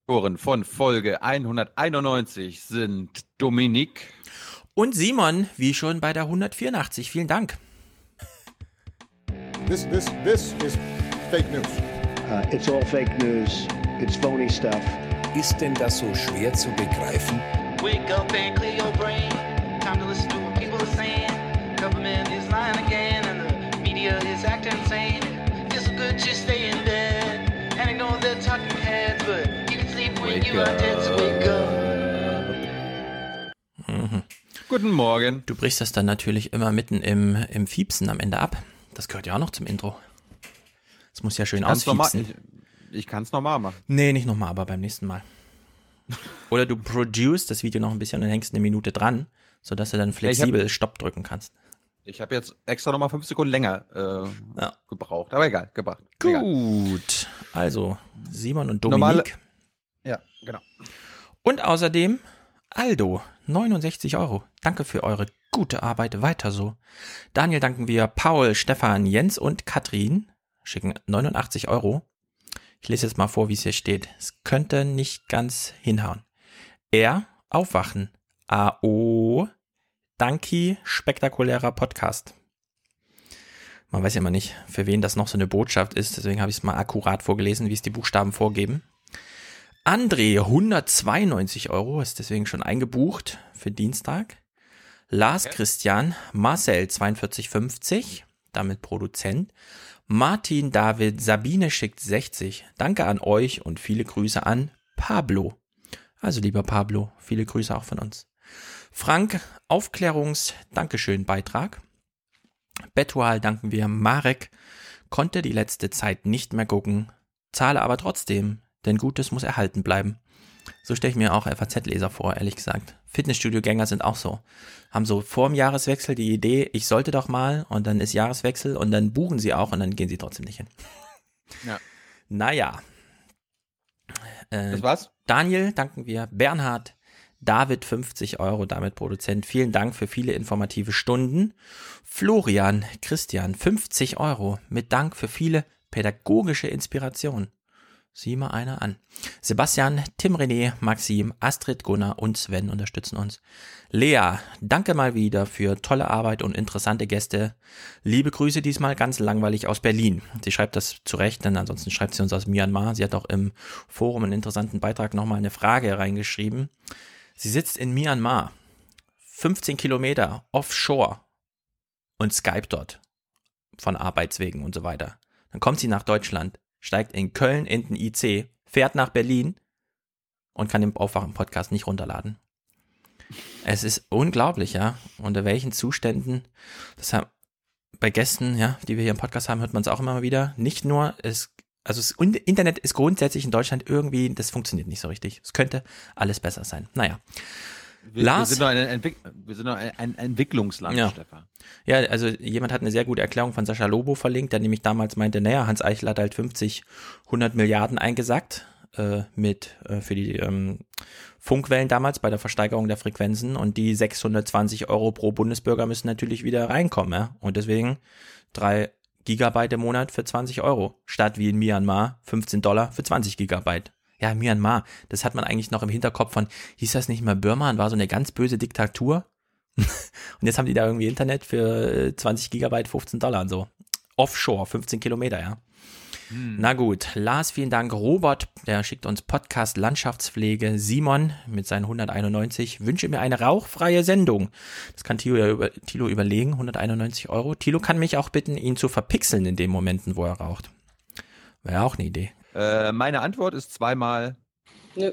Von Folge 191 sind Dominik und Simon, wie schon bei der 184. Vielen Dank. This is fake news. It's all fake news. It's phony stuff. Ist denn das so schwer zu begreifen? Wake up and clear your brain. Time to listen to what people are saying. Government is lying again and the media is acting insane. It's good to stay in bed and ignore the talking heads, but you can sleep when you are dead, so wake up. Mhm. Guten Morgen. Du brichst das dann natürlich immer mitten im Fiepsen am Ende ab. Das gehört ja auch noch zum Intro. Das muss ja schön ausfiepsen. Ich kann es normal machen. Nee, nicht nochmal, aber beim nächsten Mal. Oder du produce das Video noch ein bisschen und dann hängst eine Minute dran, sodass du dann flexibel Stopp drücken kannst. Ich habe jetzt extra nochmal 5 Sekunden länger gebraucht. Aber egal, gebracht. Gut. Egal. Also Simon und Dominik. Ja, genau. Und außerdem Aldo, 69 €. Danke für eure gute Arbeit, weiter so. Daniel danken wir, Paul, Stefan, Jens und Katrin schicken 89 €. Ich lese jetzt mal vor, wie es hier steht. Es könnte nicht ganz hinhauen. Aufwachen. AO. Danki, spektakulärer Podcast. Man weiß ja immer nicht, für wen das noch so eine Botschaft ist, deswegen habe ich es mal akkurat vorgelesen, wie es die Buchstaben vorgeben. André, 192 €, ist deswegen schon eingebucht für Dienstag. Lars Christian, Marcel, 42,50, damit Produzent. Martin David, Sabine schickt 60. Danke an euch und viele Grüße an Pablo. Also lieber Pablo, viele Grüße auch von uns. Frank, Dankeschön-Beitrag. Betual danken wir. Marek, konnte die letzte Zeit nicht mehr gucken, zahle aber trotzdem, denn Gutes muss erhalten bleiben. So stelle ich mir auch FAZ-Leser vor, ehrlich gesagt. Fitnessstudio-Gänger sind auch so. Haben so vor dem Jahreswechsel die Idee, ich sollte doch mal, und dann ist Jahreswechsel und dann buchen sie auch und dann gehen sie trotzdem nicht hin. Ja. Naja. Das war's? Daniel, danken wir. Bernhard, David, 50 €, damit Produzent. Vielen Dank für viele informative Stunden. Florian, Christian, 50 €, mit Dank für viele pädagogische Inspiration. Sieh mal einer an. Sebastian, Tim René, Maxim, Astrid, Gunnar und Sven unterstützen uns. Lea, danke mal wieder für tolle Arbeit und interessante Gäste. Liebe Grüße diesmal ganz langweilig aus Berlin. Sie schreibt das zurecht, denn ansonsten schreibt sie uns aus Myanmar. Sie hat auch im Forum einen interessanten Beitrag nochmal eine Frage reingeschrieben. Sie sitzt in Myanmar, 15 Kilometer offshore und Skype dort von Arbeitswegen und so weiter. Dann kommt sie nach Deutschland, steigt in Köln in den IC, fährt nach Berlin und kann den Aufwachen-Podcast nicht runterladen. Es ist unglaublich, ja, unter welchen Zuständen, bei Gästen, ja, die wir hier im Podcast haben, hört man es auch immer mal wieder. Nicht nur, das Internet ist grundsätzlich in Deutschland irgendwie, das funktioniert nicht so richtig. Es könnte alles besser sein. Naja. Wir sind noch ein Entwicklungsland, ja. Stefan. Ja, also jemand hat eine sehr gute Erklärung von Sascha Lobo verlinkt, der nämlich damals meinte, naja, Hans Eichel hat halt 100 Milliarden eingesackt für die Funkwellen damals bei der Versteigerung der Frequenzen und die 620 € pro Bundesbürger müssen natürlich wieder reinkommen, ja, und deswegen 3 Gigabyte im Monat für 20 €, statt wie in Myanmar $15 für 20 Gigabyte. Ja, Myanmar, das hat man eigentlich noch im Hinterkopf von, hieß das nicht mal Burma und war so eine ganz böse Diktatur? Und jetzt haben die da irgendwie Internet für 20 Gigabyte, $15 und so. Offshore, 15 Kilometer, ja. Na gut, Lars, vielen Dank. Robert, der schickt uns Podcast Landschaftspflege. Simon mit seinen 191, wünsche mir eine rauchfreie Sendung. Das kann Thilo überlegen, 191 €. Thilo kann mich auch bitten, ihn zu verpixeln in den Momenten, wo er raucht. Wäre auch eine Idee. Meine Antwort ist zweimal. Nö.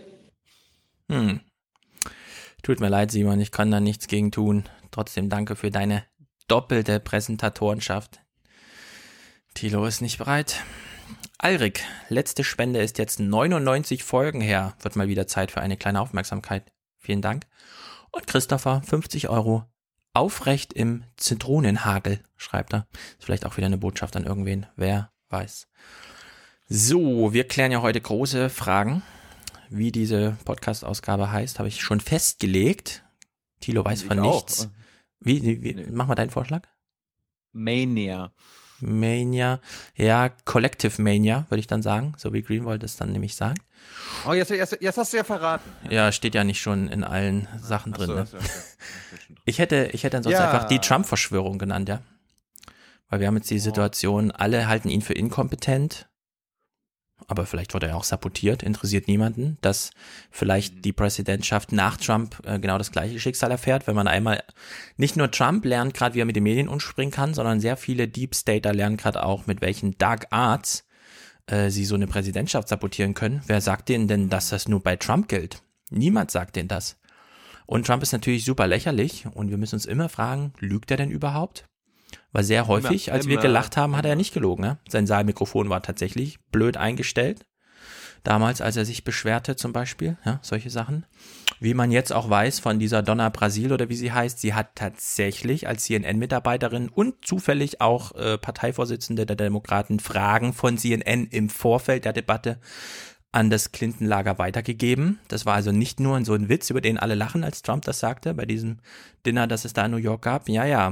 Tut mir leid, Simon, ich kann da nichts gegen tun. Trotzdem danke für deine doppelte Präsentatorenschaft. Thilo ist nicht bereit. Alrik, letzte Spende ist jetzt 99 Folgen her. Wird mal wieder Zeit für eine kleine Aufmerksamkeit. Vielen Dank. Und Christopher, 50 €. Aufrecht im Zitronenhagel, schreibt er. Ist vielleicht auch wieder eine Botschaft an irgendwen. Wer weiß. So, wir klären ja heute große Fragen. Wie diese Podcast-Ausgabe heißt, habe ich schon festgelegt. Thilo weiß von nichts. Wie? Mach mal deinen Vorschlag. Mania. Mania. Ja, Collective Mania, würde ich dann sagen, so wie Greenwald es dann nämlich sagt. Oh, jetzt hast du ja verraten. Ja, steht ja nicht schon in allen Sachen drin. Ne? Okay. Ich hätte ansonsten einfach die Trump-Verschwörung genannt, ja. Weil wir haben jetzt die Situation, alle halten ihn für inkompetent, aber vielleicht wurde er auch sabotiert, interessiert niemanden, dass vielleicht die Präsidentschaft nach Trump genau das gleiche Schicksal erfährt, wenn man einmal nicht nur Trump lernt, gerade wie er mit den Medien umspringen kann, sondern sehr viele Deep Stater lernen gerade auch, mit welchen Dark Arts sie so eine Präsidentschaft sabotieren können. Wer sagt denen denn, dass das nur bei Trump gilt? Niemand sagt denen das. Und Trump ist natürlich super lächerlich und wir müssen uns immer fragen, lügt er denn überhaupt? Weil sehr häufig, als wir gelacht haben, hat er nicht gelogen. Ne? Sein Saalmikrofon war tatsächlich blöd eingestellt. Damals, als er sich beschwerte zum Beispiel, ja, solche Sachen. Wie man jetzt auch weiß von dieser Donna Brasil oder wie sie heißt, sie hat tatsächlich als CNN-Mitarbeiterin und zufällig auch Parteivorsitzende der Demokraten Fragen von CNN im Vorfeld der Debatte an das Clinton-Lager weitergegeben. Das war also nicht nur so ein Witz, über den alle lachen, als Trump das sagte, bei diesem Dinner, das es da in New York gab. Ja.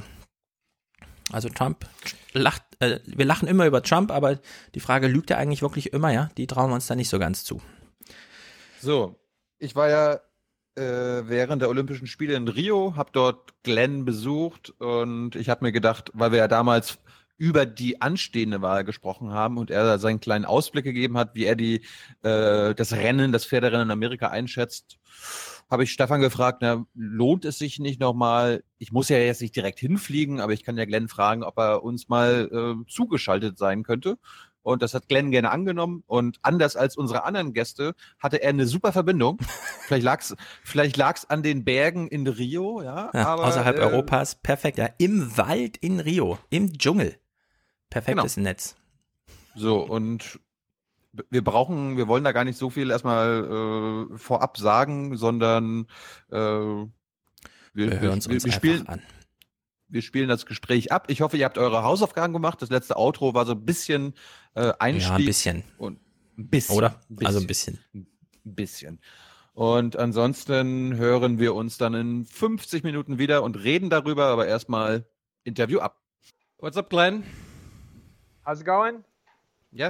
Also Trump lacht, wir lachen immer über Trump, aber die Frage, lügt er eigentlich wirklich immer, ja? Die trauen wir uns da nicht so ganz zu. So, ich war ja während der Olympischen Spiele in Rio, habe dort Glenn besucht und ich habe mir gedacht, weil wir ja damals über die anstehende Wahl gesprochen haben und er seinen kleinen Ausblick gegeben hat, wie er das Pferderennen in Amerika einschätzt, habe ich Stefan gefragt, lohnt es sich nicht nochmal, ich muss ja jetzt nicht direkt hinfliegen, aber ich kann ja Glenn fragen, ob er uns mal zugeschaltet sein könnte. Und das hat Glenn gerne angenommen. Und anders als unsere anderen Gäste hatte er eine super Verbindung. Vielleicht lag's an den Bergen in Rio, ja. Aber, außerhalb Europas, perfekt, ja. Im Wald in Rio, im Dschungel. Perfektes Netz. So, und wir wollen da gar nicht so viel erstmal vorab sagen, sondern wir hören es uns einfach an. Wir spielen das Gespräch ab. Ich hoffe, ihr habt eure Hausaufgaben gemacht. Das letzte Outro war so ein bisschen Einstieg. Ja, ein bisschen. Und ein bisschen. Oder? Also ein bisschen. Ein bisschen. Und ansonsten hören wir uns dann in 50 Minuten wieder und reden darüber, aber erstmal Interview ab. What's up, Glenn? How's it going? Yeah.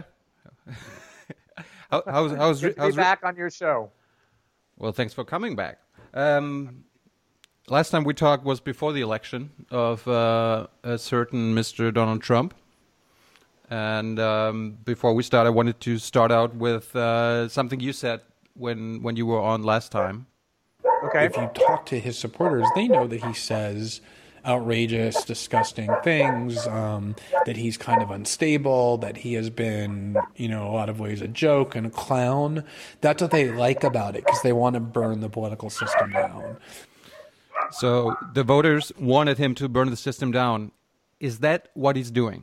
How's Good to be back on your show. Well, thanks for coming back. Last time we talked was before the election of a certain Mr. Donald Trump. And before we start, I wanted to start out with something you said when you were on last time. Okay. If you talk to his supporters, they know that he says outrageous, disgusting things, that he's kind of unstable, that he has been, a lot of ways a joke and a clown. That's what they like about it, because they want to burn the political system down. So the voters wanted him to burn the system down. Is that what he's doing?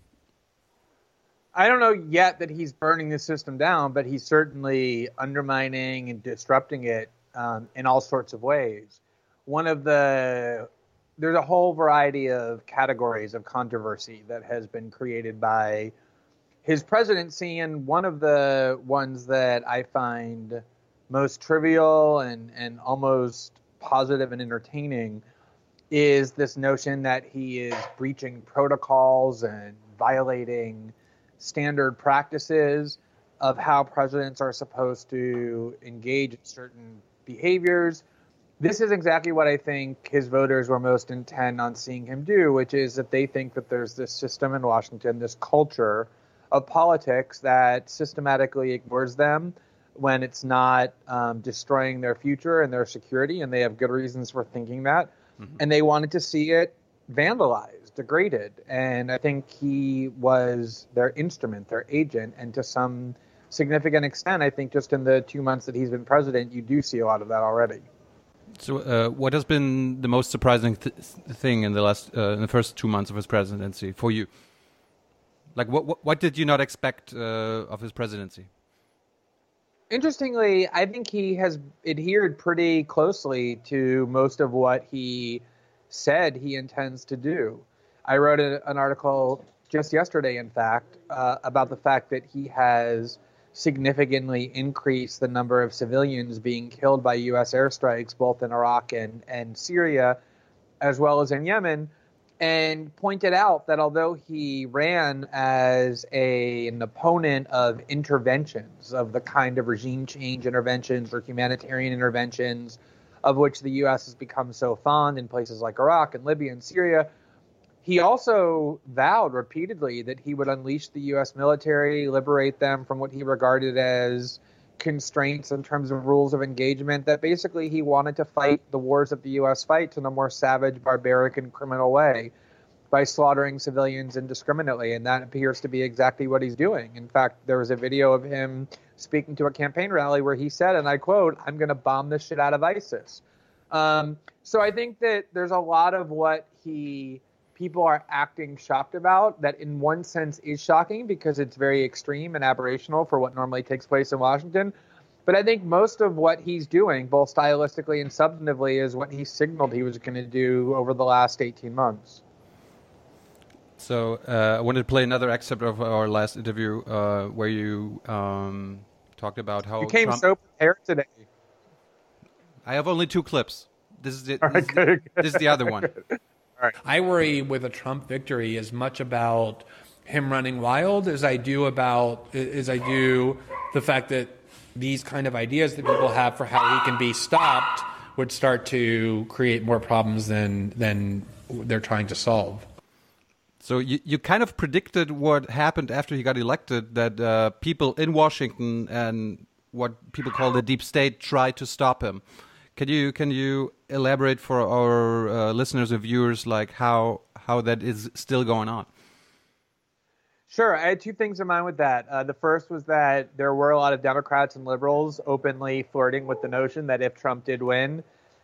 I don't know yet that he's burning the system down, but he's certainly undermining and disrupting it in all sorts of ways. There's a whole variety of categories of controversy that has been created by his presidency, and one of the ones that I find most trivial and almost positive and entertaining is this notion that he is breaching protocols and violating standard practices of how presidents are supposed to engage in certain behaviors. This is exactly what I think his voters were most intent on seeing him do, which is that they think that there's this system in Washington, this culture of politics that systematically ignores them when it's not destroying their future and their security, and they have good reasons for thinking that. Mm-hmm. And they wanted to see it vandalized, degraded. And I think he was their instrument, their agent, and to some significant extent, I think just in the 2 months that he's been president, you do see a lot of that already. So, what has been the most surprising thing in the first 2 months of his presidency for you? Like, what did you not expect of his presidency? Interestingly, I think he has adhered pretty closely to most of what he said he intends to do. I wrote an article just yesterday, in fact, about the fact that he has significantly increased the number of civilians being killed by U.S. airstrikes, both in Iraq and Syria, as well as in Yemen, and pointed out that although he ran as an opponent of interventions, of the kind of regime change interventions or humanitarian interventions of which the U.S. has become so fond in places like Iraq and Libya and Syria, he also vowed repeatedly that he would unleash the U.S. military, liberate them from what he regarded as constraints in terms of rules of engagement, that basically he wanted to fight the wars that the U.S. fights in a more savage, barbaric, and criminal way by slaughtering civilians indiscriminately. And that appears to be exactly what he's doing. In fact, there was a video of him speaking to a campaign rally where he said, and I quote, "I'm going to bomb the shit out of ISIS." So I think that there's a lot of what people are acting shocked about that in one sense is shocking because it's very extreme and aberrational for what normally takes place in Washington. But I think most of what he's doing, both stylistically and substantively, is what he signaled he was going to do over the last 18 months. So I wanted to play another excerpt of our last interview where you talked about how you came Trump... so prepared today. I have only 2 clips. This is it. This is the other one. Right. I worry with a Trump victory as much about him running wild as I do the fact that these kind of ideas that people have for how he can be stopped would start to create more problems than they're trying to solve. So you kind of predicted what happened after he got elected, that people in Washington and what people call the deep state tried to stop him. Can you elaborate for our listeners and viewers, like how that is still going on? Sure. I had 2 things in mind with that. The first was that there were a lot of Democrats and liberals openly flirting with the notion that if Trump did win,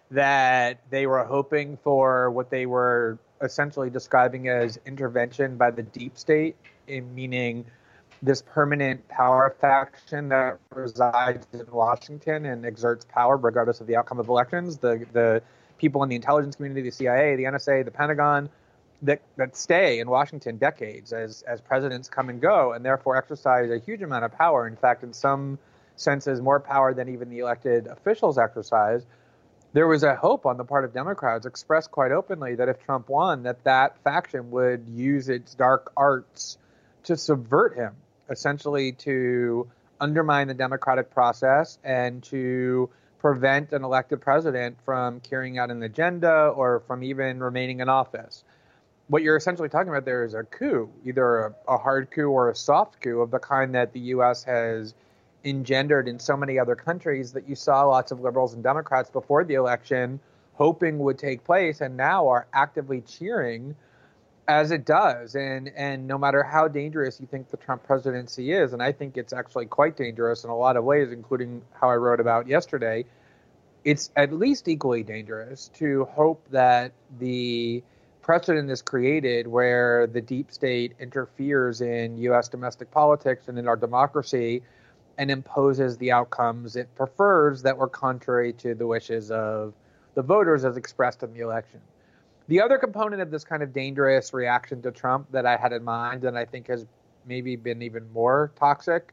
that they were hoping for what they were essentially describing as intervention by the deep state, meaning this permanent power faction that resides in Washington and exerts power regardless of the outcome of elections. The people in the intelligence community, the CIA, the NSA, the Pentagon, that stay in Washington decades as presidents come and go, and therefore exercise a huge amount of power. In fact, in some senses, more power than even the elected officials exercise. There was a hope on the part of Democrats expressed quite openly that if Trump won, that faction would use its dark arts to subvert him, essentially to undermine the democratic process and to prevent an elected president from carrying out an agenda or from even remaining in office. What you're essentially talking about there is a coup, either a hard coup or a soft coup of the kind that the U.S. has engendered in so many other countries that you saw lots of liberals and Democrats before the election hoping would take place and now are actively cheering as it does. And no matter how dangerous you think the Trump presidency is, and I think it's actually quite dangerous in a lot of ways, including how I wrote about yesterday, it's at least equally dangerous to hope that the precedent is created where the deep state interferes in U.S. domestic politics and in our democracy and imposes the outcomes it prefers that were contrary to the wishes of the voters as expressed in the election. The other component of this kind of dangerous reaction to Trump that I had in mind, and I think has maybe been even more toxic,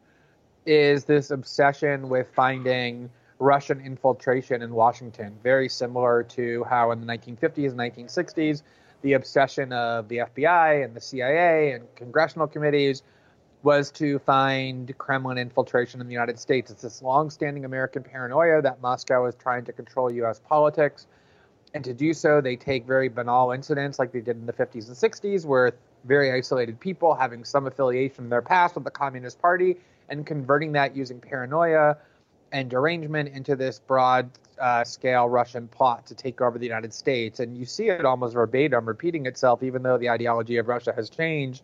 is this obsession with finding Russian infiltration in Washington, very similar to how in the 1950s and 1960s, the obsession of the FBI and the CIA and congressional committees was to find Kremlin infiltration in the United States. It's this long-standing American paranoia that Moscow is trying to control U.S. politics. And to do so, they take very banal incidents like they did in the 50s and 60s, where very isolated people having some affiliation in their past with the Communist Party and converting that using paranoia and derangement into this broad-scale Russian plot to take over the United States. And you see it almost verbatim repeating itself, even though the ideology of Russia has changed.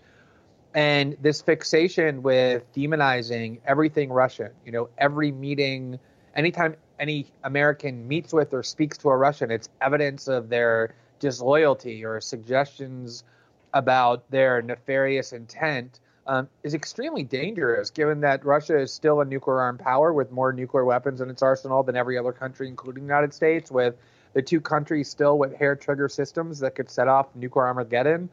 And this fixation with demonizing everything Russian, every meeting, anytime any American meets with or speaks to a Russian, it's evidence of their disloyalty or suggestions about their nefarious intent, is extremely dangerous, given that Russia is still a nuclear-armed power with more nuclear weapons in its arsenal than every other country, including the United States, with the 2 countries still with hair-trigger systems that could set off nuclear Armageddon,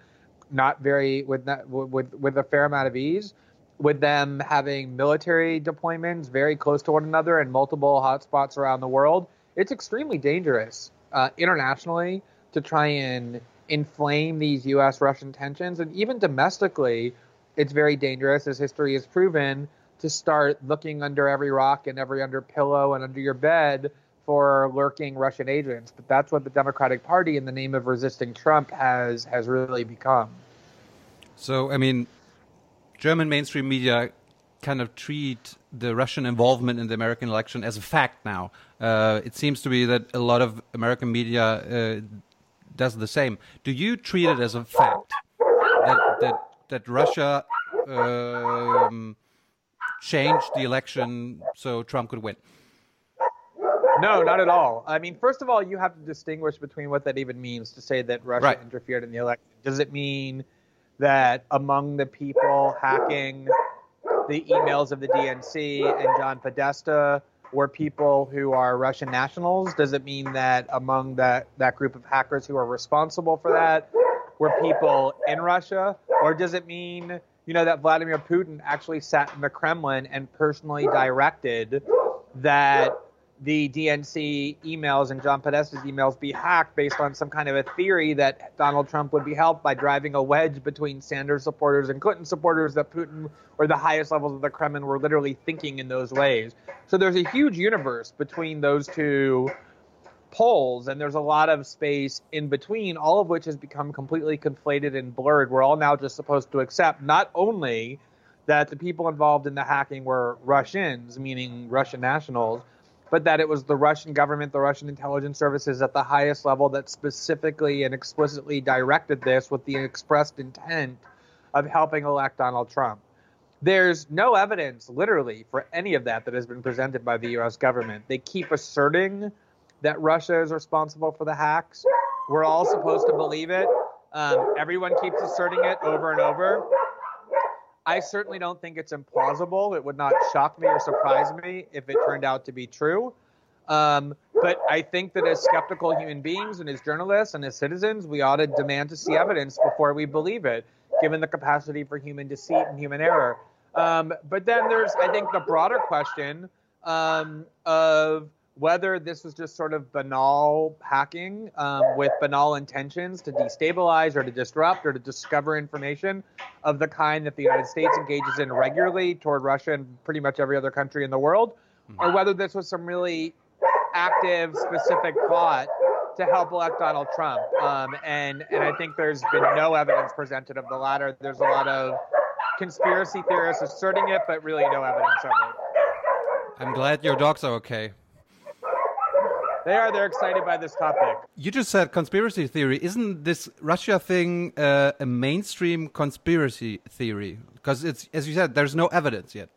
with a fair amount of ease, with them having military deployments very close to one another and multiple hotspots around the world. It's extremely dangerous internationally to try and inflame these U.S.-Russian tensions. And even domestically, it's very dangerous, as history has proven, to start looking under every rock and every under pillow and under your bed for lurking Russian agents. But that's what the Democratic Party, in the name of resisting Trump, has really become. So, I mean, German mainstream media kind of treat the Russian involvement in the American election as a fact now. It seems to be that a lot of American media does the same. Do you treat it as a fact that Russia changed the election so Trump could win? No, not at all. I mean, first of all, you have to distinguish between what that even means to say that Russia interfered in the election. Does it mean that among the people hacking the emails of the DNC and John Podesta were people who are Russian nationals? Does it mean that among that group of hackers who are responsible for that were people in Russia? Or does it mean, that Vladimir Putin actually sat in the Kremlin and personally directed that the DNC emails and John Podesta's emails be hacked based on some kind of a theory that Donald Trump would be helped by driving a wedge between Sanders supporters and Clinton supporters, that Putin or the highest levels of the Kremlin were literally thinking in those ways? So there's a huge universe between those two poles, and there's a lot of space in between, all of which has become completely conflated and blurred. We're all now just supposed to accept not only that the people involved in the hacking were Russians, meaning Russian nationals, but that it was the Russian government, the Russian intelligence services at the highest level that specifically and explicitly directed this with the expressed intent of helping elect Donald Trump. There's no evidence, literally, for any of that has been presented by the U.S. government. They keep asserting that Russia is responsible for the hacks. We're all supposed to believe it. Everyone keeps asserting it over and over. I certainly don't think it's implausible. It would not shock me or surprise me if it turned out to be true. But I think that as skeptical human beings and as journalists and as citizens, we ought to demand to see evidence before we believe it, given the capacity for human deceit and human error. But then there's, I think, the broader question of whether this was just sort of banal hacking with banal intentions to destabilize or to disrupt or to discover information of the kind that the United States engages in regularly toward Russia and pretty much every other country in the world, or whether this was some really active, specific plot to help elect Donald Trump. And I think there's been no evidence presented of the latter. There's a lot of conspiracy theorists asserting it, but really no evidence of it. I'm glad your dogs are okay. They're excited by this topic. You just said conspiracy theory. Isn't this Russia thing a mainstream conspiracy theory? Because it's, as you said, there's no evidence yet.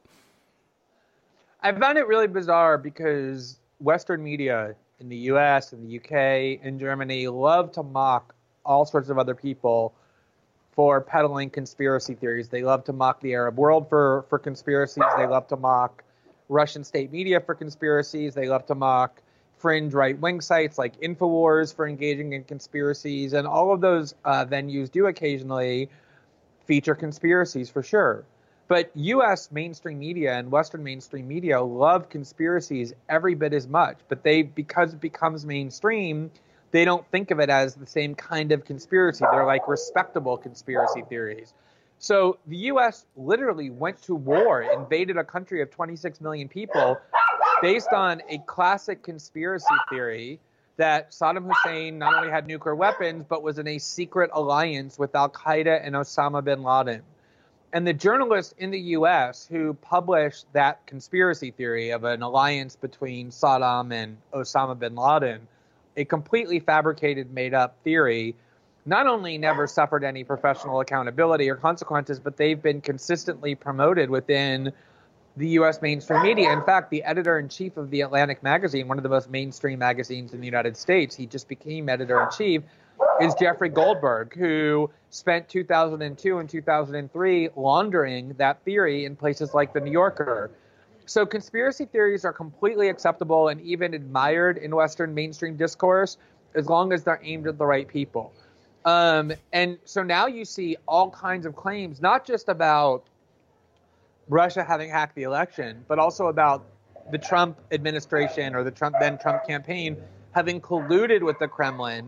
I found it really bizarre because Western media in the US and the UK and Germany love to mock all sorts of other people for peddling conspiracy theories. They love to mock the Arab world for conspiracies. They love to mock Russian state media for conspiracies. They love to mock fringe right-wing sites like InfoWars for engaging in conspiracies. And all of those venues do occasionally feature conspiracies for sure. But U.S. mainstream media and Western mainstream media love conspiracies every bit as much. But because it becomes mainstream, they don't think of it as the same kind of conspiracy. They're like respectable conspiracy theories. So the U.S. literally went to war, invaded a country of 26 million people based on a classic conspiracy theory that Saddam Hussein not only had nuclear weapons, but was in a secret alliance with Al-Qaeda and Osama bin Laden. And the journalists in the U.S. who published that conspiracy theory of an alliance between Saddam and Osama bin Laden, a completely fabricated, made-up theory, not only never suffered any professional accountability or consequences, but they've been consistently promoted within the U.S. mainstream media. In fact, the editor-in-chief of The Atlantic magazine, one of the most mainstream magazines in the United States, he just became editor-in-chief, is Jeffrey Goldberg, who spent 2002 and 2003 laundering that theory in places like The New Yorker. So conspiracy theories are completely acceptable and even admired in Western mainstream discourse as long as they're aimed at the right people. And so now you see all kinds of claims, not just about Russia having hacked the election, but also about the Trump administration or the then Trump campaign having colluded with the Kremlin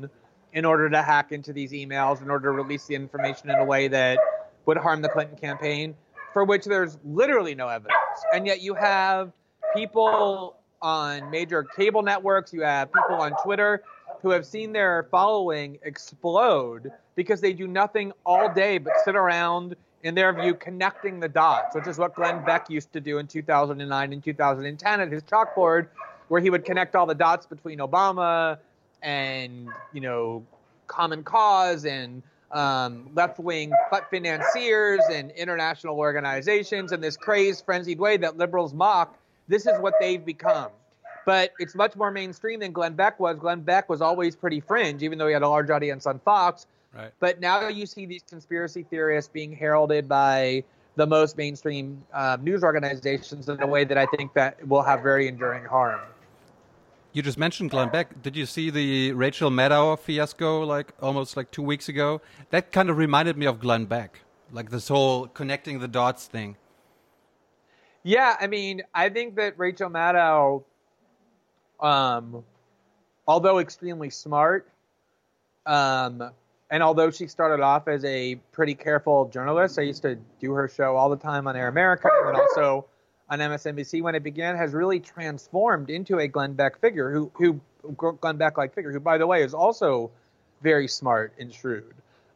in order to hack into these emails, in order to release the information in a way that would harm the Clinton campaign, for which there's literally no evidence. And yet you have people on major cable networks, you have people on Twitter who have seen their following explode because they do nothing all day but sit around, in their view, connecting the dots, which is what Glenn Beck used to do in 2009 and 2010 at his chalkboard, where he would connect all the dots between Obama and, Common Cause and left-wing financiers and international organizations in this crazed, frenzied way that liberals mock. This is what they've become. But it's much more mainstream than Glenn Beck was. Glenn Beck was always pretty fringe, even though he had a large audience on Fox. Right. But now you see these conspiracy theorists being heralded by the most mainstream news organizations in a way that I think that will have very enduring harm. You just mentioned Glenn Beck. Did you see the Rachel Maddow fiasco almost 2 weeks ago? That kind of reminded me of Glenn Beck, like this whole connecting the dots thing. Yeah, I mean, I think that Rachel Maddow, although extremely smart, and although she started off as a pretty careful journalist, I used to do her show all the time on Air America and also on MSNBC when it began, has really transformed into a Glenn Beck figure, who Glenn Beck-like figure, who, by the way, is also very smart and shrewd.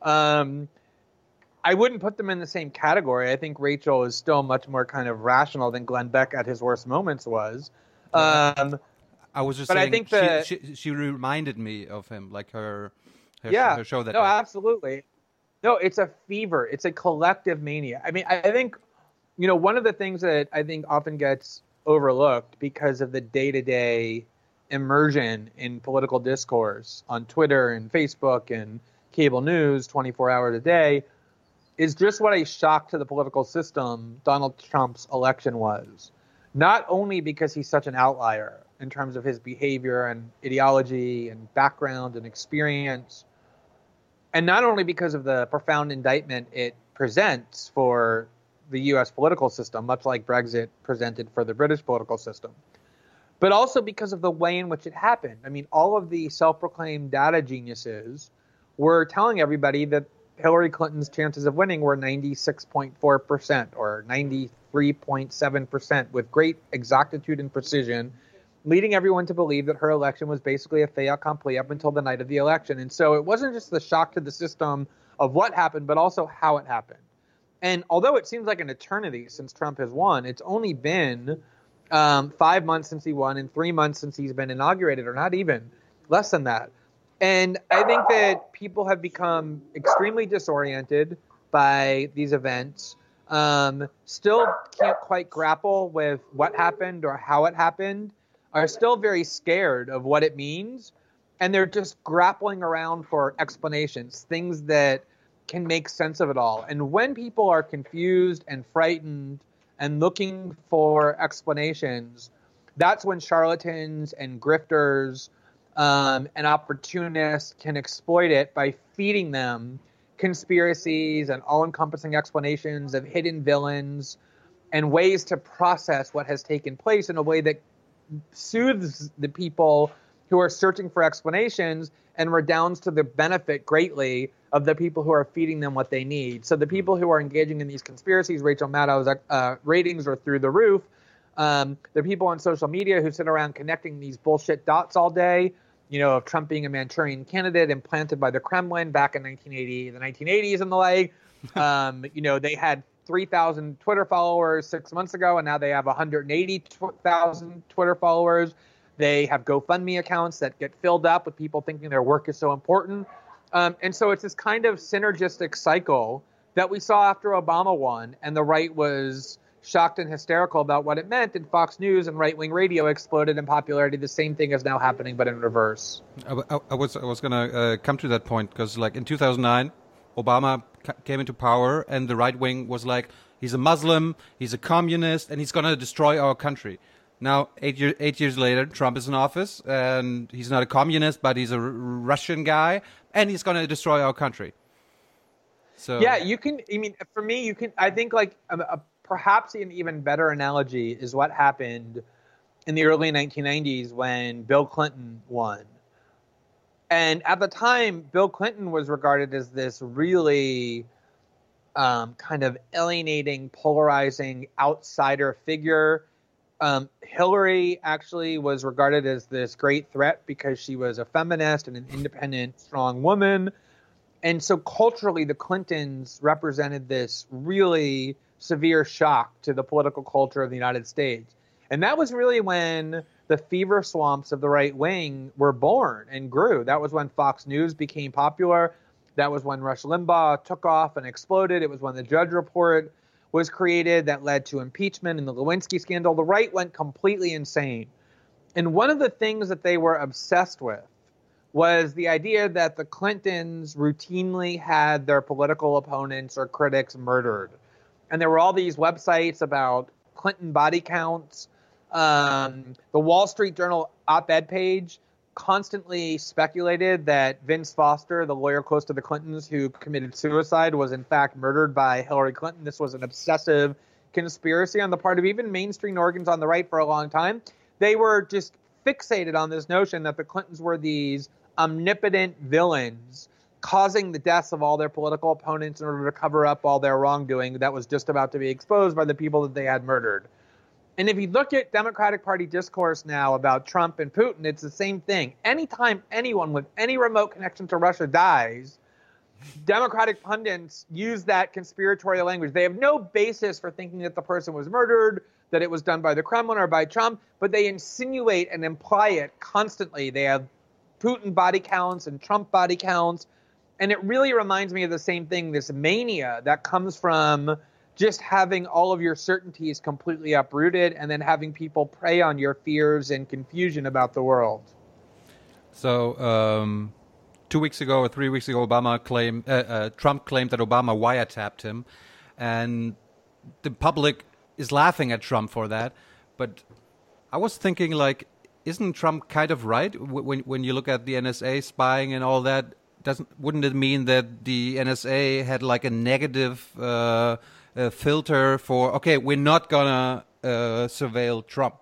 I wouldn't put them in the same category. I think Rachel is still much more kind of rational than Glenn Beck at his worst moments was. I was just saying, I think she reminded me of him, like her show that. No, absolutely. No, it's a fever. It's a collective mania. I mean, I think, one of the things that I think often gets overlooked because of the day-to-day immersion in political discourse on Twitter and Facebook and cable news 24 hours a day is just what a shock to the political system Donald Trump's election was. Not only because he's such an outlier in terms of his behavior and ideology and background and experience, and not only because of the profound indictment it presents for the U.S. political system, much like Brexit presented for the British political system, but also because of the way in which it happened. I mean, all of the self-proclaimed data geniuses were telling everybody that Hillary Clinton's chances of winning were 96.4% or 93.7% with great exactitude and precision, leading everyone to believe that her election was basically a fait accompli up until the night of the election. And so it wasn't just the shock to the system of what happened, but also how it happened. And although it seems like an eternity since Trump has won, it's only been 5 months since he won and 3 months since he's been inaugurated, or not even, less than that. And I think that people have become extremely disoriented by these events, still can't quite grapple with what happened or how it happened, are still very scared of what it means, and they're just grappling around for explanations, things that can make sense of it all. And when people are confused and frightened and looking for explanations, that's when charlatans and grifters and opportunists can exploit it by feeding them conspiracies and all-encompassing explanations of hidden villains and ways to process what has taken place in a way that soothes the people who are searching for explanations and redounds to the benefit greatly of the people who are feeding them what they need. So the people who are engaging in these conspiracies, Rachel Maddow's ratings are through the roof. The people on social media who sit around connecting these bullshit dots all day, of Trump being a Manchurian candidate implanted by the Kremlin back in the 1980s and the like. They had 3,000 Twitter followers 6 months ago, and now they have 180,000 Twitter followers. They have GoFundMe accounts that get filled up with people thinking their work is so important. And so it's this kind of synergistic cycle that we saw after Obama won, and the right was shocked and hysterical about what it meant, and Fox News and right-wing radio exploded in popularity. The same thing is now happening, but in reverse. I was going to come to that point, because in 2009, Obama came into power, and the right wing was like, he's a Muslim, he's a communist, and he's going to destroy our country. Now, 8 years later, Trump is in office, and he's not a communist, but he's a Russian guy, and he's going to destroy our country. So yeah, for me, I think perhaps an even better analogy is what happened in the early 1990s when Bill Clinton won. And at the time, Bill Clinton was regarded as this really kind of alienating, polarizing outsider figure. Hillary actually was regarded as this great threat because she was a feminist and an independent, strong woman. And so culturally, the Clintons represented this really severe shock to the political culture of the United States. And that was really when the fever swamps of the right wing were born and grew. That was when Fox News became popular. That was when Rush Limbaugh took off and exploded. It was when the Judge Report was created that led to impeachment and the Lewinsky scandal. The right went completely insane. And one of the things that they were obsessed with was the idea that the Clintons routinely had their political opponents or critics murdered. And there were all these websites about Clinton body counts. The Wall Street Journal op-ed page constantly speculated that Vince Foster, the lawyer close to the Clintons who committed suicide, was in fact murdered by Hillary Clinton. This was an obsessive conspiracy on the part of even mainstream organs on the right for a long time. They were just fixated on this notion that the Clintons were these omnipotent villains causing the deaths of all their political opponents in order to cover up all their wrongdoing that was just about to be exposed by the people that they had murdered. And if you look at Democratic Party discourse now about Trump and Putin, it's the same thing. Anytime anyone with any remote connection to Russia dies, Democratic pundits use that conspiratorial language. They have no basis for thinking that the person was murdered, that it was done by the Kremlin or by Trump, but they insinuate and imply it constantly. They have Putin body counts and Trump body counts. And it really reminds me of the same thing, this mania that comes from just having all of your certainties completely uprooted and then having people prey on your fears and confusion about the world. So 2 weeks ago or 3 weeks ago, Trump claimed that Obama wiretapped him, and the public is laughing at Trump for that. But I was thinking, like, isn't Trump kind of right when you look at the NSA spying and all that? Wouldn't it mean that the NSA had like a negative filter for, okay, we're not gonna surveil Trump?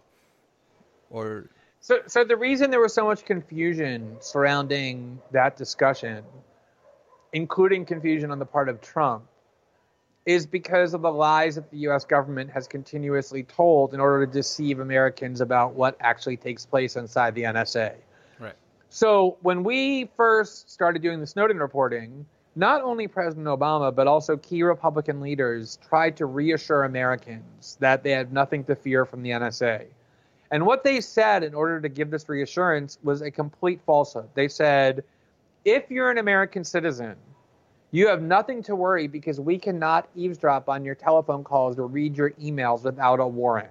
Or so the reason there was so much confusion surrounding that discussion, including confusion on the part of Trump, is because of the lies that the U.S. government has continuously told in order to deceive Americans about what actually takes place inside the NSA. Right. So when we first started doing the Snowden reporting, not only President Obama, but also key Republican leaders tried to reassure Americans that they had nothing to fear from the NSA. And what they said in order to give this reassurance was a complete falsehood. They said, if you're an American citizen, you have nothing to worry because we cannot eavesdrop on your telephone calls or read your emails without a warrant.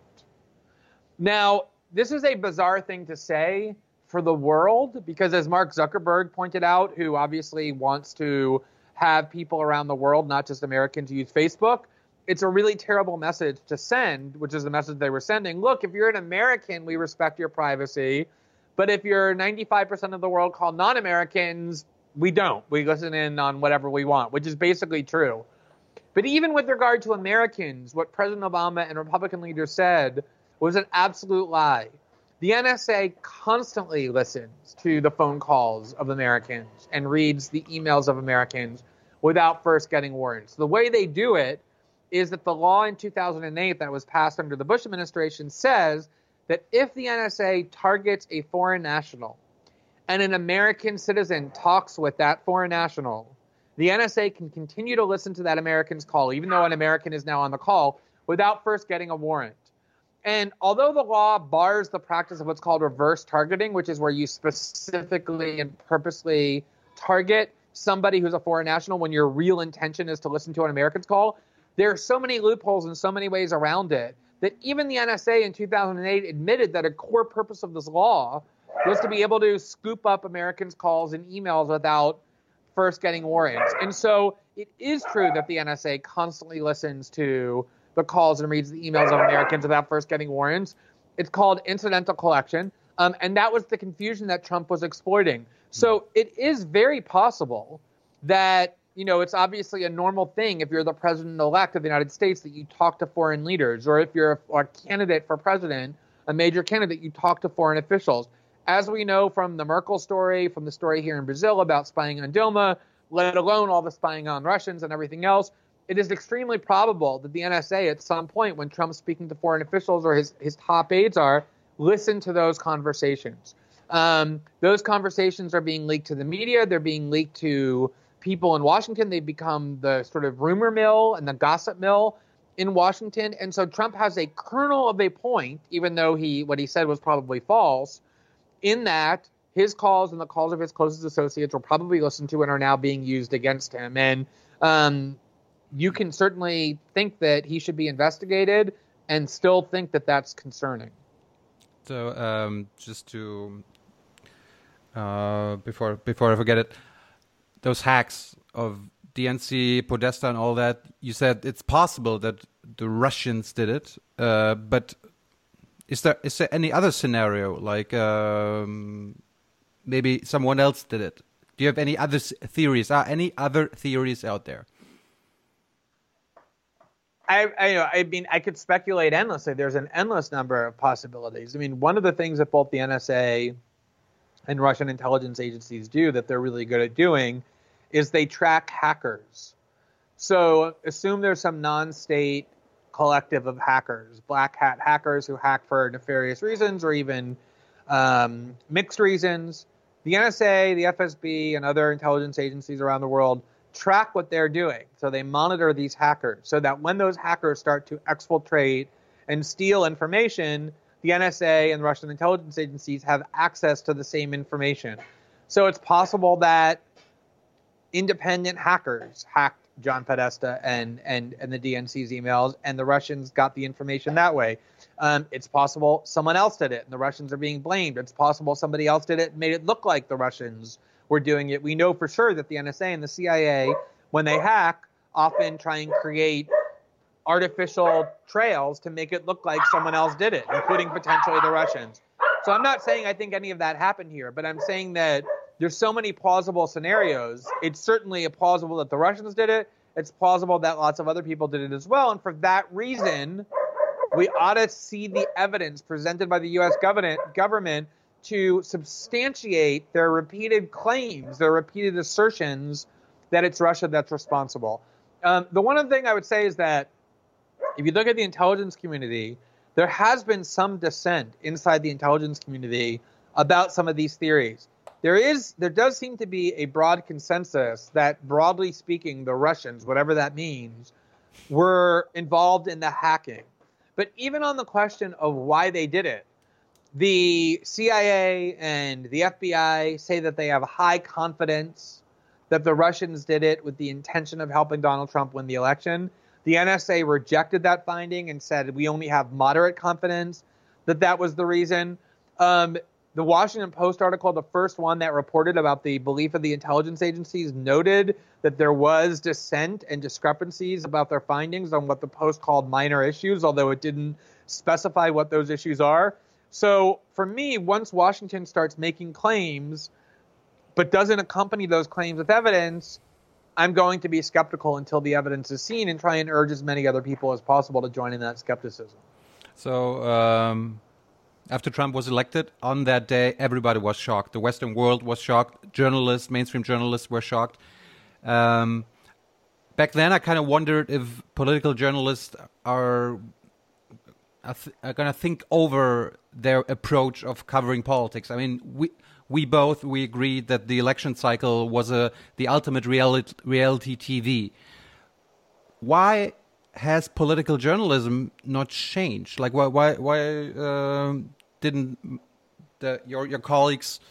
Now, this is a bizarre thing to say for the world because, as Mark Zuckerberg pointed out, who obviously wants to have people around the world, not just Americans, use Facebook, it's a really terrible message to send, which is the message they were sending. Look, if you're an American, we respect your privacy. But if you're 95% of the world called non-Americans, we don't. We listen in on whatever we want, which is basically true. But even with regard to Americans, what President Obama and Republican leaders said was an absolute lie. The NSA constantly listens to the phone calls of Americans and reads the emails of Americans without first getting warrants. The way they do it is that the law in 2008 that was passed under the Bush administration says that if the NSA targets a foreign national and an American citizen talks with that foreign national, the NSA can continue to listen to that American's call, even though an American is now on the call, without first getting a warrant. And although the law bars the practice of what's called reverse targeting, which is where you specifically and purposely target somebody who's a foreign national when your real intention is to listen to an American's call, there are so many loopholes and so many ways around it that even the NSA in 2008 admitted that a core purpose of this law was to be able to scoop up Americans' calls and emails without first getting warrants. And so it is true that the NSA constantly listens to the calls and reads the emails of Americans without first getting warrants. It's called incidental collection. And that was the confusion that Trump was exploiting. So it is very possible that, you know, it's obviously a normal thing if you're the president-elect of the United States that you talk to foreign leaders, or if you're a candidate for president, a major candidate, you talk to foreign officials. as we know from the Merkel story, from the story here in Brazil about spying on Dilma, let alone all the spying on Russians and everything else, it is extremely probable that the NSA at some point when Trump's speaking to foreign officials or his top aides listen to those conversations. Those conversations are being leaked to the media. They're being leaked to people in Washington. They've become the sort of rumor mill and the gossip mill in Washington. And so Trump has a kernel of a point, even though what he said was probably false, in that his calls and the calls of his closest associates were probably listened to and are now being used against him. And you can certainly think that he should be investigated and still think that that's concerning. So just to before I forget it, those hacks of DNC, Podesta, and all that, you said it's possible that the Russians did it, but is there any other scenario, like maybe someone else did it? Do you have any other theories? Any other theories out there? I could speculate endlessly. There's an endless number of possibilities. I mean, one of the things that both the NSA and Russian intelligence agencies do that they're really good at doing is they track hackers. So assume there's some non-state collective of hackers, black hat hackers who hack for nefarious reasons or even mixed reasons. The NSA, the FSB, and other intelligence agencies around the world track what they're doing. So they monitor these hackers so that when those hackers start to exfiltrate and steal information, the NSA and Russian intelligence agencies have access to the same information. So it's possible that independent hackers hacked John Podesta and the DNC's emails, and the Russians got the information that way. It's possible someone else did it, and the Russians are being blamed. It's possible somebody else did it and made it look like the Russians were doing it. We know for sure that the NSA and the CIA, when they hack, often try and create artificial trails to make it look like someone else did it, including potentially the Russians. So I'm not saying I think any of that happened here, but I'm saying that there's so many plausible scenarios. It's certainly plausible that the Russians did it. It's plausible that lots of other people did it as well. And for that reason, we ought to see the evidence presented by the U.S. government to substantiate their repeated claims, their repeated assertions that it's Russia that's responsible. The one other thing I would say is that if you look at the intelligence community, there has been some dissent inside the intelligence community about some of these theories. There does seem to be a broad consensus that, broadly speaking, the Russians, whatever that means, were involved in the hacking. But even on the question of why they did it, the CIA and the FBI say that they have high confidence that the Russians did it with the intention of helping Donald Trump win the election. The NSA rejected that finding and said we only have moderate confidence that that was the reason. The Washington Post article, the first one that reported about the belief of the intelligence agencies, noted that there was dissent and discrepancies about their findings on what the Post called minor issues, although it didn't specify what those issues are. So for me, once Washington starts making claims but doesn't accompany those claims with evidence, I'm going to be skeptical until the evidence is seen and try and urge as many other people as possible to join in that skepticism. So after Trump was elected, on that day, everybody was shocked. The Western world was shocked. Journalists, mainstream journalists were shocked. Back then, I kind of wondered if political journalists are going to think over their approach of covering politics. I mean, we agreed that the election cycle was the ultimate reality TV. Why has political journalism not changed? Like, why didn't your colleagues,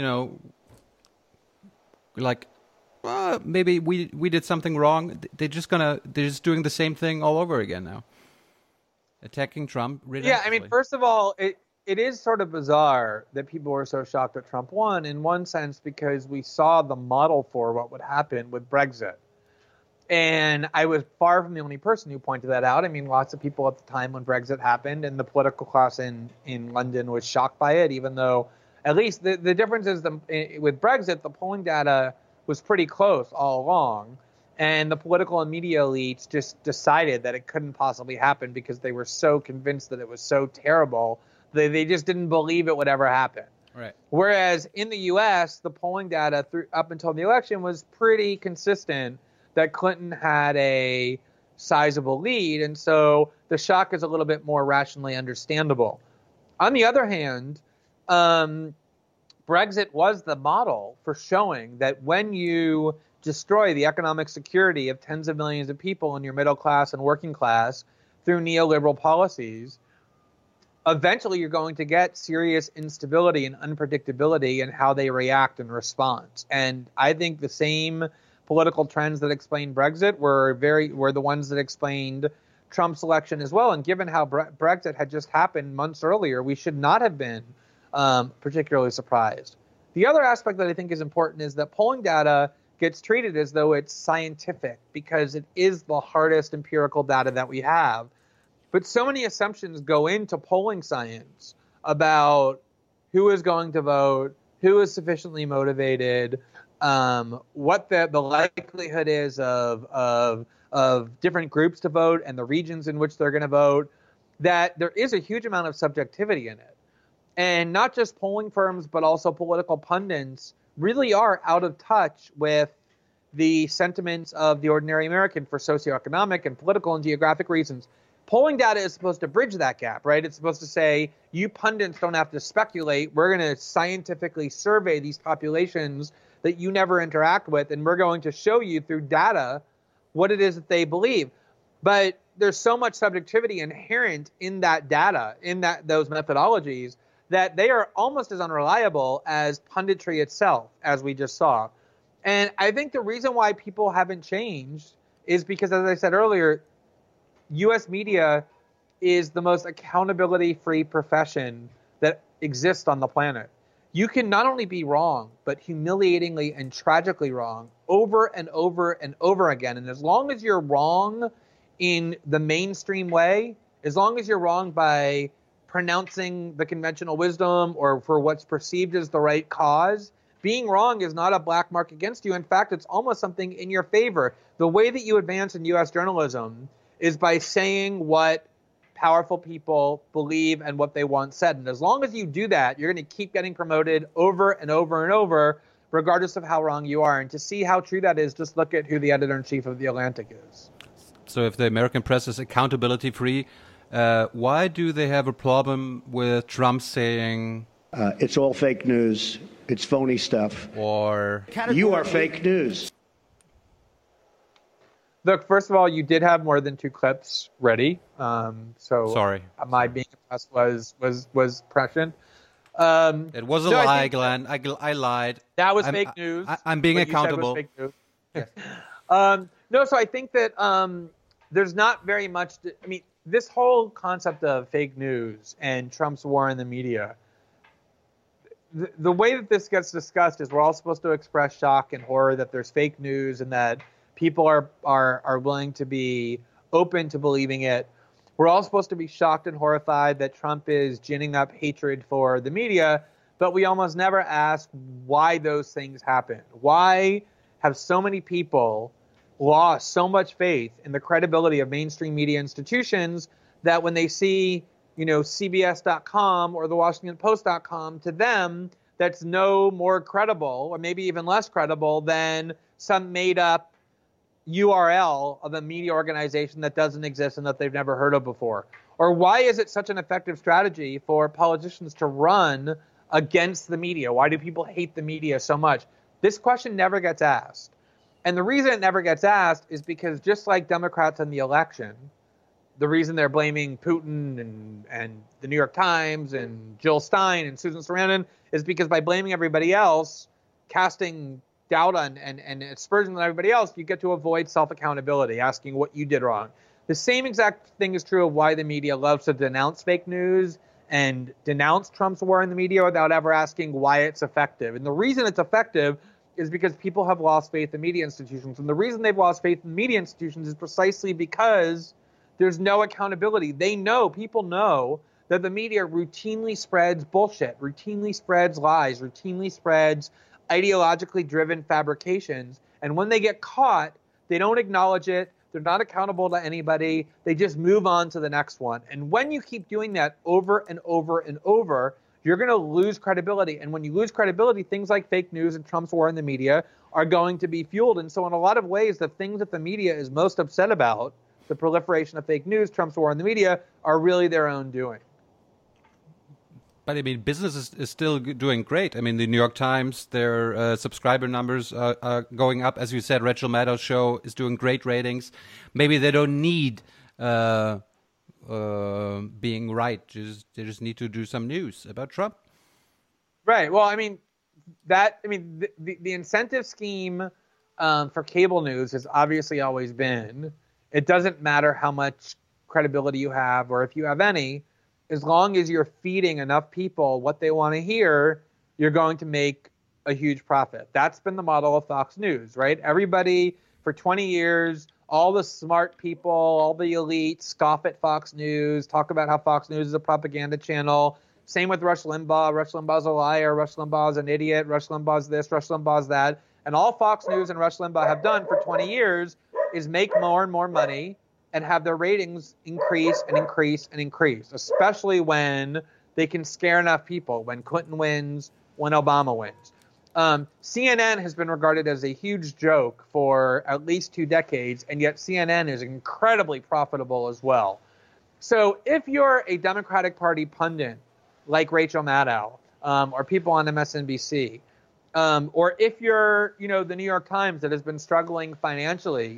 like, well, maybe we did something wrong? They're just doing the same thing all over again now, attacking Trump. Yeah, I mean, first of all, it is sort of bizarre that people were so shocked that Trump won, in one sense, because we saw the model for what would happen with Brexit. And I was far from the only person who pointed that out. I mean, lots of people at the time when Brexit happened, and the political class in London was shocked by it, even though at least the difference is with Brexit, the polling data was pretty close all along. And the political and media elites just decided that it couldn't possibly happen because they were so convinced that it was so terrible. They just didn't believe it would ever happen. Right. Whereas in the U.S., the polling data up until the election was pretty consistent that Clinton had a sizable lead, and so the shock is a little bit more rationally understandable. On the other hand, Brexit was the model for showing that when you destroy the economic security of tens of millions of people in your middle class and working class through neoliberal policies, eventually you're going to get serious instability and unpredictability in how they react and respond. And I think the same political trends that explained Brexit were the ones that explained Trump's election as well. And given how Brexit had just happened months earlier, we should not have been particularly surprised. The other aspect that I think is important is that polling data gets treated as though it's scientific because it is the hardest empirical data that we have. But so many assumptions go into polling science about who is going to vote, who is sufficiently motivated, what the likelihood is of different groups to vote and the regions in which they're going to vote, that there is a huge amount of subjectivity in it. And not just polling firms, but also political pundits really are out of touch with the sentiments of the ordinary American for socioeconomic and political and geographic reasons. Polling data is supposed to bridge that gap, right? It's supposed to say, you pundits don't have to speculate. We're going to scientifically survey these populations that you never interact with, and we're going to show you through data what it is that they believe. But there's so much subjectivity inherent in that data, in those methodologies, that they are almost as unreliable as punditry itself, as we just saw. And I think the reason why people haven't changed is because, as I said earlier, U.S. media is the most accountability-free profession that exists on the planet. You can not only be wrong, but humiliatingly and tragically wrong over and over and over again. And as long as you're wrong in the mainstream way, as long as you're wrong by pronouncing the conventional wisdom or for what's perceived as the right cause, being wrong is not a black mark against you. In fact, it's almost something in your favor. The way that you advance in U.S. journalism is by saying what powerful people believe and what they want said. And as long as you do that, you're going to keep getting promoted over and over and over, regardless of how wrong you are. And to see how true that is, just look at who the editor-in-chief of The Atlantic is. So if the American press is accountability-free, why do they have a problem with Trump saying... it's all fake news. It's phony stuff. Or... You are fake news. Look, first of all, you did have more than 2 clips ready. So sorry. My being impressed was prescient. It was a lie, Glenn. I lied. That was fake news. I'm being accountable. Fake news. Yes. No, so I think that there's not very much... this whole concept of fake news and Trump's war in the media, the way that this gets discussed is we're all supposed to express shock and horror that there's fake news and that people are willing to be open to believing it. We're all supposed to be shocked and horrified that Trump is ginning up hatred for the media, but we almost never ask why those things happen. Why have so many people lost so much faith in the credibility of mainstream media institutions that when they see, CBS.com or the WashingtonPost.com, to them, that's no more credible or maybe even less credible than some made-up URL of a media organization that doesn't exist and that they've never heard of before? Or why is it such an effective strategy for politicians to run against the media? Why do people hate the media so much? This question never gets asked. And the reason it never gets asked is because just like Democrats in the election, the reason they're blaming Putin and the New York Times and Jill Stein and Susan Sarandon is because by blaming everybody else, casting doubt on and aspersion on everybody else, you get to avoid self-accountability, asking what you did wrong. The same exact thing is true of why the media loves to denounce fake news and denounce Trump's war in the media without ever asking why it's effective. And the reason it's effective is because people have lost faith in media institutions. And the reason they've lost faith in media institutions is precisely because there's no accountability. People know that the media routinely spreads bullshit, routinely spreads lies, routinely spreads ideologically driven fabrications. And when they get caught, they don't acknowledge it. They're not accountable to anybody. They just move on to the next one. And when you keep doing that over and over and over, you're going to lose credibility. And when you lose credibility, things like fake news and Trump's war in the media are going to be fueled. And so in a lot of ways, the things that the media is most upset about, the proliferation of fake news, Trump's war in the media, are really their own doing. But I mean, business is still doing great. I mean, the New York Times, their subscriber numbers are going up. As you said, Rachel Maddow's show is doing great ratings. Maybe they don't need being right. They just need to do some news about Trump. Right. Well, I mean, the incentive scheme for cable news has obviously always been, it doesn't matter how much credibility you have or if you have any, as long as you're feeding enough people what they want to hear, you're going to make a huge profit. That's been the model of Fox News, right? Everybody for 20 years, all the smart people, all the elite scoff at Fox News, talk about how Fox News is a propaganda channel. Same with Rush Limbaugh. Rush Limbaugh's a liar. Rush Limbaugh's an idiot. Rush Limbaugh's this. Rush Limbaugh's that. And all Fox News and Rush Limbaugh have done for 20 years is make more and more money and have their ratings increase and increase and increase, especially when they can scare enough people, when Clinton wins, when Obama wins. CNN has been regarded as a huge joke for at least 2 decades, and yet CNN is incredibly profitable as well. So if you're a Democratic Party pundit like Rachel Maddow, or people on MSNBC, or if you're, the New York Times that has been struggling financially,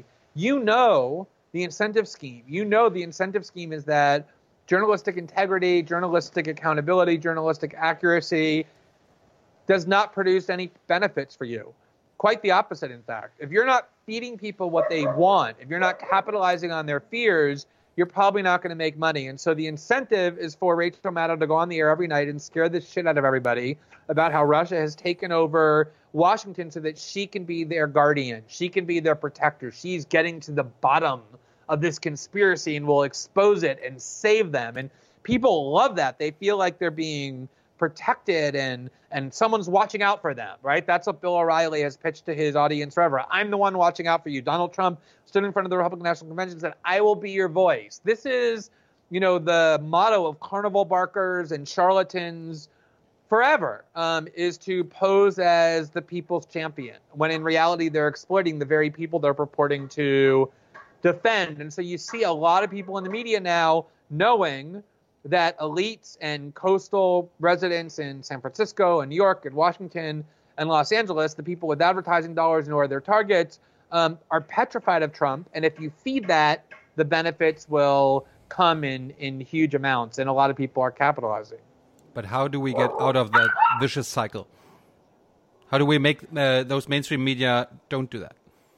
the incentive scheme. The incentive scheme is that journalistic integrity, journalistic accountability, journalistic accuracy does not produce any benefits for you. Quite the opposite, in fact. If you're not feeding people what they want, if you're not capitalizing on their fears, you're probably not going to make money. And so the incentive is for Rachel Maddow to go on the air every night and scare the shit out of everybody about how Russia has taken over Washington so that she can be their guardian. She can be their protector. She's getting to the bottom of this conspiracy and will expose it and save them. And people love that. They feel like they're being protected and someone's watching out for them, right? That's what Bill O'Reilly has pitched to his audience forever. I'm the one watching out for you. Donald Trump stood in front of the Republican National Convention and said, I will be your voice. This is, the motto of carnival barkers and charlatans forever, is to pose as the people's champion, when in reality they're exploiting the very people they're purporting to defend. And so you see a lot of people in the media now knowing that elites and coastal residents in San Francisco and New York and Washington and Los Angeles, the people with advertising dollars who are their targets, are petrified of Trump. And if you feed that, the benefits will come in huge amounts. And a lot of people are capitalizing. But how do we get out of that vicious cycle? How do we make those mainstream media don't do that?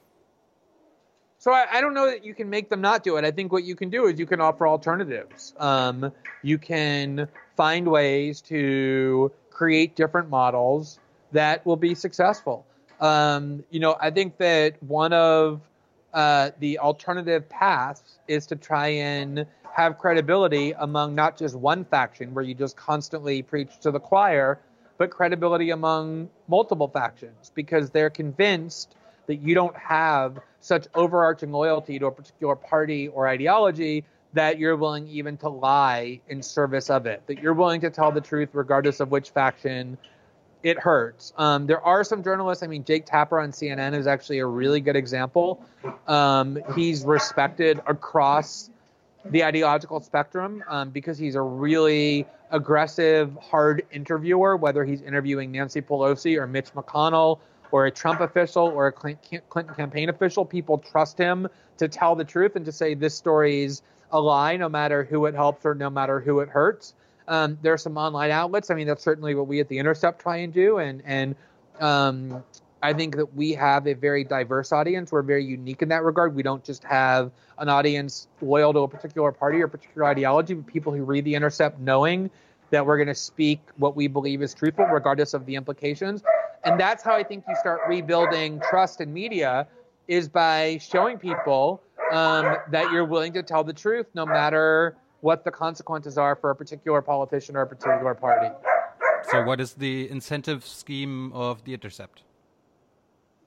So I don't know that you can make them not do it. I think what you can do is you can offer alternatives. You can find ways to create different models that will be successful. I think that one of the alternative paths is to try and have credibility among not just one faction where you just constantly preach to the choir, but credibility among multiple factions because they're convinced that you don't have such overarching loyalty to a particular party or ideology that you're willing even to lie in service of it, that you're willing to tell the truth regardless of which faction it hurts. There are some journalists, Jake Tapper on CNN is actually a really good example. He's respected across the ideological spectrum because he's a really aggressive, hard interviewer, whether he's interviewing Nancy Pelosi or Mitch McConnell or a Trump official or a Clinton campaign official. People trust him to tell the truth and to say this story's a lie, no matter who it helps or no matter who it hurts. There are some online outlets. That's certainly what we at The Intercept try and do. And I think that we have a very diverse audience. We're very unique in that regard. We don't just have an audience loyal to a particular party or a particular ideology, but people who read The Intercept knowing that we're going to speak what we believe is truthful, regardless of the implications. And that's how I think you start rebuilding trust in media, is by showing people that you're willing to tell the truth, no matter what the consequences are for a particular politician or a particular party. So what is the incentive scheme of The Intercept?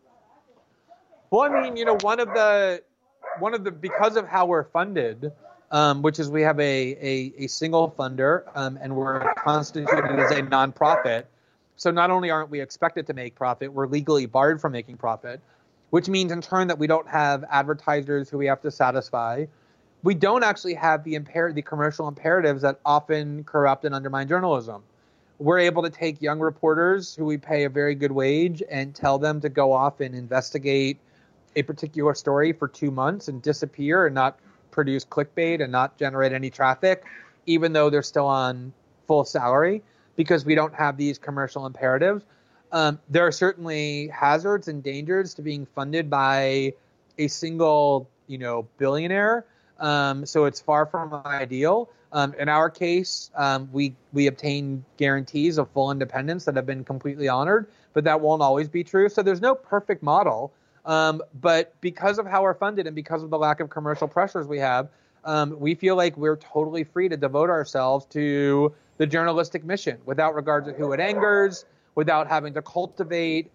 Well, one of the because of how we're funded, which is we have a single funder, and we're constituted as a nonprofit. So not only aren't we expected to make profit, we're legally barred from making profit, which means in turn that we don't have advertisers who we have to satisfy. We don't actually have the commercial imperatives that often corrupt and undermine journalism. We're able to take young reporters who we pay a very good wage and tell them to go off and investigate a particular story for 2 months and disappear and not produce clickbait and not generate any traffic, even though they're still on full salary, because we don't have these commercial imperatives. There are certainly hazards and dangers to being funded by a single, billionaire. So it's far from ideal. In our case, we obtain guarantees of full independence that have been completely honored, but that won't always be true. So there's no perfect model. But because of how we're funded and because of the lack of commercial pressures we have, we feel like we're totally free to devote ourselves to the journalistic mission without regard to who it angers, without having to cultivate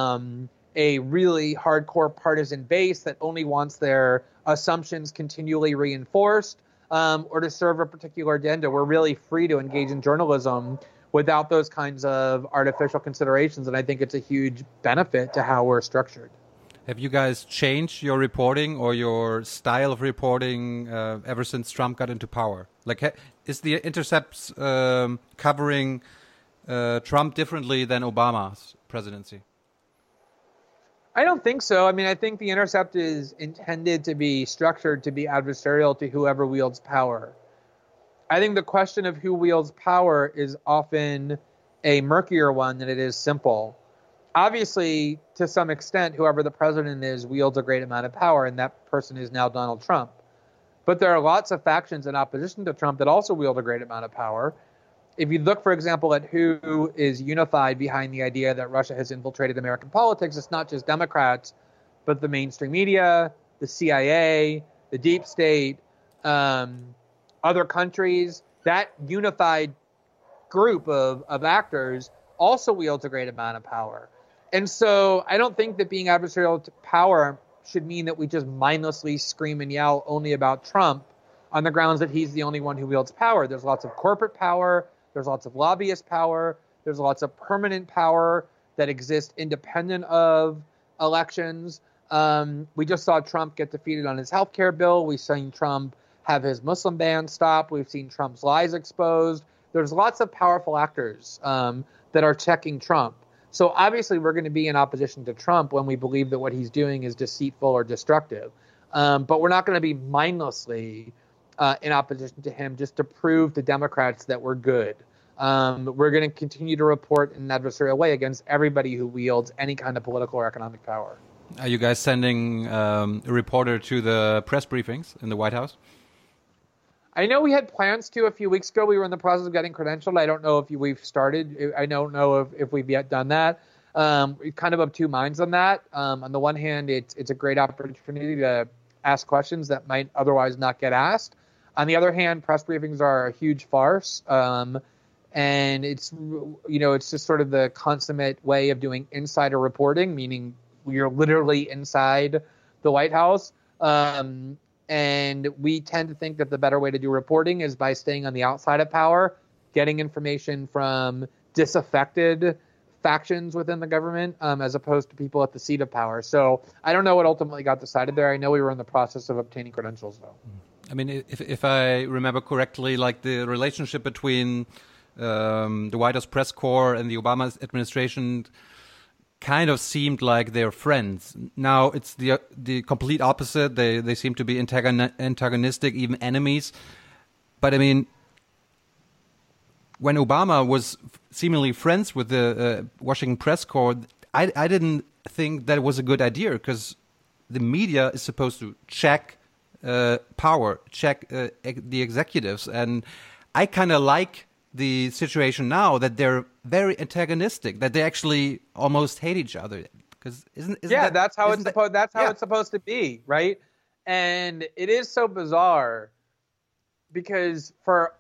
a really hardcore partisan base that only wants their assumptions continually reinforced, or to serve a particular agenda. We're really free to engage in journalism without those kinds of artificial considerations, and I think it's a huge benefit to how we're structured. Have you guys changed your reporting or your style of reporting ever since Trump got into power? Like, is the Intercept's covering Trump differently than Obama's presidency? I don't think so. I mean, I think the Intercept is intended to be structured to be adversarial to whoever wields power. I think the question of who wields power is often a murkier one than it is simple. Obviously, to some extent, whoever the president is wields a great amount of power, and that person is now Donald Trump. But there are lots of factions in opposition to Trump that also wield a great amount of power. If you look, for example, at who is unified behind the idea that Russia has infiltrated American politics, it's not just Democrats, but the mainstream media, the CIA, the deep state, other countries. That unified group of actors also wields a great amount of power. And so I don't think that being adversarial to power should mean that we just mindlessly scream and yell only about Trump on the grounds that he's the only one who wields power. There's lots of corporate power. There's lots of lobbyist power. There's lots of permanent power that exists independent of elections. We just saw Trump get defeated on his health care bill. We've seen Trump have his Muslim ban stopped. We've seen Trump's lies exposed. There's lots of powerful actors that are checking Trump. So obviously we're going to be in opposition to Trump when we believe that what he's doing is deceitful or destructive. But we're not going to be mindlessly in opposition to him just to prove to Democrats that we're good. We're going to continue to report in an adversarial way against everybody who wields any kind of political or economic power. Are you guys sending a reporter to the press briefings in the White House? I know we had plans to a few weeks ago. We were in the process of getting credentialed. I don't know if we've started. I don't know if we've yet done that. We're kind of of two minds on that. On the one hand, it's a great opportunity to ask questions that might otherwise not get asked. On the other hand, press briefings are a huge farce. And it's just sort of the consummate way of doing insider reporting, meaning you're literally inside the White House. And we tend to think that the better way to do reporting is by staying on the outside of power, getting information from disaffected factions within the government, as opposed to people at the seat of power. So I don't know what ultimately got decided there. I know we were in the process of obtaining credentials, though. I mean, if I remember correctly, like the relationship between the White House press corps and the Obama administration kind of seemed like they're friends. Now it's the complete opposite. They seem to be antagonistic, even enemies. But I mean, when Obama was seemingly friends with the Washington press corps, I didn't think that it was a good idea, because the media is supposed to check power, check the executives, and I kind of like the situation now that they're very antagonistic, that they actually almost hate each other. Because that's how it's supposed to be, right? And it is so bizarre because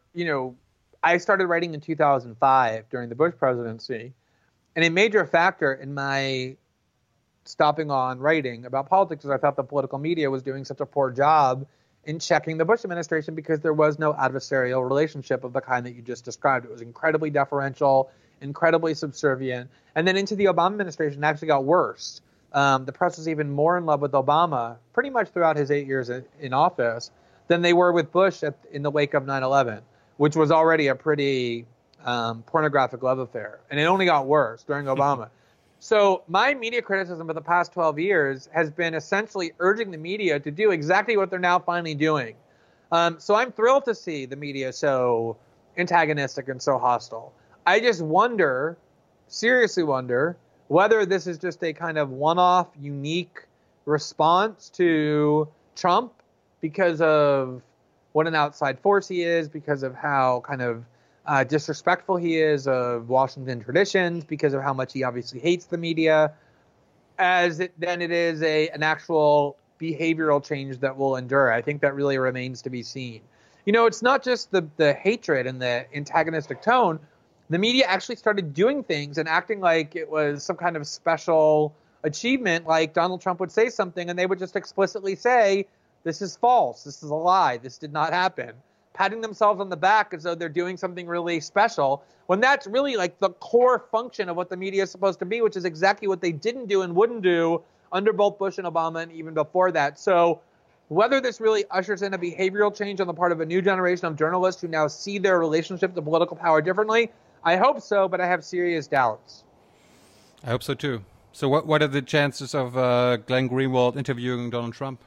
I started writing in 2005 during the Bush presidency, and a major factor in my stopping on writing about politics is I thought the political media was doing such a poor job in checking the Bush administration because there was no adversarial relationship of the kind that you just described. It was incredibly deferential, incredibly subservient. And then into the Obama administration, it actually got worse. The press was even more in love with Obama pretty much throughout his 8 years in office than they were with Bush in the wake of 9/11, which was already a pretty pornographic love affair. And it only got worse during Obama. So my media criticism for the past 12 years has been essentially urging the media to do exactly what they're now finally doing. So I'm thrilled to see the media so antagonistic and so hostile. I just wonder, seriously wonder, whether this is just a kind of one-off, unique response to Trump because of what an outside force he is, because of how kind of disrespectful he is of Washington traditions, because of how much he obviously hates the media, then it is an actual behavioral change that will endure. I think that really remains to be seen. You know, it's not just the hatred and the antagonistic tone. The media actually started doing things and acting like it was some kind of special achievement, like Donald Trump would say something and they would just explicitly say, this is false, this is a lie, this did not happen. Patting themselves on the back as though they're doing something really special, when that's really like the core function of what the media is supposed to be, which is exactly what they didn't do and wouldn't do under both Bush and Obama and even before that. So whether this really ushers in a behavioral change on the part of a new generation of journalists who now see their relationship to political power differently, I hope so, but I have serious doubts. I hope so too. So what are the chances of Glenn Greenwald interviewing Donald Trump?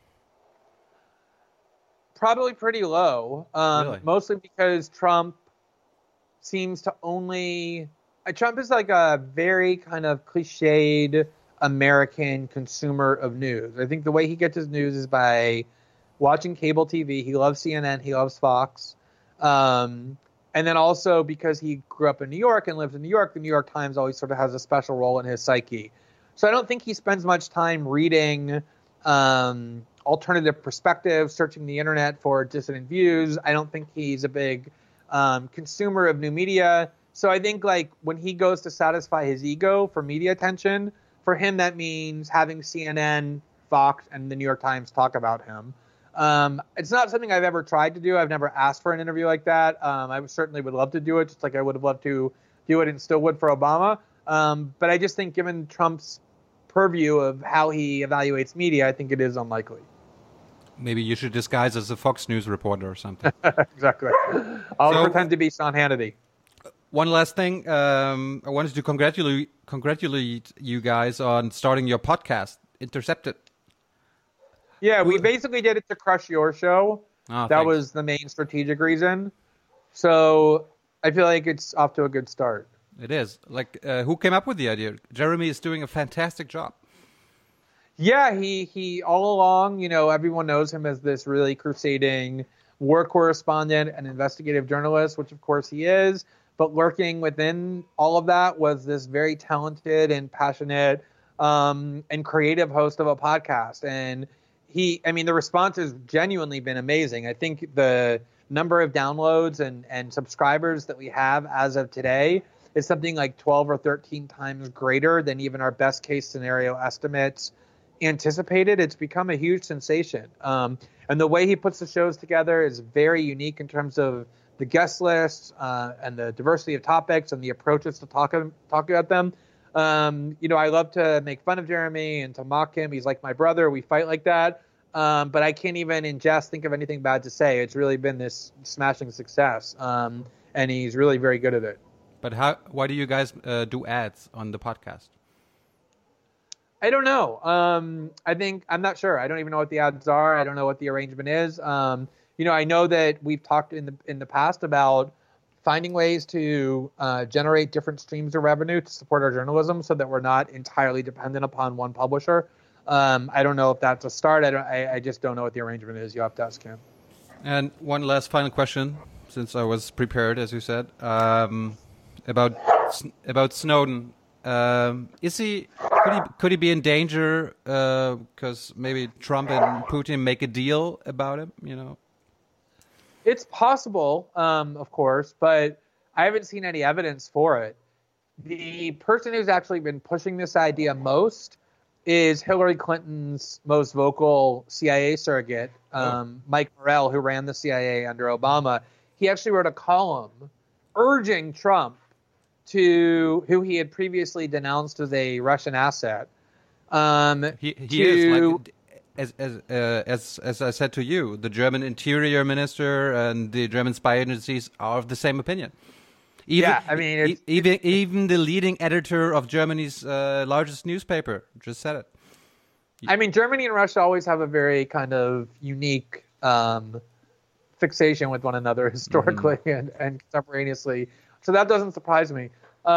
Probably pretty low, Really? Mostly because Trump seems to only... Trump is like a very kind of cliched American consumer of news. I think the way he gets his news is by watching cable TV. He loves CNN, he loves Fox. And then also because he grew up in New York and lives in New York, the New York Times always sort of has a special role in his psyche. So I don't think he spends much time reading alternative perspectives, searching the internet for dissident views. I don't think he's a big consumer of new media. So I think like when he goes to satisfy his ego for media attention, for him that means having CNN, Fox, and the New York Times talk about him. It's not something I've ever tried to do. I've never asked for an interview like that. I certainly would love to do it, just like I would have loved to do it and still would for Obama. But I just think given Trump's purview of how he evaluates media, I think it is unlikely. Maybe you should disguise as a Fox News reporter or something. Exactly. I'll pretend to be Sean Hannity. One last thing. I wanted to congratulate you guys on starting your podcast, Intercepted. Yeah, we basically did it to crush your show. Oh, that was the main strategic reason. So I feel like it's off to a good start. It is. Like, who came up with the idea? Jeremy is doing a fantastic job. Yeah, he all along, you know, everyone knows him as this really crusading war correspondent and investigative journalist, which of course he is. But lurking within all of that was this very talented and passionate and creative host of a podcast. And the response has genuinely been amazing. I think the number of downloads and subscribers that we have as of today is something like 12 or 13 times greater than even our best case scenario estimates anticipated. It's become a huge sensation. And the way he puts the shows together is very unique in terms of the guest lists and the diversity of topics and the approaches to talk about them. I love to make fun of Jeremy and to mock him. He's like my brother. We fight like that. But I can't even in jest think of anything bad to say. It's really been this smashing success. And he's really very good at it. But why do you guys do ads on the podcast? I don't know. I'm not sure. I don't even know what the ads are. I don't know what the arrangement is. I know that we've talked in the past about finding ways to generate different streams of revenue to support our journalism so that we're not entirely dependent upon one publisher. I don't know if that's a start. I just don't know what the arrangement is. You have to ask him. And one last final question, since I was prepared, as you said, about Snowden. Could he be in danger because maybe Trump and Putin make a deal about him? You know, it's possible, of course, but I haven't seen any evidence for it. The person who's actually been pushing this idea most is Hillary Clinton's most vocal CIA surrogate, Mike Morell, who ran the CIA under Obama. He actually wrote a column urging Trump who he had previously denounced as a Russian asset. He is, like, as I said to you, the German Interior Minister and the German spy agencies are of the same opinion. Even the leading editor of Germany's largest newspaper just said it. I mean, Germany and Russia always have a very kind of unique fixation with one another historically and contemporaneously. So that doesn't surprise me.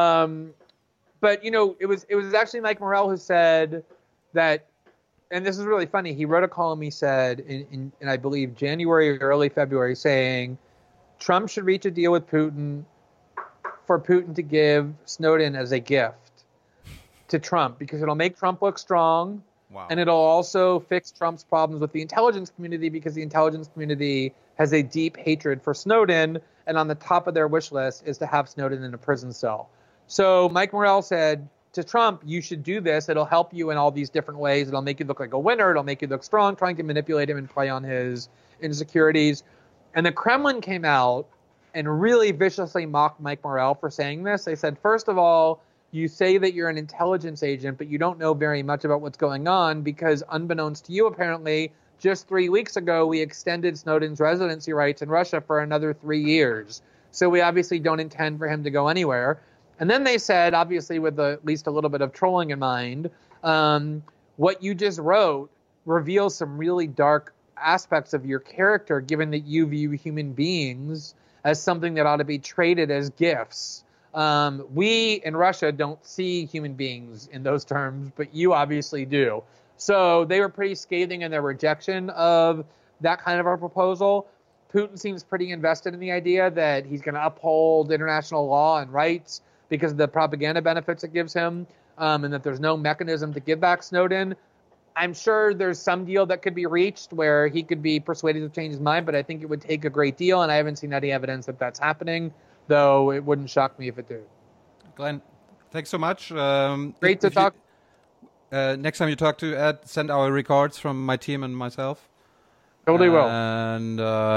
But, it was actually Mike Morell who said that, and this is really funny, he wrote a column, he said, in I believe, January or early February, saying Trump should reach a deal with Putin for Putin to give Snowden as a gift to Trump, because it'll make Trump look strong. Wow. And it'll also fix Trump's problems with the intelligence community, because the intelligence community has a deep hatred for Snowden, and on the top of their wish list is to have Snowden in a prison cell. So Mike Morell said to Trump, you should do this. It'll help you in all these different ways. It'll make you look like a winner. It'll make you look strong, trying to manipulate him and play on his insecurities. And the Kremlin came out and really viciously mocked Mike Morell for saying this. They said, first of all, you say that you're an intelligence agent, but you don't know very much about what's going on, because unbeknownst to you, apparently, just 3 weeks ago, we extended Snowden's residency rights in Russia for another 3 years. So we obviously don't intend for him to go anywhere. And then they said, obviously with at least a little bit of trolling in mind, what you just wrote reveals some really dark aspects of your character, given that you view human beings as something that ought to be traded as gifts. We in Russia don't see human beings in those terms, but you obviously do. So they were pretty scathing in their rejection of that kind of a proposal. Putin seems pretty invested in the idea that he's going to uphold international law and rights because of the propaganda benefits it gives him, and that there's no mechanism to give back Snowden. I'm sure there's some deal that could be reached where he could be persuaded to change his mind, but I think it would take a great deal, and I haven't seen any evidence that that's happening, though it wouldn't shock me if it did. Glenn, thanks so much. Great to talk. Next time you talk to Ed, send our regards from my team and myself. Totally will. And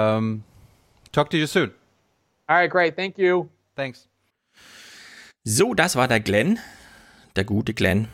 talk to you soon. All right, great. Thank you. Thanks. So, das war der Glenn. Der gute Glenn.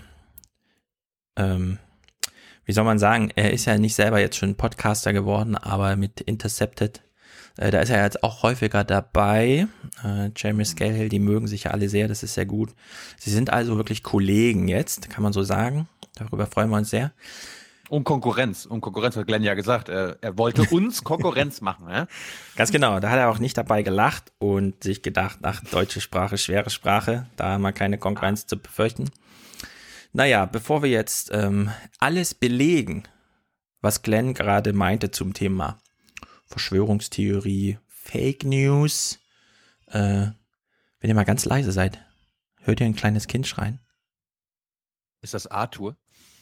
Wie soll man sagen, er ist ja nicht selber jetzt schon Podcaster geworden, aber mit Intercepted, da ist er jetzt auch häufiger dabei. Jeremy Scahill, die mögen sich ja alle sehr, das ist sehr gut. Sie sind also wirklich Kollegen jetzt, kann man so sagen. Darüber freuen wir uns sehr. Um Konkurrenz hat Glenn ja gesagt. Er wollte uns Konkurrenz machen. Ja? Ganz genau, da hat er auch nicht dabei gelacht und sich gedacht, ach, deutsche Sprache, schwere Sprache, da haben wir keine Konkurrenz zu befürchten. Naja, bevor wir jetzt alles belegen, was Glenn gerade meinte zum Thema Verschwörungstheorie, Fake News, wenn ihr mal ganz leise seid, hört ihr ein kleines Kind schreien? Ist das Arthur?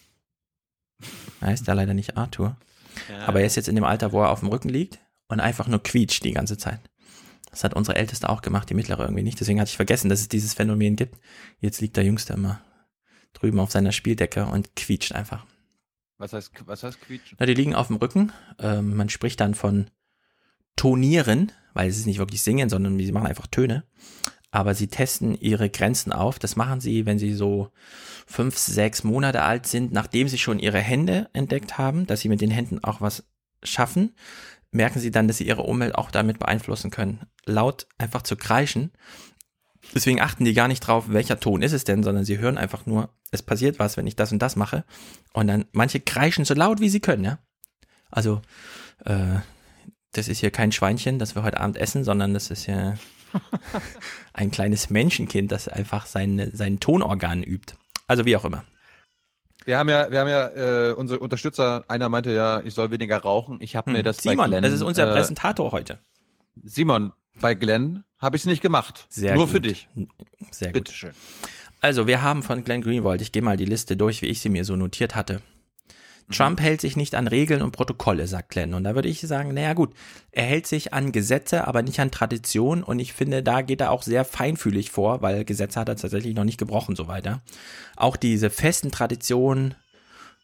Er ist ja leider nicht Arthur. Ja. Aber er ist jetzt in dem Alter, wo er auf dem Rücken liegt und einfach nur quietscht die ganze Zeit. Das hat unsere Älteste auch gemacht, die Mittlere irgendwie nicht. Deswegen hatte ich vergessen, dass es dieses Phänomen gibt. Jetzt liegt der Jüngste immer drüben auf seiner Spieldecke und quietscht einfach. Was heißt quietschen? Na, die liegen auf dem Rücken. Man spricht dann von Tonieren, weil es ist nicht wirklich singen, sondern sie machen einfach Töne. Aber sie testen ihre Grenzen auf. Das machen sie, wenn sie so 5, 6 Monate alt sind, nachdem sie schon ihre Hände entdeckt haben, dass sie mit den Händen auch was schaffen, merken sie dann, dass sie ihre Umwelt auch damit beeinflussen können. Laut einfach zu kreischen. Deswegen achten die gar nicht drauf, welcher Ton ist es denn, sondern sie hören einfach nur, es passiert was, wenn ich das und das mache. Und dann manche kreischen so laut, wie sie können, ja. Also, das ist hier kein Schweinchen, das wir heute Abend essen, sondern das ist ja ein kleines Menschenkind, das einfach sein Tonorgan übt. Also wie auch immer. Wir haben ja unsere Unterstützer, einer meinte ja, ich soll weniger rauchen. Ich habe mir das Simon, bei Glenn, das ist unser Präsentator heute. Simon, bei Glenn habe ich es nicht gemacht. Sehr Nur gut. für dich. Sehr gut. Bitteschön. Also wir haben von Glenn Greenwald, ich gehe mal die Liste durch, wie ich sie mir so notiert hatte. Trump hält sich nicht an Regeln und Protokolle, sagt Glenn. Und da würde ich sagen, naja gut, er hält sich an Gesetze, aber nicht an Tradition. Und ich finde, da geht er auch sehr feinfühlig vor, weil Gesetze hat er tatsächlich noch nicht gebrochen, so weiter. Auch diese festen Traditionen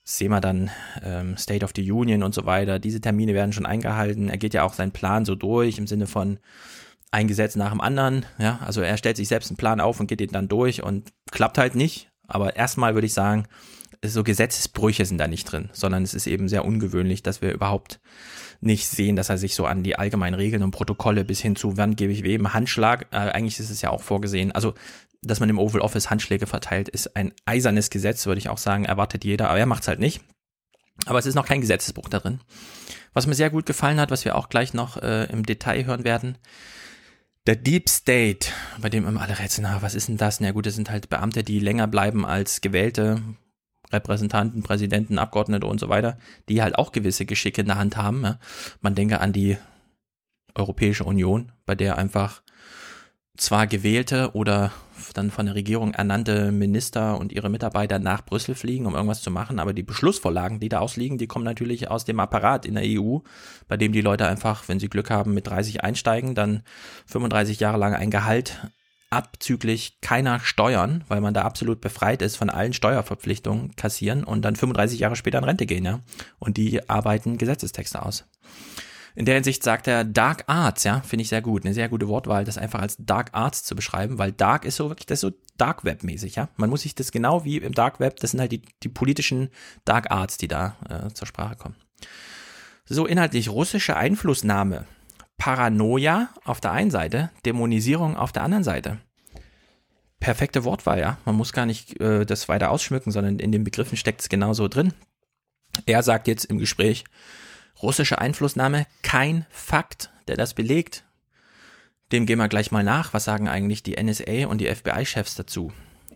sehen wir dann State of the Union und so weiter. Diese Termine werden schon eingehalten. Er geht ja auch seinen Plan so durch im Sinne von ein Gesetz nach dem anderen. Ja, also er stellt sich selbst einen Plan auf und geht den dann durch und klappt halt nicht. Aber erstmal würde ich sagen, so Gesetzesbrüche sind da nicht drin, sondern es ist eben sehr ungewöhnlich, dass wir überhaupt nicht sehen, dass er sich so an die allgemeinen Regeln und Protokolle bis hin zu, wann gebe ich wem Handschlag, eigentlich ist es ja auch vorgesehen, also dass man im Oval Office Handschläge verteilt, ist ein eisernes Gesetz, würde ich auch sagen, erwartet jeder, aber er macht es halt nicht. Aber es ist noch kein Gesetzesbruch da drin. Was mir sehr gut gefallen hat, was wir auch gleich noch im Detail hören werden, der Deep State, bei dem immer alle rätseln, was ist denn das? Na gut, das sind halt Beamte, die länger bleiben als gewählte Repräsentanten, Präsidenten, Abgeordnete und so weiter, die halt auch gewisse Geschicke in der Hand haben. Ja. Man denke an die Europäische Union, bei der einfach zwar gewählte oder dann von der Regierung ernannte Minister und ihre Mitarbeiter nach Brüssel fliegen, um irgendwas zu machen, aber die Beschlussvorlagen, die da ausliegen, die kommen natürlich aus dem Apparat in der EU, bei dem die Leute einfach, wenn sie Glück haben, mit 30 einsteigen, dann 35 Jahre lang ein Gehalt abzüglich keiner Steuern, weil man da absolut befreit ist von allen Steuerverpflichtungen, kassieren und dann 35 Jahre später in Rente gehen, ja. Und die arbeiten Gesetzestexte aus. In der Hinsicht sagt er Dark Arts, ja, finde ich sehr gut, eine sehr gute Wortwahl, das einfach als Dark Arts zu beschreiben, weil Dark ist so wirklich, das ist so Dark Web mäßig, ja. Man muss sich das genau wie im Dark Web, das sind halt die politischen Dark Arts, die da zur Sprache kommen. So inhaltlich russische Einflussnahme, Paranoia auf der einen Seite, Dämonisierung auf der anderen Seite. Perfekte Wortwahl, ja. Man muss gar nicht das weiter ausschmücken, sondern in den Begriffen steckt es genauso drin. Er sagt jetzt im Gespräch, russische Einflussnahme, kein Fakt, der das belegt. Dem gehen wir gleich mal nach. Was sagen eigentlich die NSA und die FBI-Chefs dazu?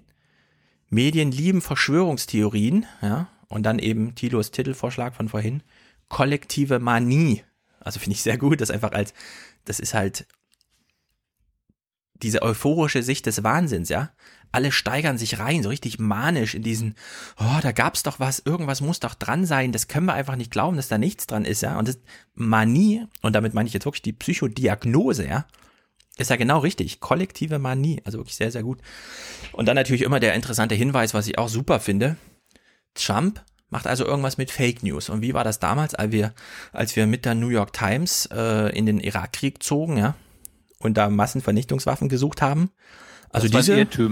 Medien lieben Verschwörungstheorien, ja, und dann eben Thilos Titelvorschlag von vorhin, kollektive Manie. Also finde ich sehr gut, das einfach das ist halt diese euphorische Sicht des Wahnsinns, ja. Alle steigern sich rein, so richtig manisch in diesen, da gab's doch was, irgendwas muss doch dran sein, das können wir einfach nicht glauben, dass da nichts dran ist, ja. Und das Manie, und damit meine ich jetzt wirklich die Psychodiagnose, ja, ist ja genau richtig, kollektive Manie, also wirklich sehr, sehr gut. Und dann natürlich immer der interessante Hinweis, was ich auch super finde, Trump macht also irgendwas mit Fake News. Und wie war das damals, als wir mit der New York Times in den Irakkrieg zogen, ja, und da Massenvernichtungswaffen gesucht haben? Also das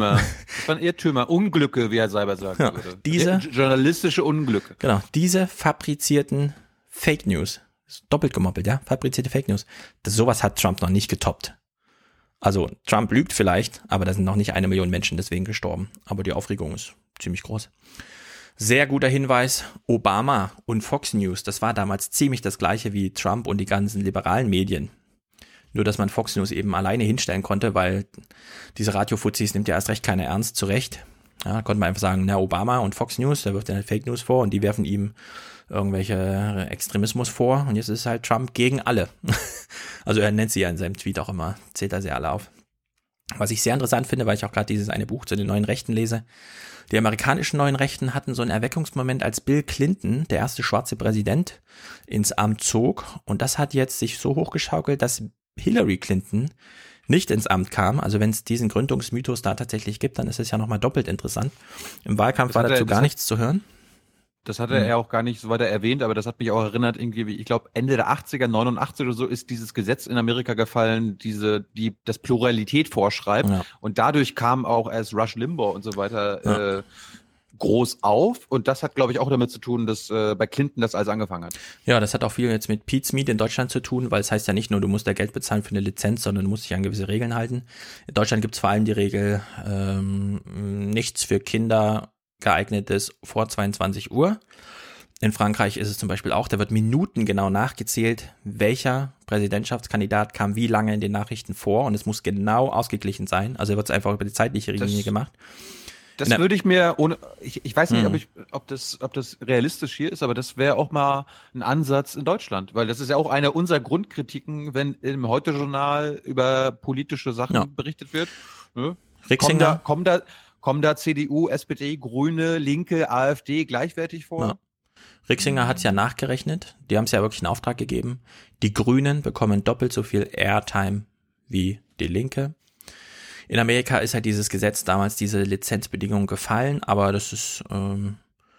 waren Irrtümer, Unglücke, wie er selber sagen würde. Diese journalistische Unglücke. Genau, diese fabrizierten Fake News, doppelt gemoppelt, ja, fabrizierte Fake News. Sowas hat Trump noch nicht getoppt. Also Trump lügt vielleicht, aber da sind noch nicht 1 Million Menschen deswegen gestorben. Aber die Aufregung ist ziemlich groß. Sehr guter Hinweis, Obama und Fox News, das war damals ziemlich das gleiche wie Trump und die ganzen liberalen Medien. Nur, dass man Fox News eben alleine hinstellen konnte, weil diese Radio-Fuzis nimmt ja erst recht keiner ernst, zu Recht. Ja, da konnte man einfach sagen, Obama und Fox News, da wirft er Fake News vor und die werfen ihm irgendwelche Extremismus vor und jetzt ist halt Trump gegen alle. Also er nennt sie ja in seinem Tweet auch immer, zählt er sie alle auf. Was ich sehr interessant finde, weil ich auch gerade dieses eine Buch zu den neuen Rechten lese, die amerikanischen neuen Rechten hatten so einen Erweckungsmoment, als Bill Clinton, der erste schwarze Präsident, ins Amt zog und das hat jetzt sich so hochgeschaukelt, dass Hillary Clinton nicht ins Amt kam. Also wenn es diesen Gründungsmythos da tatsächlich gibt, dann ist es ja nochmal doppelt interessant. Im Wahlkampf war dazu gar nichts zu hören. Das hatte er auch gar nicht so weiter erwähnt, aber das hat mich auch erinnert, irgendwie, ich glaube Ende der 80er, 89 oder so, ist dieses Gesetz in Amerika gefallen, das Pluralität vorschreibt. Ja. Und dadurch kam auch erst Rush Limbaugh und so weiter groß auf. Und das hat, glaube ich, auch damit zu tun, dass bei Clinton das alles angefangen hat. Ja, das hat auch viel jetzt mit Pete's Meat in Deutschland zu tun, weil es heißt ja nicht nur, du musst da Geld bezahlen für eine Lizenz, sondern du musst dich an gewisse Regeln halten. In Deutschland gibt es vor allem die Regel, nichts für Kinder geeignetes vor 22 Uhr. In Frankreich ist es zum Beispiel auch, da wird minutengenau nachgezählt, welcher Präsidentschaftskandidat kam wie lange in den Nachrichten vor und es muss genau ausgeglichen sein. Also wird es einfach über die zeitliche Linie gemacht. Das würde ich mir ich weiß nicht, ob das realistisch hier ist, aber das wäre auch mal ein Ansatz in Deutschland, weil das ist ja auch eine unserer Grundkritiken, wenn im Heute-Journal über politische Sachen berichtet wird. Ne? Rixinger. Kommen da CDU, SPD, Grüne, Linke, AfD gleichwertig vor? Ja. Rixinger hat es ja nachgerechnet. Die haben es ja wirklich in Auftrag gegeben. Die Grünen bekommen doppelt so viel Airtime wie die Linke. In Amerika ist halt dieses Gesetz damals, diese Lizenzbedingungen gefallen, aber das ist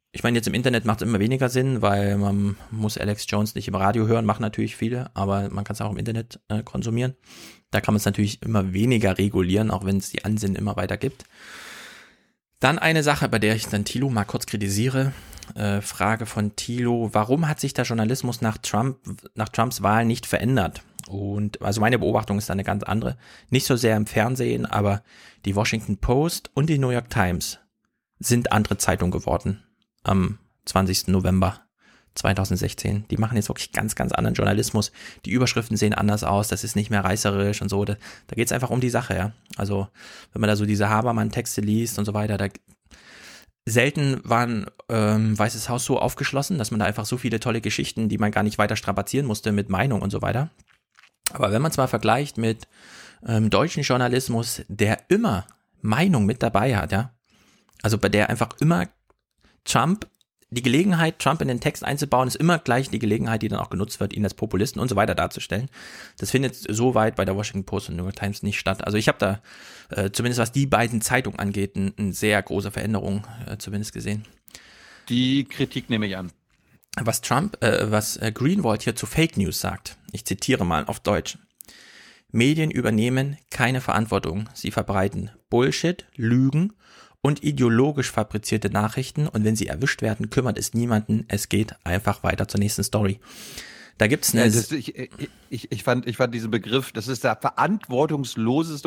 Ich meine, jetzt im Internet macht es immer weniger Sinn, weil man muss Alex Jones nicht im Radio hören, machen natürlich viele, aber man kann es auch im Internet konsumieren. Da kann man es natürlich immer weniger regulieren, auch wenn es die Ansinnen immer weiter gibt. Dann eine Sache, bei der ich dann Thilo mal kurz kritisiere. Frage von Thilo: Warum hat sich der Journalismus nach Trumps Wahl nicht verändert? Und also meine Beobachtung ist da eine ganz andere. Nicht so sehr im Fernsehen, aber die Washington Post und die New York Times sind andere Zeitungen geworden am 20. November 2016. Die machen jetzt wirklich ganz, ganz anderen Journalismus. Die Überschriften sehen anders aus, das ist nicht mehr reißerisch und so. Da geht es einfach um die Sache, ja. Also wenn man da so diese Habermann-Texte liest und so weiter, selten war ein Weißes Haus so aufgeschlossen, dass man da einfach so viele tolle Geschichten, die man gar nicht weiter strapazieren musste mit Meinung und so weiter. Aber wenn man es mal vergleicht mit deutschen Journalismus, der immer Meinung mit dabei hat, ja, also bei der einfach immer Trump in den Text einzubauen, ist immer gleich die Gelegenheit, die dann auch genutzt wird, ihn als Populisten und so weiter darzustellen. Das findet so weit bei der Washington Post und New York Times nicht statt. Also ich habe da, zumindest was die beiden Zeitungen angeht, eine sehr große Veränderung zumindest gesehen. Die Kritik nehme ich an. Was Greenwald hier zu Fake News sagt, ich zitiere mal auf Deutsch: Medien übernehmen keine Verantwortung. Sie verbreiten Bullshit, Lügen und ideologisch fabrizierte Nachrichten, und wenn sie erwischt werden, kümmert es niemanden. Es geht einfach weiter zur nächsten Story. Da gibt's eine... Ich fand diesen Begriff, das ist der verantwortungsfreieste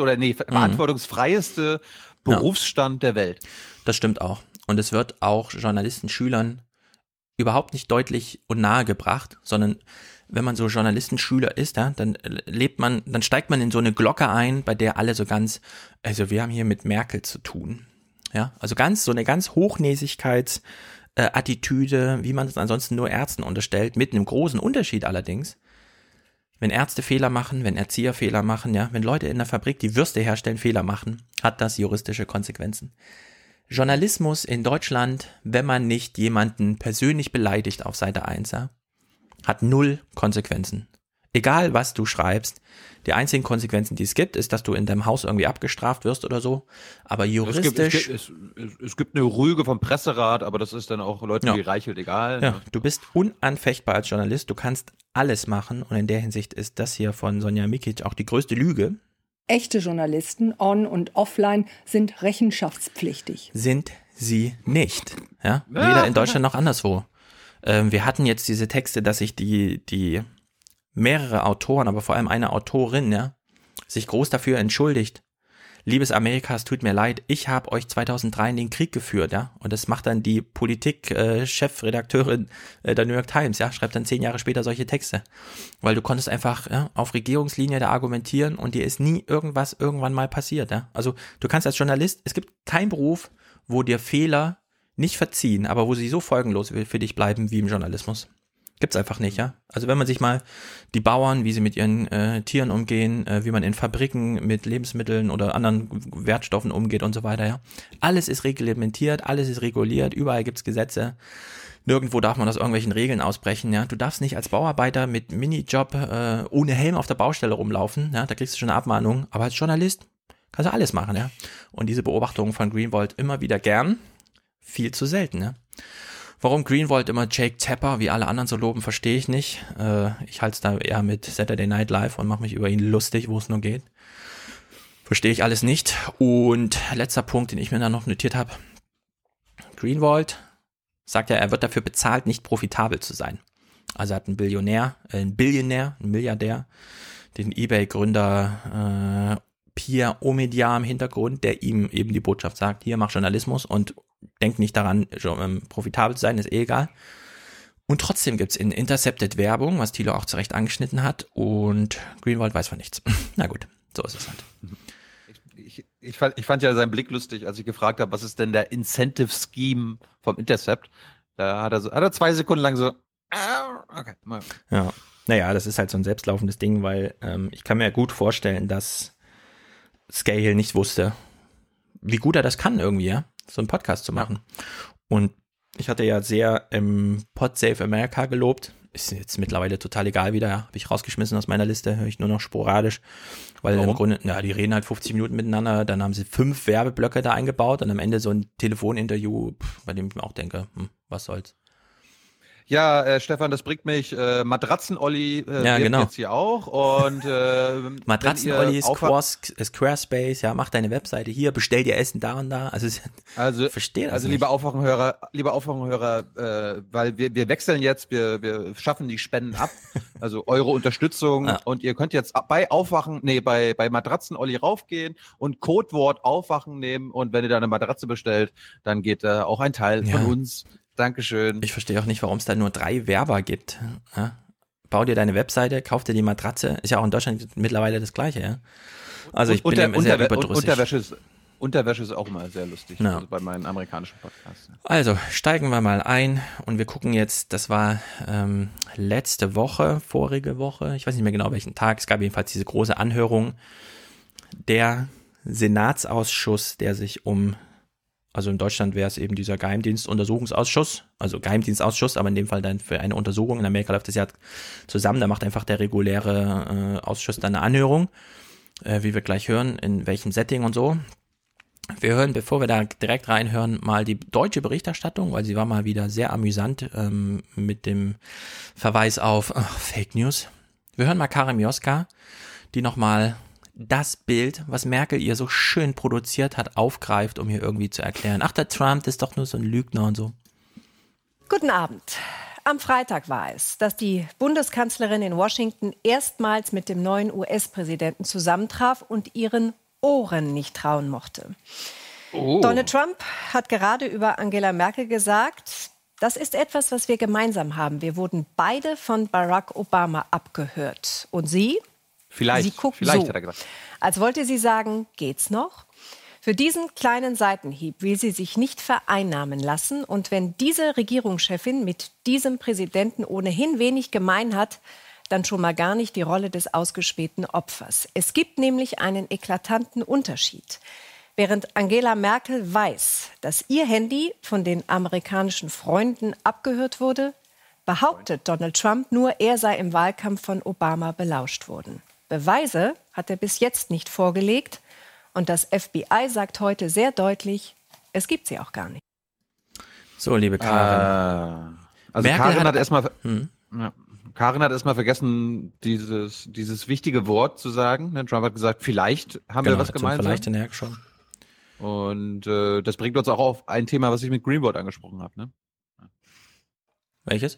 Berufsstand der Welt. Das stimmt auch. Und es wird auch Journalisten, Schülern überhaupt nicht deutlich und nahe gebracht, sondern wenn man so Journalistenschüler ist, ja, dann steigt man in so eine Glocke ein, bei der alle so ganz, also wir haben hier mit Merkel zu tun. Ja, also so eine ganz Hochnäsigkeitsattitüde, wie man es ansonsten nur Ärzten unterstellt, mit einem großen Unterschied allerdings. Wenn Ärzte Fehler machen, wenn Erzieher Fehler machen, ja, wenn Leute in der Fabrik, die Würste herstellen, Fehler machen, hat das juristische Konsequenzen. Journalismus in Deutschland, wenn man nicht jemanden persönlich beleidigt auf Seite 1, ja, hat 0 Konsequenzen. Egal, was du schreibst, die einzigen Konsequenzen, die es gibt, ist, dass du in deinem Haus irgendwie abgestraft wirst oder so. Aber juristisch... Es gibt eine Rüge vom Presserat, aber das ist dann auch Leuten wie Reichelt egal. Ja, du bist unanfechtbar als Journalist, du kannst alles machen, und in der Hinsicht ist das hier von Sonja Mikic auch die größte Lüge. Echte Journalisten, on- und offline, sind rechenschaftspflichtig. Sind sie nicht. Ja? Weder in Deutschland noch anderswo. Wir hatten jetzt diese Texte, dass sich die mehrere Autoren, aber vor allem eine Autorin, ja, sich groß dafür entschuldigt. Liebes Amerika, es tut mir leid, ich habe euch 2003 in den Krieg geführt, ja, und das macht dann die Politik-Chefredakteurin der New York Times, ja, schreibt dann 10 Jahre später solche Texte, weil du konntest einfach auf Regierungslinie da argumentieren und dir ist nie irgendwann mal passiert, ja. Also du kannst als Journalist, es gibt keinen Beruf, wo dir Fehler nicht verziehen, aber wo sie so folgenlos für dich bleiben wie im Journalismus. Gibt's einfach nicht, ja. Also wenn man sich mal die Bauern, wie sie mit ihren Tieren umgehen, wie man in Fabriken mit Lebensmitteln oder anderen Wertstoffen umgeht und so weiter, ja. Alles ist reglementiert, alles ist reguliert, überall gibt's Gesetze. Nirgendwo darf man aus irgendwelchen Regeln ausbrechen, ja. Du darfst nicht als Bauarbeiter mit Minijob ohne Helm auf der Baustelle rumlaufen, ja. Da kriegst du schon eine Abmahnung. Aber als Journalist kannst du alles machen, ja. Und diese Beobachtungen von Greenwald immer wieder gern, viel zu selten, ja. Warum Greenwald immer Jake Tapper wie alle anderen so loben, verstehe ich nicht. Ich halte es da eher mit Saturday Night Live und mache mich über ihn lustig, wo es nur geht. Verstehe ich alles nicht. Und letzter Punkt, den ich mir da noch notiert habe. Greenwald sagt ja, er wird dafür bezahlt, nicht profitabel zu sein. Also er hat einen Milliardär, den eBay-Gründer Pierre Omidyar im Hintergrund, der ihm eben die Botschaft sagt, hier, mach Journalismus und denk nicht daran, profitabel zu sein, ist egal. Und trotzdem gibt's in Intercepted Werbung, was Thilo auch zurecht angeschnitten hat, und Greenwald weiß von nichts. Na gut, so ist es halt. Ich fand ja seinen Blick lustig, als ich gefragt habe, was ist denn der Incentive Scheme vom Intercept? Da hat er 2 Sekunden lang so, okay. Ja, naja, das ist halt so ein selbstlaufendes Ding, weil ich kann mir gut vorstellen, dass Scahill nicht wusste, wie gut er das kann irgendwie, ja, so einen Podcast zu machen. Und ich hatte ja sehr Pod Save America gelobt. ist jetzt mittlerweile total egal wieder, ja. Habe ich rausgeschmissen aus meiner Liste, höre ich nur noch sporadisch, weil im Grunde, die reden halt 50 Minuten miteinander, dann haben sie 5 Werbeblöcke da eingebaut und am Ende so ein Telefoninterview, bei dem ich mir auch denke, was soll's. Ja, Stefan, das bringt mich, Matratzen-Olli genau. jetzt hier auch und Matratzen-Olli, Squarespace, ja, mach deine Webseite hier, bestell dir Essen da und da, also verstehe das also nicht. liebe Aufwachenhörer, weil wir wechseln jetzt, wir schaffen die Spenden ab, also eure Unterstützung und ihr könnt jetzt bei Matratzen-Olli raufgehen und Codewort Aufwachen nehmen und wenn ihr da eine Matratze bestellt, dann geht auch ein Teil von uns. Dankeschön. Ich verstehe auch nicht, warum es da nur 3 Werber gibt. Ja? Bau dir deine Webseite, kauf dir die Matratze. Ist ja auch in Deutschland mittlerweile das Gleiche, ja. Also ich bin sehr überdrüssig. Unterwäsche ist auch immer sehr lustig, ja. Also bei meinen amerikanischen Podcasts. Also steigen wir mal ein und wir gucken jetzt, das war vorige Woche, ich weiß nicht mehr genau welchen Tag, es gab jedenfalls diese große Anhörung, der Senatsausschuss, der sich also in Deutschland wäre es eben dieser Geheimdienstuntersuchungsausschuss, also Geheimdienstausschuss, aber in dem Fall dann für eine Untersuchung. In Amerika läuft das ja zusammen, da macht einfach der reguläre Ausschuss dann eine Anhörung, wie wir gleich hören, in welchem Setting und so. Wir hören, bevor wir da direkt reinhören, mal die deutsche Berichterstattung, weil sie war mal wieder sehr amüsant mit dem Verweis auf Fake News. Wir hören mal Karin Mioska, die nochmal das Bild, was Merkel ihr so schön produziert hat, aufgreift, um hier irgendwie zu erklären, ach, der Trump ist doch nur so ein Lügner und so. Guten Abend. Am Freitag war es, dass die Bundeskanzlerin in Washington erstmals mit dem neuen US-Präsidenten zusammentraf und ihren Ohren nicht trauen mochte. Donald Trump hat gerade über Angela Merkel gesagt, das ist etwas, was wir gemeinsam haben. Wir wurden beide von Barack Obama abgehört. Und Sie? Vielleicht so, hat er gesagt. Als wollte sie sagen, geht's noch? Für diesen kleinen Seitenhieb will sie sich nicht vereinnahmen lassen. Und wenn diese Regierungschefin mit diesem Präsidenten ohnehin wenig gemein hat, dann schon mal gar nicht die Rolle des ausgespähten Opfers. Es gibt nämlich einen eklatanten Unterschied. Während Angela Merkel weiß, dass ihr Handy von den amerikanischen Freunden abgehört wurde, behauptet Donald Trump nur, er sei im Wahlkampf von Obama belauscht worden. Beweise hat er bis jetzt nicht vorgelegt und das FBI sagt heute sehr deutlich, es gibt sie auch gar nicht. So, liebe Karin. Also Karin hat erstmal vergessen, dieses wichtige Wort zu sagen. Trump hat gesagt, vielleicht haben wir was gemeinsam. Vielleicht in schon. Und das bringt uns auch auf ein Thema, was ich mit Greenwald angesprochen habe. Ne? Welches?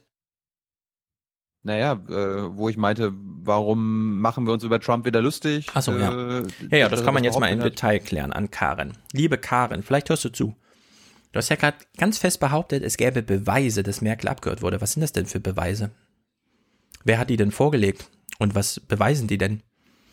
Naja, wo ich meinte, warum machen wir uns über Trump wieder lustig? Ach so, ja. Ja, das kann man jetzt mal im Detail klären an Karin. Liebe Karin, vielleicht hörst du zu. Du hast ja gerade ganz fest behauptet, es gäbe Beweise, dass Merkel abgehört wurde. Was sind das denn für Beweise? Wer hat die denn vorgelegt? Und was beweisen die denn?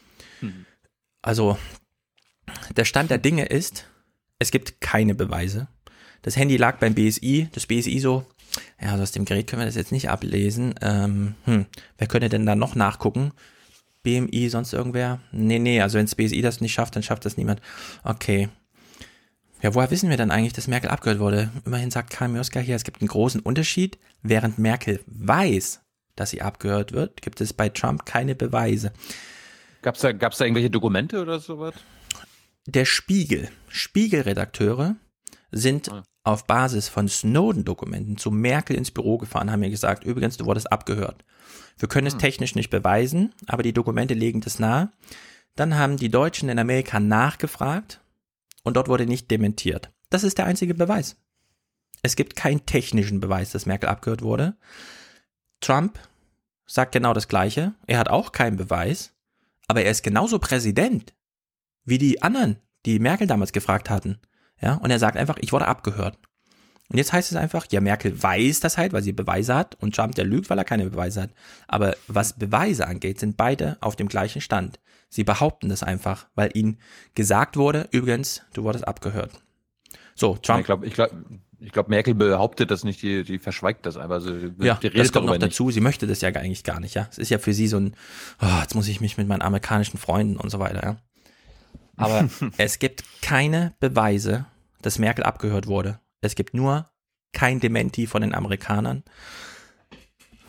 Also, der Stand der Dinge ist, es gibt keine Beweise. Das Handy lag beim BSI, das BSI so, ja, also aus dem Gerät können wir das jetzt nicht ablesen. Wer könnte denn da noch nachgucken? BMI, sonst irgendwer? Nee, also wenn das BSI das nicht schafft, dann schafft das niemand. Okay. Ja, woher wissen wir dann eigentlich, dass Merkel abgehört wurde? Immerhin sagt Karin Mioska hier, es gibt einen großen Unterschied. Während Merkel weiß, dass sie abgehört wird, gibt es bei Trump keine Beweise. Gab's da irgendwelche Dokumente oder sowas? Der Spiegelredakteure sind auf Basis von Snowden-Dokumenten zu Merkel ins Büro gefahren, haben mir gesagt, übrigens, du wurdest abgehört. Wir können es technisch nicht beweisen, aber die Dokumente legen das nahe. Dann haben die Deutschen in Amerika nachgefragt und dort wurde nicht dementiert. Das ist der einzige Beweis. Es gibt keinen technischen Beweis, dass Merkel abgehört wurde. Trump sagt genau das Gleiche. Er hat auch keinen Beweis, aber er ist genauso Präsident wie die anderen, die Merkel damals gefragt hatten. Ja, und er sagt einfach, ich wurde abgehört. Und jetzt heißt es einfach, ja, Merkel weiß das halt, weil sie Beweise hat und Trump, der lügt, weil er keine Beweise hat. Aber was Beweise angeht, sind beide auf dem gleichen Stand. Sie behaupten das einfach, weil ihnen gesagt wurde, übrigens, du wurdest abgehört. So, Trump. Ich glaube, Merkel behauptet das nicht, die verschweigt das einfach. Also, ja, das kommt noch dazu. Sie möchte das ja eigentlich gar nicht, ja. Es ist ja für sie so ein, jetzt muss ich mich mit meinen amerikanischen Freunden und so weiter, ja. Aber es gibt keine Beweise, dass Merkel abgehört wurde. Es gibt nur kein Dementi von den Amerikanern.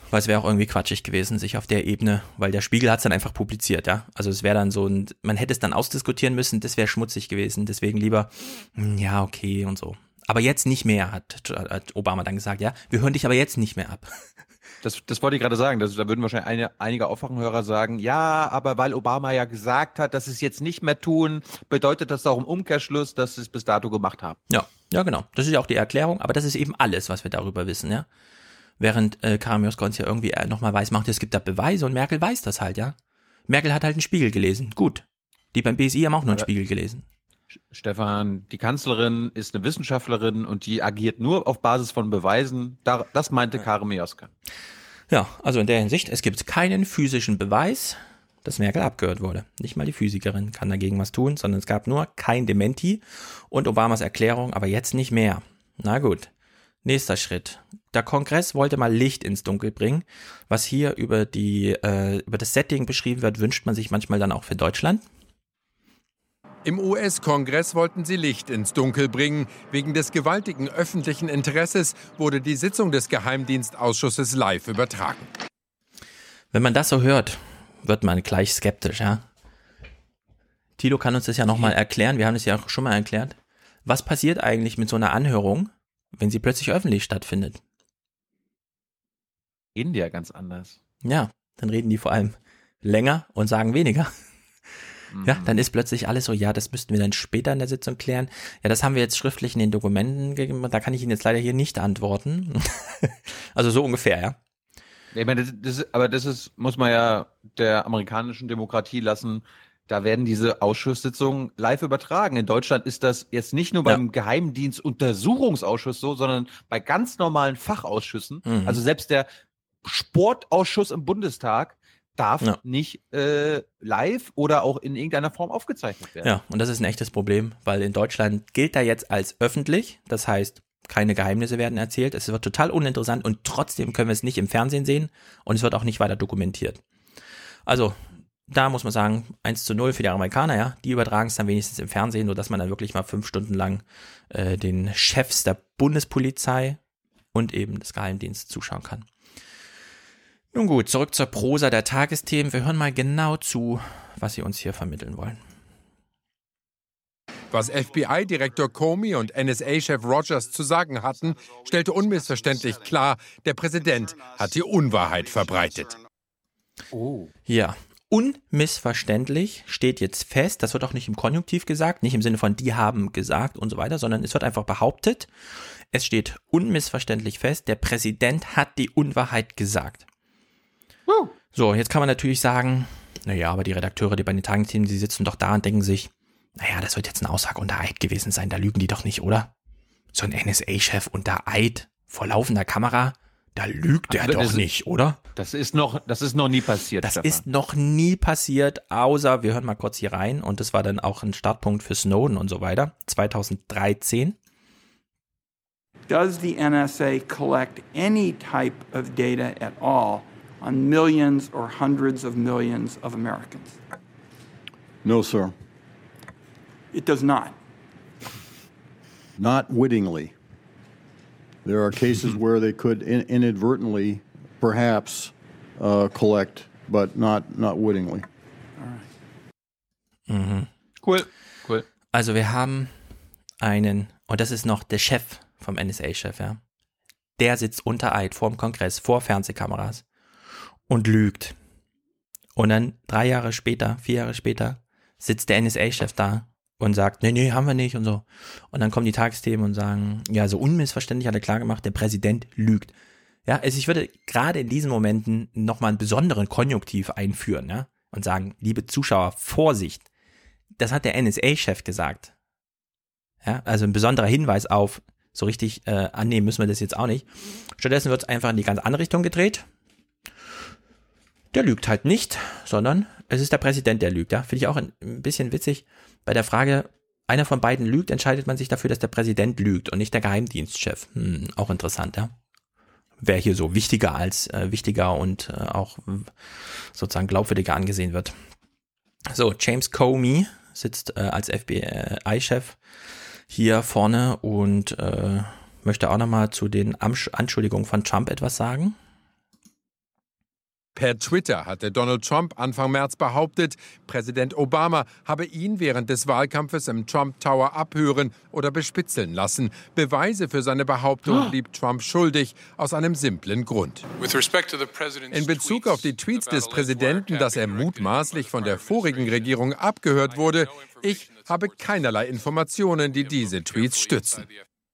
Weil es wäre auch irgendwie quatschig gewesen, sich auf der Ebene, weil der Spiegel hat es dann einfach publiziert, ja. Also es wäre dann so man hätte es dann ausdiskutieren müssen, das wäre schmutzig gewesen, deswegen lieber, ja, okay und so. Aber jetzt nicht mehr, hat Obama dann gesagt, ja. Wir hören dich aber jetzt nicht mehr ab. Das wollte ich gerade sagen. Da würden wahrscheinlich einige Aufwachenhörer sagen, ja, aber weil Obama ja gesagt hat, dass sie es jetzt nicht mehr tun, bedeutet das auch im Umkehrschluss, dass sie es bis dato gemacht haben. Ja, genau. Das ist ja auch die Erklärung, aber das ist eben alles, was wir darüber wissen, ja. Während Karamioska uns ja irgendwie nochmal weiß macht, es gibt da Beweise und Merkel weiß das halt, ja. Merkel hat halt einen Spiegel gelesen. Gut. Die beim BSI haben auch nur einen Spiegel gelesen. Stefan, die Kanzlerin ist eine Wissenschaftlerin und die agiert nur auf Basis von Beweisen. Das meinte Karamioska. Ja, also in der Hinsicht, es gibt keinen physischen Beweis, dass Merkel abgehört wurde. Nicht mal die Physikerin kann dagegen was tun, sondern es gab nur kein Dementi und Obamas Erklärung, aber jetzt nicht mehr. Na gut. Nächster Schritt. Der Kongress wollte mal Licht ins Dunkel bringen. Was hier über das Setting beschrieben wird, wünscht man sich manchmal dann auch für Deutschland. Im US-Kongress wollten sie Licht ins Dunkel bringen. Wegen des gewaltigen öffentlichen Interesses wurde die Sitzung des Geheimdienstausschusses live übertragen. Wenn man das so hört, wird man gleich skeptisch, ja? Thilo kann uns das ja nochmal erklären. Wir haben das ja auch schon mal erklärt. Was passiert eigentlich mit so einer Anhörung, wenn sie plötzlich öffentlich stattfindet? Reden die ja ganz anders. Ja, dann reden die vor allem länger und sagen weniger. Ja, dann ist plötzlich alles so, ja, das müssten wir dann später in der Sitzung klären. Ja, das haben wir jetzt schriftlich in den Dokumenten gegeben, da kann ich Ihnen jetzt leider hier nicht antworten. Also so ungefähr, ja. Ich meine, das muss man ja der amerikanischen Demokratie lassen. Da werden diese Ausschusssitzungen live übertragen. In Deutschland ist das jetzt nicht nur beim Geheimdienstuntersuchungsausschuss so, sondern bei ganz normalen Fachausschüssen. Also selbst der Sportausschuss im Bundestag darf nicht live oder auch in irgendeiner Form aufgezeichnet werden. Ja, und das ist ein echtes Problem, weil in Deutschland gilt er jetzt als öffentlich. Das heißt, keine Geheimnisse werden erzählt. Es wird total uninteressant und trotzdem können wir es nicht im Fernsehen sehen und es wird auch nicht weiter dokumentiert. Also, da muss man sagen, 1:0 für die Amerikaner, ja. Die übertragen es dann wenigstens im Fernsehen, sodass man dann wirklich mal 5 Stunden lang den Chefs der Bundespolizei und eben des Geheimdienstes zuschauen kann. Nun gut, zurück zur Prosa der Tagesthemen. Wir hören mal genau zu, was sie uns hier vermitteln wollen. Was FBI-Direktor Comey und NSA-Chef Rogers zu sagen hatten, stellte unmissverständlich klar, der Präsident hat die Unwahrheit verbreitet. Oh. Ja, unmissverständlich steht jetzt fest, das wird auch nicht im Konjunktiv gesagt, nicht im Sinne von die haben gesagt und so weiter, sondern es wird einfach behauptet, es steht unmissverständlich fest, der Präsident hat die Unwahrheit gesagt. So, jetzt kann man natürlich sagen, naja, aber die Redakteure, die bei den Tagesthemen, die sitzen doch da und denken sich, naja, das wird jetzt eine Aussage unter Eid gewesen sein, da lügen die doch nicht, oder? So ein NSA-Chef unter Eid vor laufender Kamera, da lügt er doch nicht, oder? Das ist noch nie passiert. Das ist noch nie passiert, außer, wir hören mal kurz hier rein, und das war dann auch ein Startpunkt für Snowden und so weiter, 2013. Does the NSA collect any type of data at all on millions or hundreds of millions of Americans? No, sir. It does not. Not wittingly. There are cases where they could inadvertently, perhaps, collect, but not wittingly. All right. Mhm. Cool. Also wir haben einen, und das ist noch der Chef vom NSA-Chef, ja. Der sitzt unter Eid vor dem Kongress, vor Fernsehkameras und lügt. Und dann 4 Jahre später sitzt der NSA-Chef da und sagt, nee, haben wir nicht und so. Und dann kommen die Tagesthemen und sagen, ja, so unmissverständlich hat er klar gemacht, der Präsident lügt. Ja, also ich würde gerade in diesen Momenten nochmal einen besonderen Konjunktiv einführen, ja, und sagen, liebe Zuschauer, Vorsicht. Das hat der NSA-Chef gesagt. Ja, also ein besonderer Hinweis auf, so richtig annehmen müssen wir das jetzt auch nicht. Stattdessen wird es einfach in die ganz andere Richtung gedreht. Der lügt halt nicht, sondern es ist der Präsident, der lügt. Ja? Finde ich auch ein bisschen witzig. Bei der Frage, einer von beiden lügt, entscheidet man sich dafür, dass der Präsident lügt und nicht der Geheimdienstchef. Auch interessant, ja. Wer hier so wichtiger und auch sozusagen glaubwürdiger angesehen wird. So, James Comey sitzt als FBI-Chef hier vorne und möchte auch nochmal zu den Anschuldigungen von Trump etwas sagen. Per Twitter hatte Donald Trump Anfang März behauptet, Präsident Obama habe ihn während des Wahlkampfes im Trump Tower abhören oder bespitzeln lassen. Beweise für seine Behauptung blieb Trump schuldig, aus einem simplen Grund. In Bezug auf die Tweets des Präsidenten, dass er mutmaßlich von der vorigen Regierung abgehört wurde, ich habe keinerlei Informationen, die diese Tweets stützen.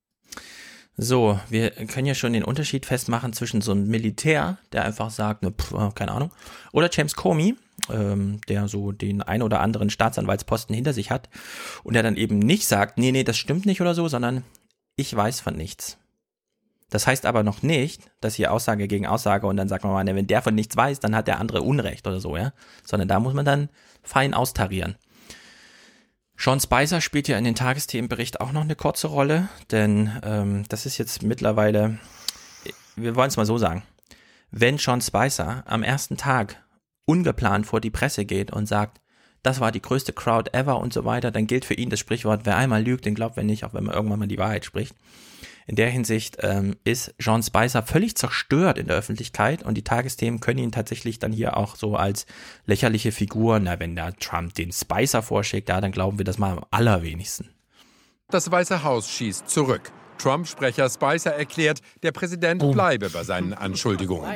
So, wir können ja schon den Unterschied festmachen zwischen so einem Militär, der einfach sagt, keine Ahnung, oder James Comey, der so den ein oder anderen Staatsanwaltsposten hinter sich hat und der dann eben nicht sagt, nee, das stimmt nicht oder so, sondern ich weiß von nichts. Das heißt aber noch nicht, dass hier Aussage gegen Aussage und dann sagt man mal, wenn der von nichts weiß, dann hat der andere Unrecht oder so, ja, sondern da muss man dann fein austarieren. Sean Spicer spielt ja in den Tagesthemenbericht auch noch eine kurze Rolle, denn das ist jetzt mittlerweile, wir wollen es mal so sagen, wenn Sean Spicer am ersten Tag ungeplant vor die Presse geht und sagt, das war die größte Crowd ever und so weiter, dann gilt für ihn das Sprichwort, wer einmal lügt, den glaubt wer nicht, auch wenn man irgendwann mal die Wahrheit spricht. In der Hinsicht ist Sean Spicer völlig zerstört in der Öffentlichkeit und die Tagesthemen können ihn tatsächlich dann hier auch so als lächerliche Figur, wenn da Trump den Spicer vorschlägt, ja, dann glauben wir das mal am allerwenigsten. Das Weiße Haus schießt zurück. Trump-Sprecher Spicer erklärt, der Präsident bleibe bei seinen Anschuldigungen.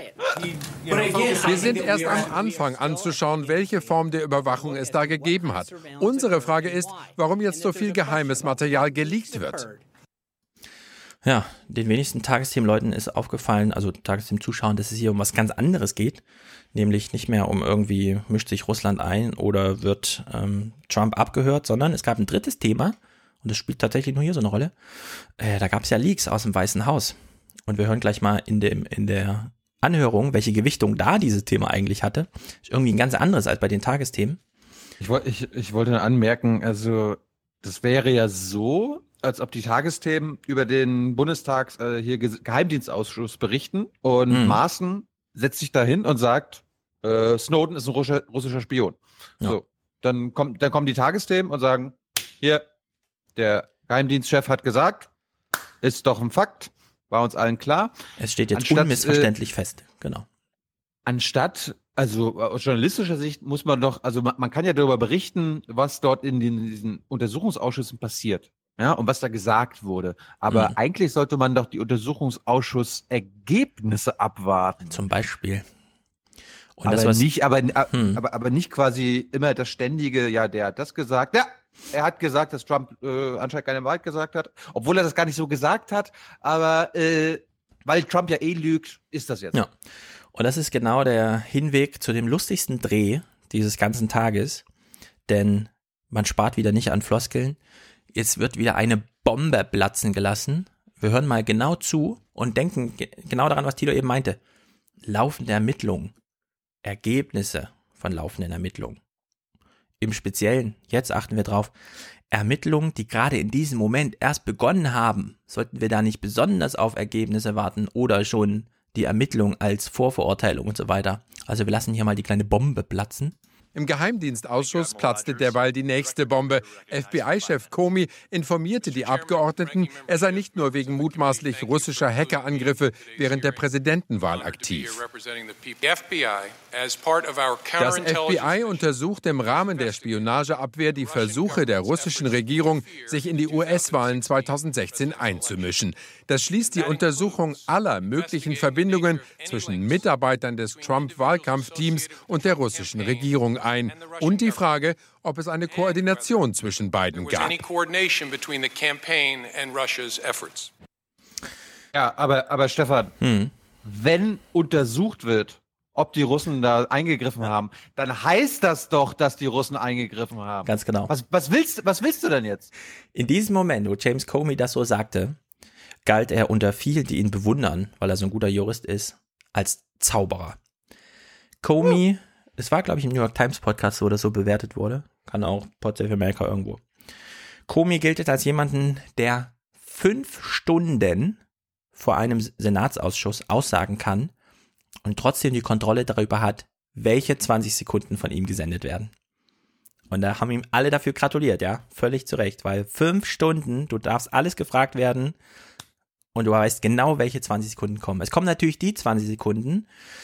Wir sind erst am Anfang anzuschauen, welche Form der Überwachung es da gegeben hat. Unsere Frage ist, warum jetzt so viel geheimes Material geleakt wird. Ja, den wenigsten Tagesthemenleuten ist aufgefallen, also Tagesthemen-Zuschauern, dass es hier um was ganz anderes geht, nämlich nicht mehr um irgendwie mischt sich Russland ein oder wird Trump abgehört, sondern es gab ein drittes Thema und das spielt tatsächlich nur hier so eine Rolle. Da gab es ja Leaks aus dem Weißen Haus und wir hören gleich mal in der Anhörung, welche Gewichtung da dieses Thema eigentlich hatte. Ist irgendwie ein ganz anderes als bei den Tagesthemen. Ich wollte anmerken, also das wäre ja so, als ob die Tagesthemen über den Geheimdienstausschuss berichten und Maaßen setzt sich dahin und sagt, Snowden ist ein russischer Spion. Ja. So, dann kommen die Tagesthemen und sagen, hier, der Geheimdienstchef hat gesagt, ist doch ein Fakt, war uns allen klar. Es steht jetzt unmissverständlich fest, genau. Anstatt, also aus journalistischer Sicht muss man doch, also man kann ja darüber berichten, was dort in diesen Untersuchungsausschüssen passiert. Ja, und was da gesagt wurde. Aber eigentlich sollte man doch die Untersuchungsausschussergebnisse abwarten. Zum Beispiel. Und aber nicht quasi immer das ständige, ja, der hat das gesagt. Ja, er hat gesagt, dass Trump anscheinend keine Wahrheit gesagt hat. Obwohl er das gar nicht so gesagt hat. Aber weil Trump ja lügt, ist das jetzt. Ja. Und das ist genau der Hinweg zu dem lustigsten Dreh dieses ganzen Tages. Denn man spart wieder nicht an Floskeln. Jetzt wird wieder eine Bombe platzen gelassen. Wir hören mal genau zu und denken genau daran, was Tilo eben meinte. Laufende Ermittlungen. Ergebnisse von laufenden Ermittlungen. Im Speziellen, jetzt achten wir drauf, Ermittlungen, die gerade in diesem Moment erst begonnen haben. Sollten wir da nicht besonders auf Ergebnisse warten oder schon die Ermittlung als Vorverurteilung und so weiter. Also wir lassen hier mal die kleine Bombe platzen. Im Geheimdienstausschuss platzte derweil die nächste Bombe. FBI-Chef Comey informierte die Abgeordneten, er sei nicht nur wegen mutmaßlich russischer Hackerangriffe während der Präsidentenwahl aktiv. Das FBI untersucht im Rahmen der Spionageabwehr die Versuche der russischen Regierung, sich in die US-Wahlen 2016 einzumischen. Das schließt die Untersuchung aller möglichen Verbindungen zwischen Mitarbeitern des Trump-Wahlkampfteams und der russischen Regierung ein und die Frage, ob es eine Koordination zwischen beiden gab. Ja, aber Stefan, wenn untersucht wird, ob die Russen da eingegriffen haben, dann heißt das doch, dass die Russen eingegriffen haben. Ganz genau. Was willst du denn jetzt? In diesem Moment, wo James Comey das so sagte, galt er unter vielen, die ihn bewundern, weil er so ein guter Jurist ist, als Zauberer. Comey, es war, glaube ich, im New York Times Podcast, wo das so bewertet wurde. Kann auch Pod Save America irgendwo. Comey gilt als jemanden, der 5 Stunden vor einem Senatsausschuss aussagen kann und trotzdem die Kontrolle darüber hat, welche 20 Sekunden von ihm gesendet werden. Und da haben ihm alle dafür gratuliert, ja, völlig zu Recht, weil 5 Stunden, du darfst alles gefragt werden und du weißt genau, welche 20 Sekunden kommen. Es kommen natürlich die 20 Sekunden,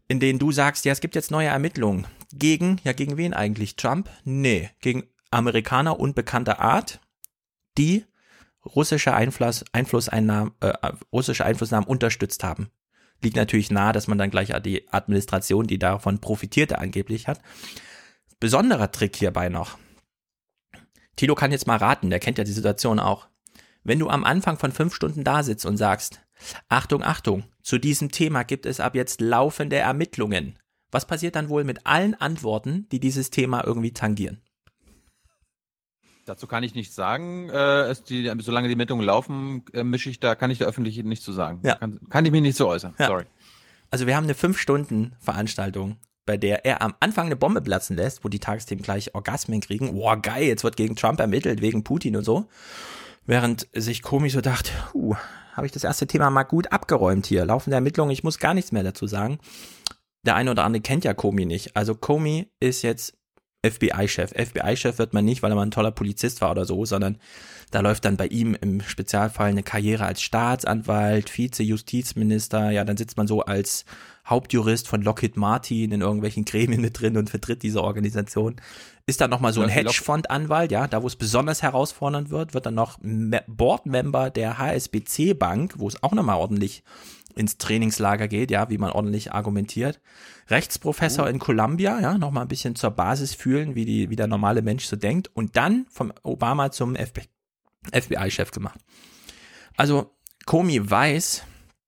in denen du sagst, ja, es gibt jetzt neue Ermittlungen. Gegen wen eigentlich? Trump? Nee, gegen Amerikaner unbekannter Art, die russische Einflussnahmen unterstützt haben. Liegt natürlich nahe, dass man dann gleich die Administration, die davon profitierte, angeblich hat. Besonderer Trick hierbei noch. Thilo kann jetzt mal raten, der kennt ja die Situation auch. Wenn du am Anfang von 5 Stunden da sitzt und sagst, Achtung, Achtung, zu diesem Thema gibt es ab jetzt laufende Ermittlungen. Was passiert dann wohl mit allen Antworten, die dieses Thema irgendwie tangieren? Dazu kann ich nichts sagen. Solange die Ermittlungen laufen, kann ich der Öffentlichkeit nichts zu sagen. Ja. Kann ich mich nicht so äußern. Ja. Sorry. Also wir haben eine 5-Stunden-Veranstaltung, bei der er am Anfang eine Bombe platzen lässt, wo die Tagesthemen gleich Orgasmen kriegen. Boah, geil, jetzt wird gegen Trump ermittelt, wegen Putin und so. Während sich Comey so dachte, habe ich das erste Thema mal gut abgeräumt hier. Laufende Ermittlungen, ich muss gar nichts mehr dazu sagen. Der eine oder andere kennt ja Comey nicht. Also Comey ist jetzt FBI-Chef. FBI-Chef wird man nicht, weil er mal ein toller Polizist war oder so, sondern da läuft dann bei ihm im Spezialfall eine Karriere als Staatsanwalt, Vize-Justizminister, ja, dann sitzt man so als Hauptjurist von Lockheed Martin in irgendwelchen Gremien mit drin und vertritt diese Organisation. Ist dann nochmal so ein Hedgefondanwalt, ja, da wo es besonders herausfordernd wird dann noch Boardmember der HSBC Bank, wo es auch nochmal ordentlich ins Trainingslager geht, ja, wie man ordentlich argumentiert. Rechtsprofessor in Columbia, ja, nochmal ein bisschen zur Basis fühlen, wie der normale Mensch so denkt, und dann vom Obama zum FBI-Chef gemacht. Also Comey weiß,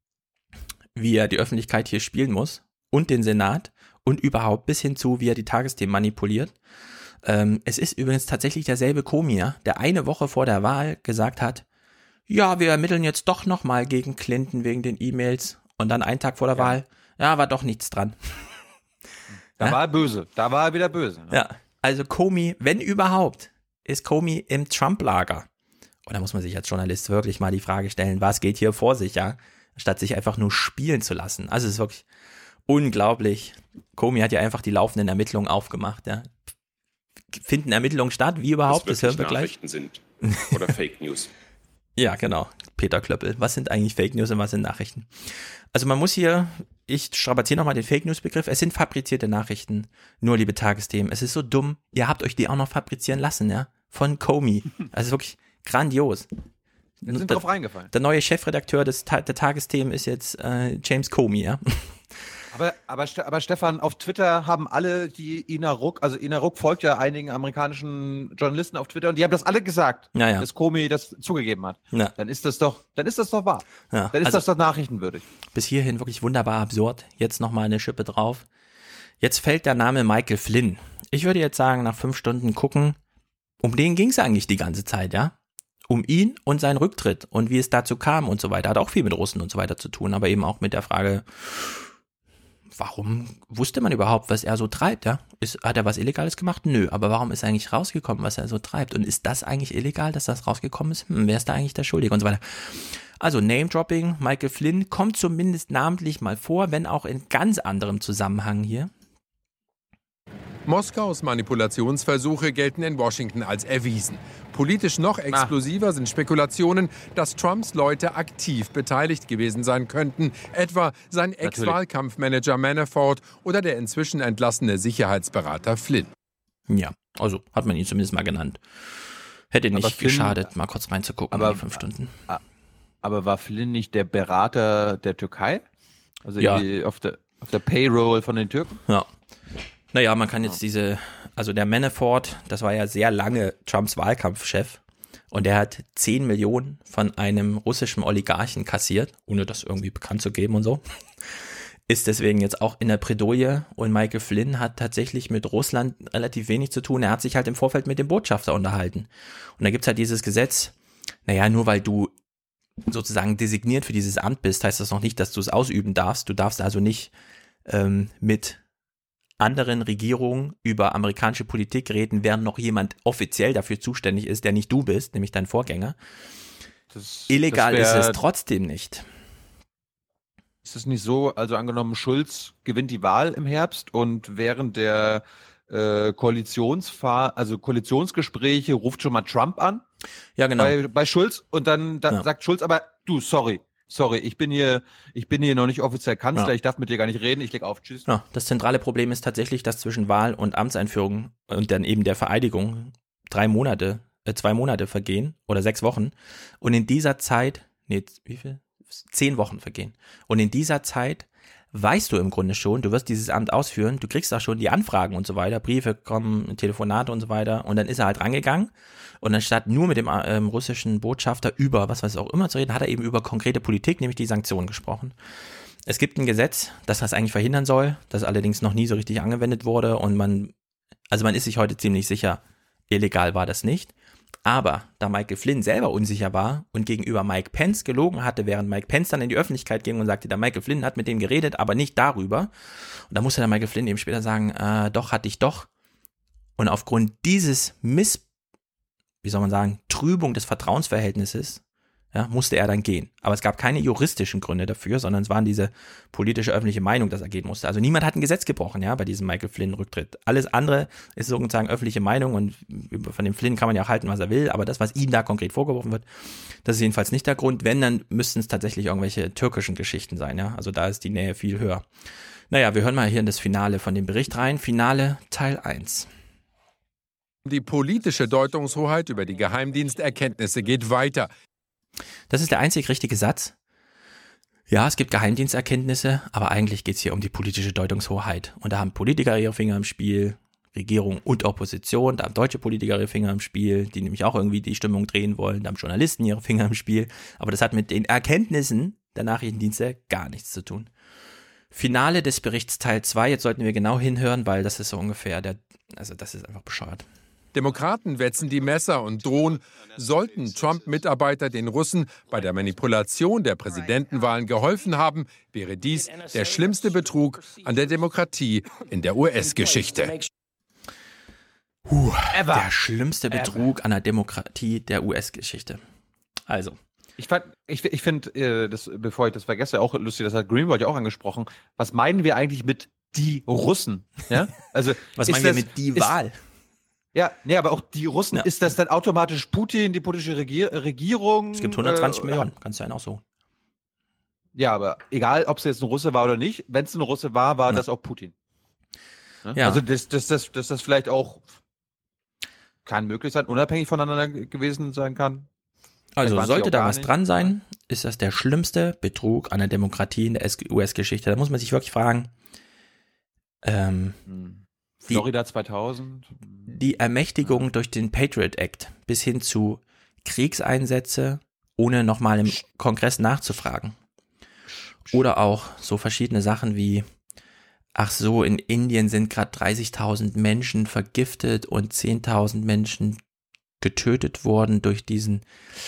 wie er die Öffentlichkeit hier spielen muss und den Senat und überhaupt bis hin zu, wie er die Tagesthemen manipuliert. Es ist übrigens tatsächlich derselbe Comey, ja, der eine Woche vor der Wahl gesagt hat, ja, wir ermitteln jetzt doch nochmal gegen Clinton wegen den E-Mails, und dann einen Tag vor der Wahl, ja, war doch nichts dran. Da war er böse, da war er wieder böse. Ne? Ja, also Comey, wenn überhaupt, ist Comey im Trump-Lager. Und da muss man sich als Journalist wirklich mal die Frage stellen, was geht hier vor sich, ja, statt sich einfach nur spielen zu lassen. Also es ist wirklich unglaublich. Comey hat ja einfach die laufenden Ermittlungen aufgemacht, ja. Finden Ermittlungen statt, wie überhaupt, das hören wir gleich. Nachrichten sind oder Fake News. Ja, genau. Peter Klöppel. Was sind eigentlich Fake News und was sind Nachrichten? Also man muss hier, ich strapaziere nochmal den Fake News Begriff, es sind fabrizierte Nachrichten. Nur, liebe Tagesthemen, es ist so dumm, ihr habt euch die auch noch fabrizieren lassen, ja, von Comey. Also wirklich grandios. Wir sind drauf reingefallen. Der neue Chefredakteur der Tagesthemen ist jetzt James Comey, ja. Aber Stefan, auf Twitter haben alle die Ina Ruck folgt ja einigen amerikanischen Journalisten auf Twitter, und die haben das alle gesagt, dass Comey das zugegeben hat. Ja. Dann ist das doch wahr. Ja. Dann ist das doch nachrichtenwürdig. Bis hierhin wirklich wunderbar absurd. Jetzt nochmal eine Schippe drauf. Jetzt fällt der Name Michael Flynn. Ich würde jetzt sagen, nach 5 Stunden gucken, um den ging es eigentlich die ganze Zeit, ja? Um ihn und seinen Rücktritt und wie es dazu kam und so weiter. Hat auch viel mit Russen und so weiter zu tun, aber eben auch mit der Frage, warum wusste man überhaupt, was er so treibt, ja? Hat er was Illegales gemacht? Nö, aber warum ist eigentlich rausgekommen, was er so treibt? Und ist das eigentlich illegal, dass das rausgekommen ist? Wer ist da eigentlich der Schuldige und so weiter? Also Name-Dropping, Michael Flynn kommt zumindest namentlich mal vor, wenn auch in ganz anderem Zusammenhang hier. Moskaus Manipulationsversuche gelten in Washington als erwiesen. Politisch noch explosiver sind Spekulationen, dass Trumps Leute aktiv beteiligt gewesen sein könnten, etwa sein Ex-Wahlkampfmanager Manafort oder der inzwischen entlassene Sicherheitsberater Flynn. Ja, also hat man ihn zumindest mal genannt. Hätte nicht geschadet, mal kurz reinzugucken in die 5 Stunden. Aber war Flynn nicht der Berater der Türkei? Also ja. auf der Payroll von den Türken? Ja. Naja, man kann jetzt also der Manafort, das war ja sehr lange Trumps Wahlkampfchef, und der hat 10 Millionen von einem russischen Oligarchen kassiert, ohne das irgendwie bekannt zu geben und so. Ist deswegen jetzt auch in der Bredouille, und Michael Flynn hat tatsächlich mit Russland relativ wenig zu tun. Er hat sich halt im Vorfeld mit dem Botschafter unterhalten. Und da gibt's halt dieses Gesetz, naja, nur weil du sozusagen designiert für dieses Amt bist, heißt das noch nicht, dass du es ausüben darfst. Du darfst also nicht mit anderen Regierungen über amerikanische Politik reden, während noch jemand offiziell dafür zuständig ist, der nicht du bist, nämlich dein Vorgänger. Illegal ist es trotzdem nicht. Ist es nicht so, also angenommen, Schulz gewinnt die Wahl im Herbst und während der Koalitionsgespräche ruft schon mal Trump an? Ja, genau. Bei Schulz, und dann sagt Schulz aber, du, sorry, Sorry, ich bin hier noch nicht offiziell Kanzler, Ja. ich darf mit dir gar nicht reden, ich leg auf, tschüss. Ja, das zentrale Problem ist tatsächlich, dass zwischen Wahl und Amtseinführung und dann eben der Vereidigung 2 Monate vergehen oder 6 Wochen. Und in dieser Zeit, 10 Wochen vergehen. Und in dieser Zeit weißt du im Grunde schon, du wirst dieses Amt ausführen, du kriegst auch schon die Anfragen und so weiter, Briefe kommen, Telefonate und so weiter. Und dann ist er halt rangegangen. Und anstatt nur mit dem russischen Botschafter über was auch immer zu reden, hat er eben über konkrete Politik, nämlich die Sanktionen gesprochen. Es gibt ein Gesetz, das eigentlich verhindern soll, das allerdings noch nie so richtig angewendet wurde und man ist sich heute ziemlich sicher, illegal war das nicht. Aber da Michael Flynn selber unsicher war und gegenüber Mike Pence gelogen hatte, während Mike Pence dann in die Öffentlichkeit ging und sagte, der Michael Flynn hat mit dem geredet, aber nicht darüber. Und da musste der Michael Flynn eben später sagen, doch, hatte ich doch. Und aufgrund dieses Trübung des Vertrauensverhältnisses, ja, musste er dann gehen. Aber es gab keine juristischen Gründe dafür, sondern es waren diese politische öffentliche Meinung, dass er gehen musste. Also niemand hat ein Gesetz gebrochen, ja, bei diesem Michael Flynn-Rücktritt. Alles andere ist sozusagen öffentliche Meinung und von dem Flynn kann man ja auch halten, was er will, aber das, was ihm da konkret vorgeworfen wird, das ist jedenfalls nicht der Grund. Wenn, dann müssten es tatsächlich irgendwelche türkischen Geschichten sein, ja. Also da ist die Nähe viel höher. Naja, wir hören mal hier in das Finale von dem Bericht rein. Finale Teil 1. Die politische Deutungshoheit über die Geheimdiensterkenntnisse geht weiter. Das ist der einzig richtige Satz. Ja, es gibt Geheimdiensterkenntnisse, aber eigentlich geht es hier um die politische Deutungshoheit. Und da haben Politiker ihre Finger im Spiel, Regierung und Opposition, da haben deutsche Politiker ihre Finger im Spiel, die nämlich auch irgendwie die Stimmung drehen wollen, da haben Journalisten ihre Finger im Spiel. Aber das hat mit den Erkenntnissen der Nachrichtendienste gar nichts zu tun. Finale des Berichts Teil 2, jetzt sollten wir genau hinhören, weil das ist so ungefähr das ist einfach bescheuert. Demokraten wetzen die Messer und drohen, sollten Trump-Mitarbeiter den Russen bei der Manipulation der Präsidentenwahlen geholfen haben, wäre dies der schlimmste Betrug an der Demokratie in der US-Geschichte. Der schlimmste Betrug an der Demokratie der US-Geschichte. Also. Ich finde, bevor ich das vergesse, auch lustig, das hat Greenwald ja auch angesprochen. Was meinen wir eigentlich mit die Russen? Ja? Also, was meinen wir mit die Wahl? Ja, nee, aber auch die Russen, ja. Ist das dann automatisch Putin, die politische Regierung? Es gibt 120 Millionen, kannst du einen auch so. Ja, aber egal, ob es jetzt ein Russe war oder nicht, wenn es ein Russe war das auch Putin. Ja? Also, dass das vielleicht auch kann möglich sein, unabhängig voneinander gewesen sein kann. Also sollte da was dran sein, ist das der schlimmste Betrug an der Demokratie in der US-Geschichte. Da muss man sich wirklich fragen, Florida 2000. Die Ermächtigung durch den Patriot Act bis hin zu Kriegseinsätze, ohne nochmal im Kongress nachzufragen. Oder auch so verschiedene Sachen wie, in Indien sind gerade 30.000 Menschen vergiftet und 10.000 Menschen getötet worden durch diesen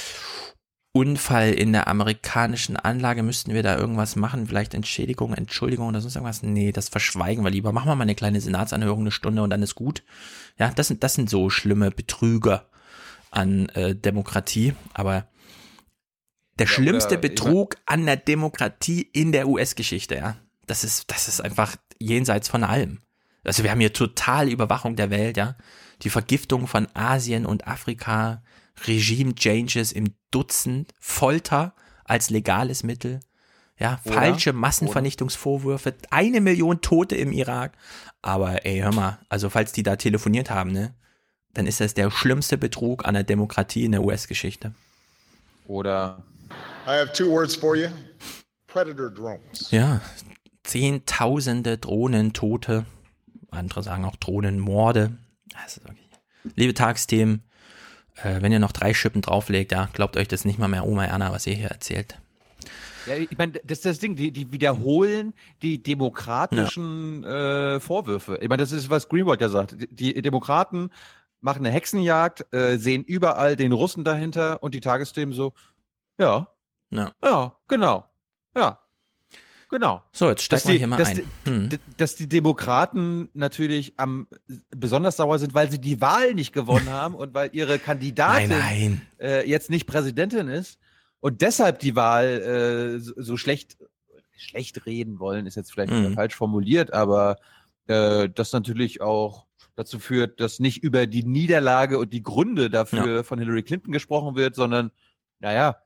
Unfall in der amerikanischen Anlage. Müssten wir da irgendwas machen? Vielleicht Entschädigung, Entschuldigung oder sonst irgendwas? Nee, das verschweigen wir lieber. Machen wir mal eine kleine Senatsanhörung, 1 Stunde und dann ist gut. Ja, das sind so schlimme Betrüger an Demokratie. Aber der schlimmste Betrug an der Demokratie in der US-Geschichte, ja, das ist einfach jenseits von allem. Also wir haben hier total Überwachung der Welt, ja. Die Vergiftung von Asien und Afrika, Regime-Changes im Dutzend, Folter als legales Mittel, ja, falsche Massenvernichtungsvorwürfe, 1 Million Tote im Irak. Aber ey, hör mal, also falls die da telefoniert haben, ne, dann ist das der schlimmste Betrug an der Demokratie in der US-Geschichte. Oder I have 2 words for you. Predator drones. Ja, Zehntausende Drohnentote, andere sagen auch Drohnenmorde. Also, liebe Tagsthemen, wenn ihr noch 3 Schippen drauflegt, ja, glaubt euch das nicht mal mehr Oma Erna, was ihr hier erzählt. Ja, ich meine, das ist das Ding, die wiederholen die demokratischen Vorwürfe. Ich meine, das ist, was Greenwald ja sagt. Die Demokraten machen eine Hexenjagd, sehen überall den Russen dahinter und die Tagesthemen so, ja, genau, ja. Genau. So, jetzt stecken wir hier mal ein. Dass die Demokraten natürlich besonders sauer sind, weil sie die Wahl nicht gewonnen haben und weil ihre Kandidatin jetzt nicht Präsidentin ist und deshalb die Wahl so schlecht reden wollen, ist jetzt vielleicht falsch formuliert, aber das natürlich auch dazu führt, dass nicht über die Niederlage und die Gründe dafür von Hillary Clinton gesprochen wird, sondern, naja,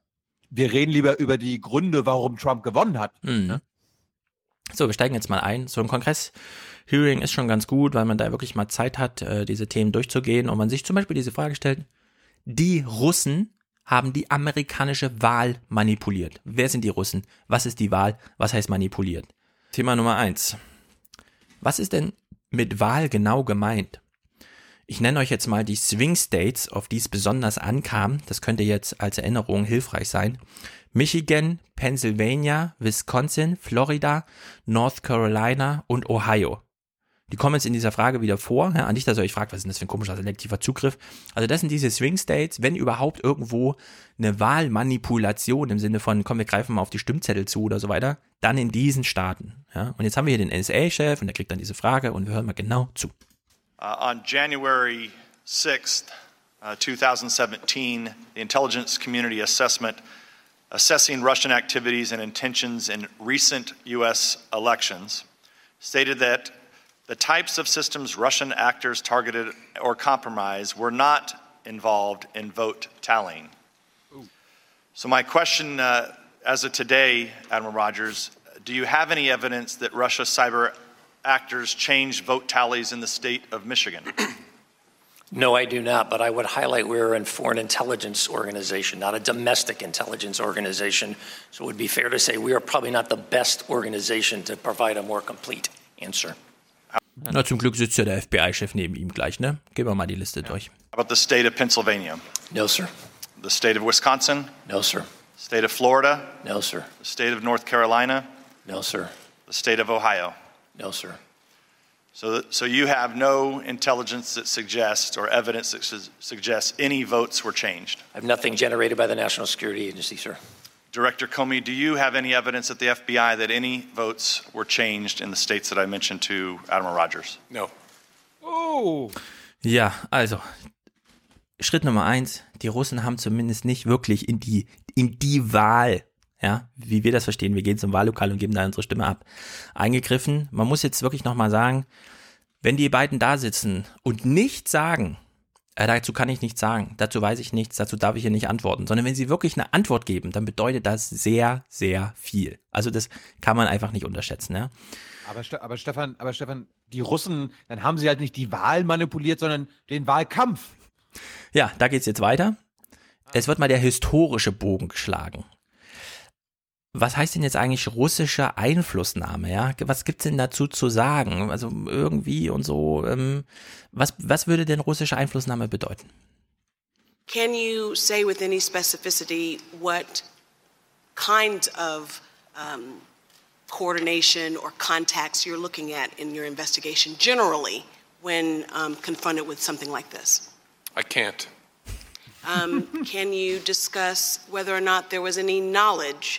wir reden lieber über die Gründe, warum Trump gewonnen hat. Ne? So, wir steigen jetzt mal ein. So ein Kongress-Hearing ist schon ganz gut, weil man da wirklich mal Zeit hat, diese Themen durchzugehen und man sich zum Beispiel diese Frage stellt, die Russen haben die amerikanische Wahl manipuliert. Wer sind die Russen? Was ist die Wahl? Was heißt manipuliert? Thema Nummer 1. Was ist denn mit Wahl genau gemeint? Ich nenne euch jetzt mal die Swing States, auf die es besonders ankam. Das könnte jetzt als Erinnerung hilfreich sein. Michigan, Pennsylvania, Wisconsin, Florida, North Carolina und Ohio. Die kommen jetzt in dieser Frage wieder vor. Ja, nicht, dass ihr euch fragt, was ist denn das für ein komischer selektiver Zugriff? Also das sind diese Swing States, wenn überhaupt irgendwo eine Wahlmanipulation im Sinne von, komm, wir greifen mal auf die Stimmzettel zu oder so weiter, dann in diesen Staaten. Ja, und jetzt haben wir hier den NSA-Chef und der kriegt dann diese Frage und wir hören mal genau zu. On January 6th, 2017, the intelligence community assessment assessing Russian activities and intentions in recent U.S. elections stated that the types of systems Russian actors targeted or compromised were not involved in vote tallying. So my question as of today, Admiral Rogers, do you have any evidence that Russia's cyber actors changed vote tallies in the state of Michigan? No, I do not, but I would highlight we're a foreign intelligence organization, not a domestic intelligence organization. So it would be fair to say we are probably not the best organization to provide a more complete answer. Na, zum Glück sitzt ja der FBI-Chef neben ihm gleich, ne? Gehen wir mal die Liste durch. How about the state of Pennsylvania? No, sir. The state of Wisconsin? No, sir. State of Florida? No, sir. The state of North Carolina? No, sir. The state of Ohio? No, sir. So you have no intelligence that suggests or evidence that suggests any votes were changed? I have nothing generated by the National Security Agency, sir. Director Comey, do you have any evidence at the FBI that any votes were changed in the states that I mentioned to Admiral Rogers? No. Oh. Ja, also, Schritt Nummer 1, die Russen haben zumindest nicht wirklich in die Wahl, ja, wie wir das verstehen, wir gehen zum Wahllokal und geben da unsere Stimme ab, eingegriffen. Man muss jetzt wirklich nochmal sagen, wenn die beiden da sitzen und nichts sagen, dazu kann ich nichts sagen, dazu weiß ich nichts, dazu darf ich hier nicht antworten, sondern wenn sie wirklich eine Antwort geben, dann bedeutet das sehr, sehr viel. Also das kann man einfach nicht unterschätzen, ja. Aber Stefan, die Russen, dann haben sie halt nicht die Wahl manipuliert, sondern den Wahlkampf. Ja, da geht's jetzt weiter. Es wird mal der historische Bogen geschlagen. Was heißt denn jetzt eigentlich russische Einflussnahme, ja? Was gibt's denn dazu zu sagen? Also irgendwie und so, was würde denn russische Einflussnahme bedeuten? Can you say with any specificity what kind of coordination or contacts you're looking at in your investigation generally when confronted with something like this? I can't. Can you discuss whether or not there was any knowledge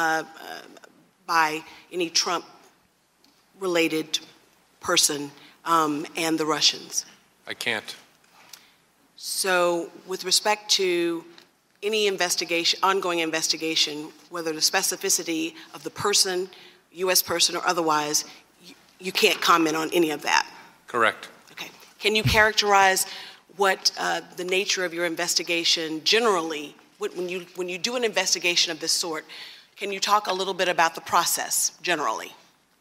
by any Trump-related person and the Russians? I can't. So, with respect to any investigation, ongoing investigation, whether the specificity of the person, U.S. person or otherwise, you can't comment on any of that? Correct. Okay. Can you characterize what the nature of your investigation generally, when you do an investigation of this sort, can you talk a little bit about the process generally?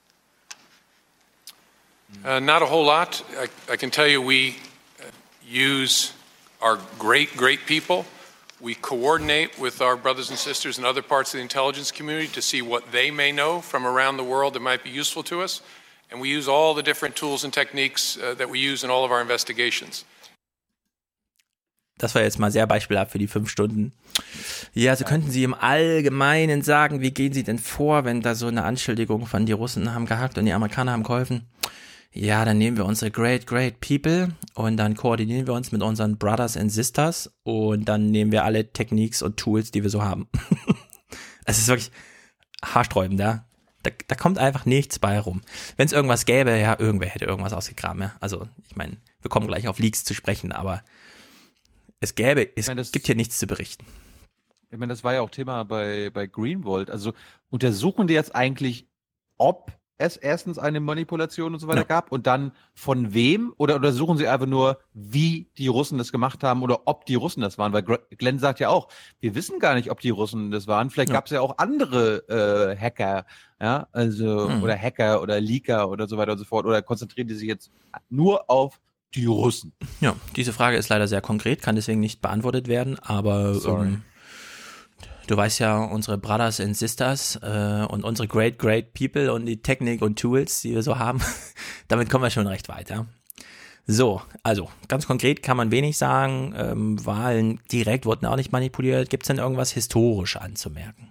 Not a whole lot. I can tell you we use our great people. We coordinate with our brothers and sisters in other parts of the intelligence community to see what they may know from around the world that might be useful to us. And we use all the different tools and techniques that we use in all of our investigations. Das war jetzt mal sehr beispielhaft für die 5 Stunden. Ja, also könnten Sie im Allgemeinen sagen, wie gehen Sie denn vor, wenn da so eine Anschuldigung von die Russen haben gehackt und die Amerikaner haben geholfen? Ja, dann nehmen wir unsere great people und dann koordinieren wir uns mit unseren Brothers and Sisters und dann nehmen wir alle Techniques und Tools, die wir so haben. Es ist wirklich haarsträubend, ja. Da kommt einfach nichts bei rum. Wenn es irgendwas gäbe, ja, irgendwer hätte irgendwas ausgegraben, ja. Also, ich meine, wir kommen gleich auf Leaks zu sprechen, aber es gibt hier nichts zu berichten. Ich meine, das war ja auch Thema bei Greenwald. Also untersuchen die jetzt eigentlich, ob es erstens eine Manipulation und so weiter gab und dann von wem? Oder suchen Sie einfach nur, wie die Russen das gemacht haben oder ob die Russen das waren? Weil Glenn sagt ja auch, wir wissen gar nicht, ob die Russen das waren. Vielleicht gab es ja auch andere Hacker, ja, also oder Hacker oder Leaker oder so weiter und so fort. Oder konzentrieren die sich jetzt nur auf die Russen? Ja, diese Frage ist leider sehr konkret, kann deswegen nicht beantwortet werden, aber du weißt ja, unsere Brothers and Sisters und unsere great people und die Technik und Tools, die wir so haben, damit kommen wir schon recht weit, ja. So, also ganz konkret kann man wenig sagen, Wahlen direkt wurden auch nicht manipuliert. Gibt es denn irgendwas historisch anzumerken?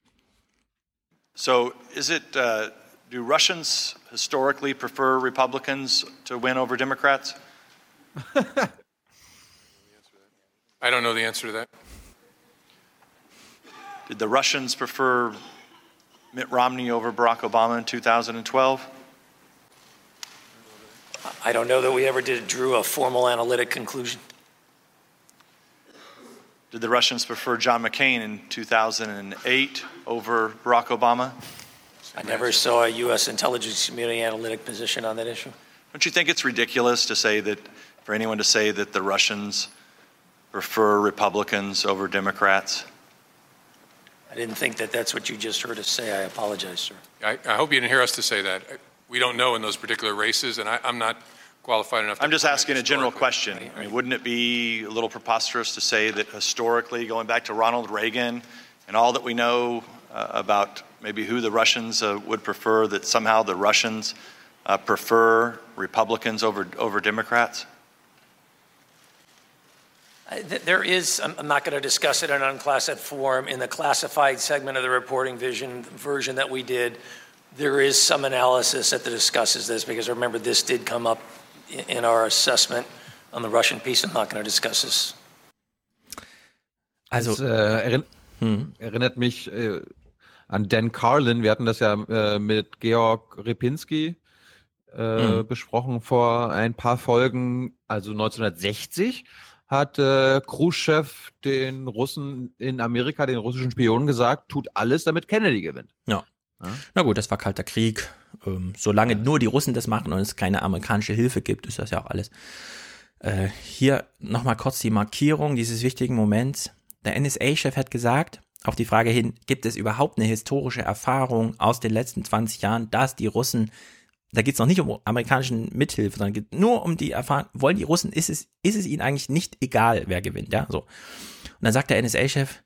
So, is it, do Russians historically prefer Republicans to win over Democrats? I don't know the answer to that. Did the Russians prefer Mitt Romney over Barack Obama in 2012? I don't know that we ever drew a formal analytic conclusion. Did the Russians prefer John McCain in 2008 over Barack Obama? I never saw a U.S. intelligence community analytic position on that issue. Don't you think it's ridiculous to say that, for anyone to say that the Russians prefer Republicans over Democrats? I didn't think that that's what you just heard us say. I apologize, sir. I hope you didn't hear us to say that. We don't know in those particular races, and I'm not qualified enough to... I'm just asking a general question. I mean, wouldn't it be a little preposterous to say that historically, going back to Ronald Reagan and all that we know about maybe who the Russians would prefer, that somehow the Russians prefer Republicans over Democrats? There is, I'm not going to discuss it in an unclassified form, in the classified segment of the reporting version that we did, there is some analysis that discusses this, because remember, this did come up in our assessment on the Russian piece. I'm not going to discuss this. Also, erinnert mich an Dan Carlin. Wir hatten das ja mit Georg Repinski besprochen vor ein paar Folgen. Also 1960 hat Khrushchev den Russen in Amerika, den russischen Spionen gesagt, tut alles, damit Kennedy gewinnt. Ja. Na gut, das war Kalter Krieg. Solange nur die Russen das machen und es keine amerikanische Hilfe gibt, ist das ja auch alles. Hier nochmal kurz die Markierung dieses wichtigen Moments. Der NSA-Chef hat gesagt, auf die Frage hin, gibt es überhaupt eine historische Erfahrung aus den letzten 20 Jahren, dass die Russen, da geht es noch nicht um amerikanischen Mithilfe, sondern geht nur um die Erfahrung, wollen die Russen, ist es ihnen eigentlich nicht egal, wer gewinnt, ja, so. Und dann sagt der NSA-Chef,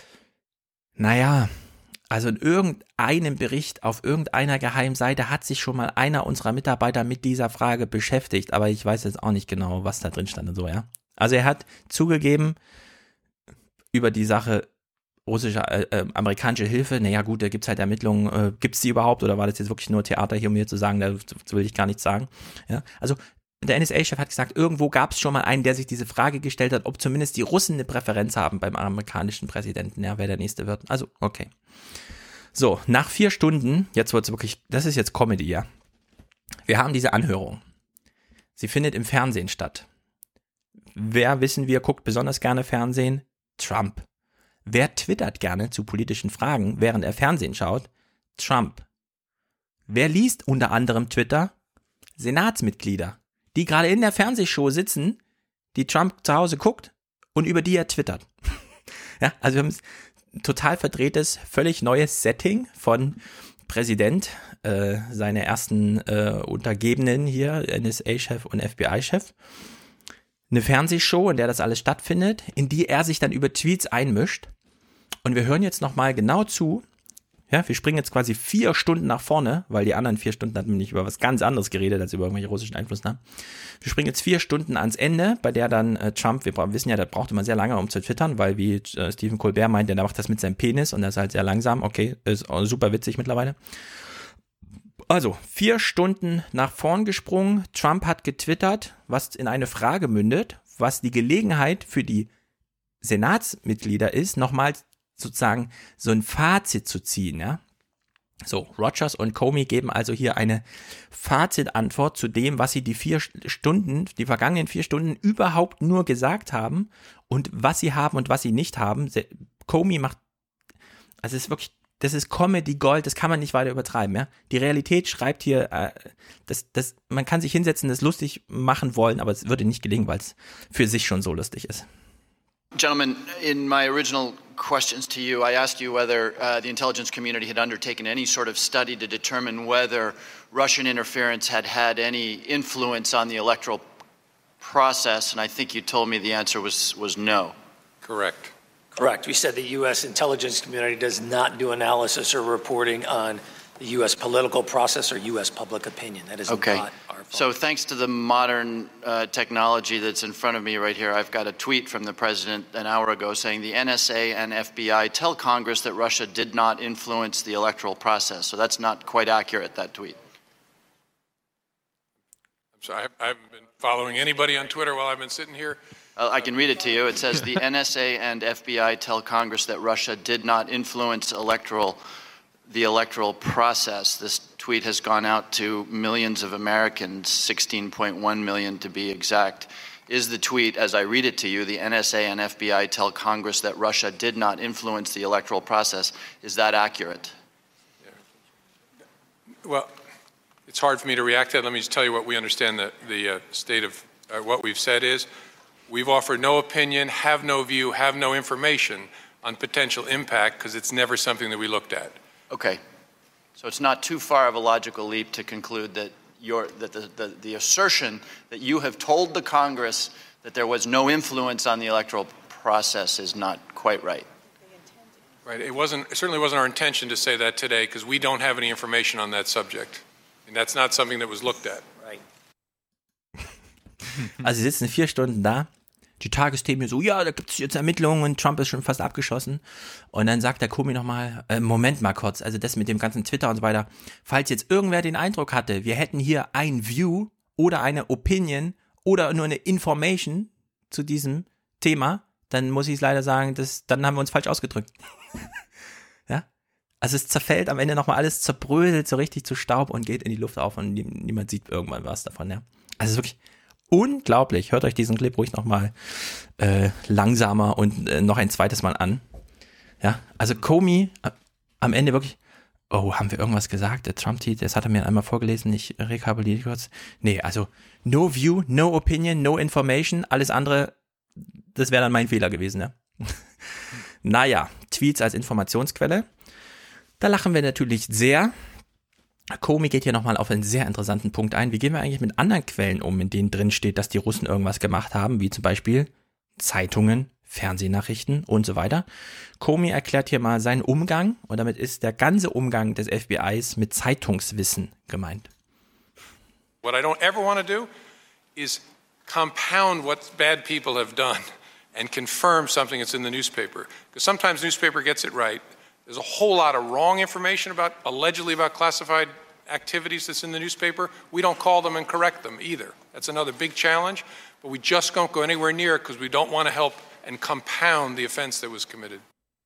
naja, also in irgendeinem Bericht auf irgendeiner Geheimseite hat sich schon mal einer unserer Mitarbeiter mit dieser Frage beschäftigt, aber ich weiß jetzt auch nicht genau, was da drin stand und so, ja. Also er hat zugegeben, über die Sache amerikanische Hilfe, naja gut, da gibt es halt Ermittlungen, gibt es die überhaupt oder war das jetzt wirklich nur Theater hier, um mir zu sagen, da will ich gar nichts sagen. Ja, also der NSA-Chef hat gesagt, irgendwo gab es schon mal einen, der sich diese Frage gestellt hat, ob zumindest die Russen eine Präferenz haben beim amerikanischen Präsidenten, ja, wer der nächste wird. Also, okay. So, nach 4 Stunden, jetzt wird es wirklich, das ist jetzt Comedy, ja. Wir haben diese Anhörung. Sie findet im Fernsehen statt. Wer, wissen wir, guckt besonders gerne Fernsehen? Trump. Wer twittert gerne zu politischen Fragen, während er Fernsehen schaut? Trump. Wer liest unter anderem Twitter? Senatsmitglieder, die gerade in der Fernsehshow sitzen, die Trump zu Hause guckt und über die er twittert. Ja, also wir haben ein total verdrehtes, völlig neues Setting von Präsident, seine ersten Untergebenen hier, NSA-Chef und FBI-Chef. Eine Fernsehshow, in der das alles stattfindet, in die er sich dann über Tweets einmischt. Und wir hören jetzt nochmal genau zu. Ja, wir springen jetzt quasi 4 Stunden nach vorne, weil die anderen 4 Stunden hatten wir nicht über was ganz anderes geredet, als über irgendwelche russischen Einflussnahmen. Wir springen jetzt 4 Stunden ans Ende, bei der dann Trump, wir wissen ja, der braucht immer sehr lange, um zu twittern, weil wie Stephen Colbert meint, der macht das mit seinem Penis und der ist halt sehr langsam. Okay, ist super witzig mittlerweile. Also, 4 Stunden nach vorn gesprungen. Trump hat getwittert, was in eine Frage mündet, was die Gelegenheit für die Senatsmitglieder ist, nochmal sozusagen so ein Fazit zu ziehen, ja. So, Rogers und Comey geben also hier eine Fazitantwort zu dem, was sie die vergangenen 4 Stunden überhaupt nur gesagt haben und was sie haben und was sie nicht haben. Comey macht, also es ist wirklich Das ist Comedy Gold, das kann man nicht weiter übertreiben. Ja? Die Realität schreibt hier, man kann sich hinsetzen, das lustig machen wollen, aber es würde nicht gelingen, weil es für sich schon so lustig ist. Gentlemen, in my original questions to you, I asked you whether the intelligence community had undertaken any sort of study to determine whether Russian interference had had any influence on the electoral process, and I think you told me the answer was no. Correct. Correct. We said the U.S. intelligence community does not do analysis or reporting on the U.S. political process or U.S. public opinion. That is okay. not our fault. So thanks to the modern technology that's in front of me right here, I've got a tweet from the president an hour ago saying the NSA and FBI tell Congress that Russia did not influence the electoral process. So that's not quite accurate, that tweet. I'm sorry, I haven't been following anybody on Twitter while I've been sitting here. I can read it to you. It says the NSA and FBI tell Congress that Russia did not influence the electoral process. This tweet has gone out to millions of Americans, 16.1 million to be exact. Is the tweet, as I read it to you, the NSA and FBI tell Congress that Russia did not influence the electoral process, is that accurate? Well, it's hard for me to react to that. Let me just tell you what we understand the state of what we've said is. We've offered no opinion, have no view, have no information on potential impact because it's never something that we looked at. Okay. So it's not too far of a logical leap to conclude that the assertion that you have told the Congress that there was no influence on the electoral process is not quite right. Right. It certainly wasn't our intention to say that today because we don't have any information on that subject. And that's not something that was looked at. Right. Also sie sitzen 4 Stunden da, die Tagesthemen so, ja, da gibt es jetzt Ermittlungen und Trump ist schon fast abgeschossen. Und dann sagt der Comey nochmal, Moment mal kurz, also das mit dem ganzen Twitter und so weiter, falls jetzt irgendwer den Eindruck hatte, wir hätten hier ein View oder eine Opinion oder nur eine Information zu diesem Thema, dann muss ich es leider sagen, dann haben wir uns falsch ausgedrückt. Ja? Also es zerfällt am Ende nochmal alles, zerbröselt so richtig zu Staub und geht in die Luft auf und niemand sieht irgendwann was davon. Ja? Also es ist wirklich unglaublich. Hört euch diesen Clip ruhig nochmal langsamer und noch ein zweites Mal an. Ja, also Comey am Ende wirklich, oh, haben wir irgendwas gesagt? Der Trump-Tweet, das hat er mir einmal vorgelesen, ich rekapituliere kurz. Nee, also no view, no opinion, no information, alles andere, das wäre dann mein Fehler gewesen, ja. Naja, Tweets als Informationsquelle. Da lachen wir natürlich sehr. Comey geht hier nochmal auf einen sehr interessanten Punkt ein. Wie gehen wir eigentlich mit anderen Quellen um, in denen drin steht, dass die Russen irgendwas gemacht haben, wie zum Beispiel Zeitungen, Fernsehnachrichten und so weiter. Comey erklärt hier mal seinen Umgang und damit ist der ganze Umgang des FBIs mit Zeitungswissen gemeint. What I don't ever want to do is compound what bad people have done and confirm something that's in the newspaper. Because sometimes the newspaper gets it right. There's a whole lot of wrong information allegedly about classified activities that's in the newspaper. We don't call them and correct them either. That's another big challenge, but we just don't go anywhere near it because we don't want to help and compound the offense that was committed.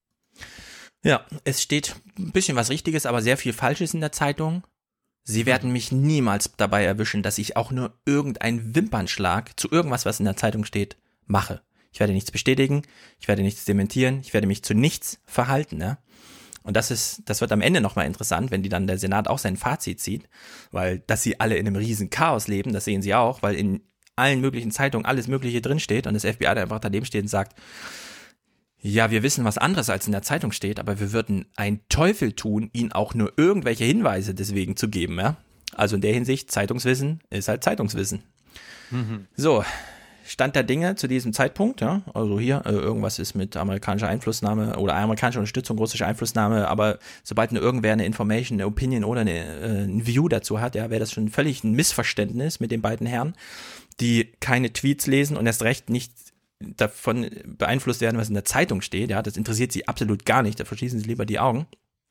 Ja, es steht ein bisschen was Richtiges, aber sehr viel Falsches in der Zeitung. Sie werden mich niemals dabei erwischen, dass ich auch nur irgendeinen Wimpernschlag zu irgendwas, was in der Zeitung steht, mache. Ich werde nichts bestätigen, ich werde nichts dementieren, ich werde mich zu nichts verhalten, ja. Und das wird am Ende nochmal interessant, wenn der Senat auch sein Fazit zieht, weil, dass sie alle in einem riesen Chaos leben, das sehen sie auch, weil in allen möglichen Zeitungen alles Mögliche drinsteht und das FBI da einfach daneben steht und sagt, ja, wir wissen was anderes als in der Zeitung steht, aber wir würden einen Teufel tun, ihnen auch nur irgendwelche Hinweise deswegen zu geben, ja. Also in der Hinsicht, Zeitungswissen ist halt Zeitungswissen. Mhm. So, Stand der Dinge zu diesem Zeitpunkt, ja, also hier, irgendwas ist mit amerikanischer Einflussnahme oder amerikanischer Unterstützung, russischer Einflussnahme, aber sobald irgendwer eine Information, eine Opinion oder ein View dazu hat, ja, wäre das schon völlig ein Missverständnis mit den beiden Herren, die keine Tweets lesen und erst recht nicht davon beeinflusst werden, was in der Zeitung steht, ja, das interessiert sie absolut gar nicht, da verschließen sie lieber die Augen.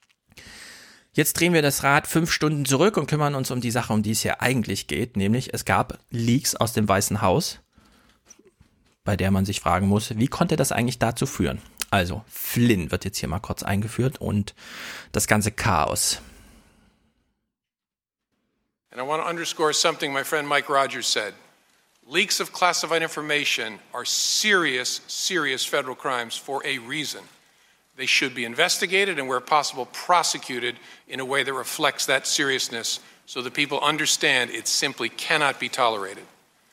Jetzt drehen wir das Rad 5 Stunden zurück und kümmern uns um die Sache, um die es hier eigentlich geht, nämlich es gab Leaks aus dem Weißen Haus, bei der man sich fragen muss, wie konnte das eigentlich dazu führen? Also, Flynn wird jetzt hier mal kurz eingeführt und das ganze Chaos. And I want to underscore something my friend Mike Rogers said. Leaks of classified information are serious, serious federal crimes for a reason. they should be investigated and, where possible, prosecuted in a way that reflects that seriousness so that people understand it simply cannot be tolerated.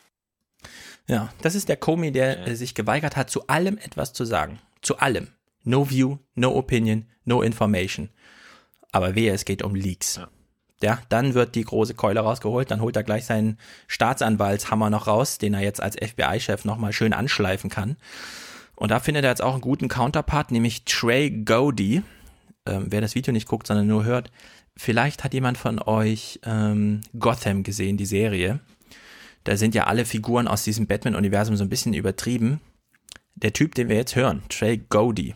Ja, das ist der Comey, der sich geweigert hat, zu allem etwas zu sagen. Zu allem. No view, no opinion, no information. Aber wehe, es geht um Leaks. Ja, dann wird die große Keule rausgeholt, dann holt er gleich seinen Staatsanwaltshammer noch raus, den er jetzt als FBI-Chef nochmal schön anschleifen kann. Und da findet er jetzt auch einen guten Counterpart, nämlich Trey Gowdy. Wer das Video nicht guckt, sondern nur hört, vielleicht hat jemand von euch Gotham gesehen, die Serie. Da sind ja alle Figuren aus diesem Batman-Universum so ein bisschen übertrieben. Der Typ, den wir jetzt hören, Trey Gowdy,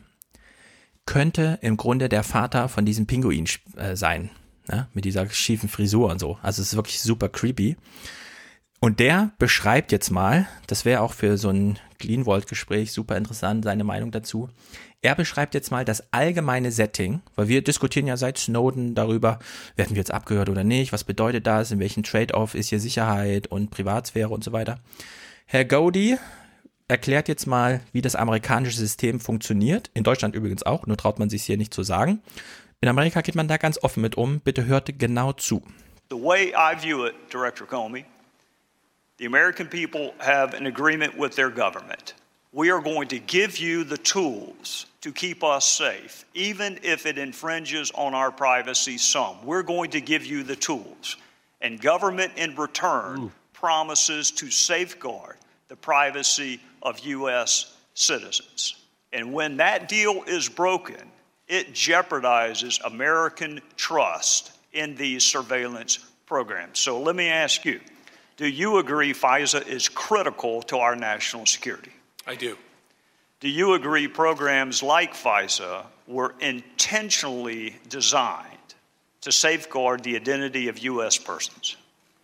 könnte im Grunde der Vater von diesem Pinguin sein. Ja, mit dieser schiefen Frisur und so. Also es ist wirklich super creepy. Und der beschreibt jetzt mal, das wäre auch für so ein Clean-Vault-Gespräch super interessant, seine Meinung dazu. Er beschreibt jetzt mal das allgemeine Setting, weil wir diskutieren ja seit Snowden darüber, werden wir jetzt abgehört oder nicht, was bedeutet das, in welchem Trade-off ist hier Sicherheit und Privatsphäre und so weiter. Herr Gowdy erklärt jetzt mal, wie das amerikanische System funktioniert, in Deutschland übrigens auch, nur traut man sich hier nicht zu sagen. In Amerika geht man da ganz offen mit um. Bitte hört genau zu. The way I view it, Director Comey, the American people have an agreement with their government. We are going to give you the tools to keep us safe, even if it infringes on our privacy some. We're going to give you the tools. And government in return promises to safeguard the privacy of U.S. citizens. And when that deal is broken, it jeopardizes American trust in these surveillance programs. So let me ask you, do you agree FISA is critical to our national security? I do. Do you agree programs like FISA were intentionally designed to safeguard the identity of U.S. persons?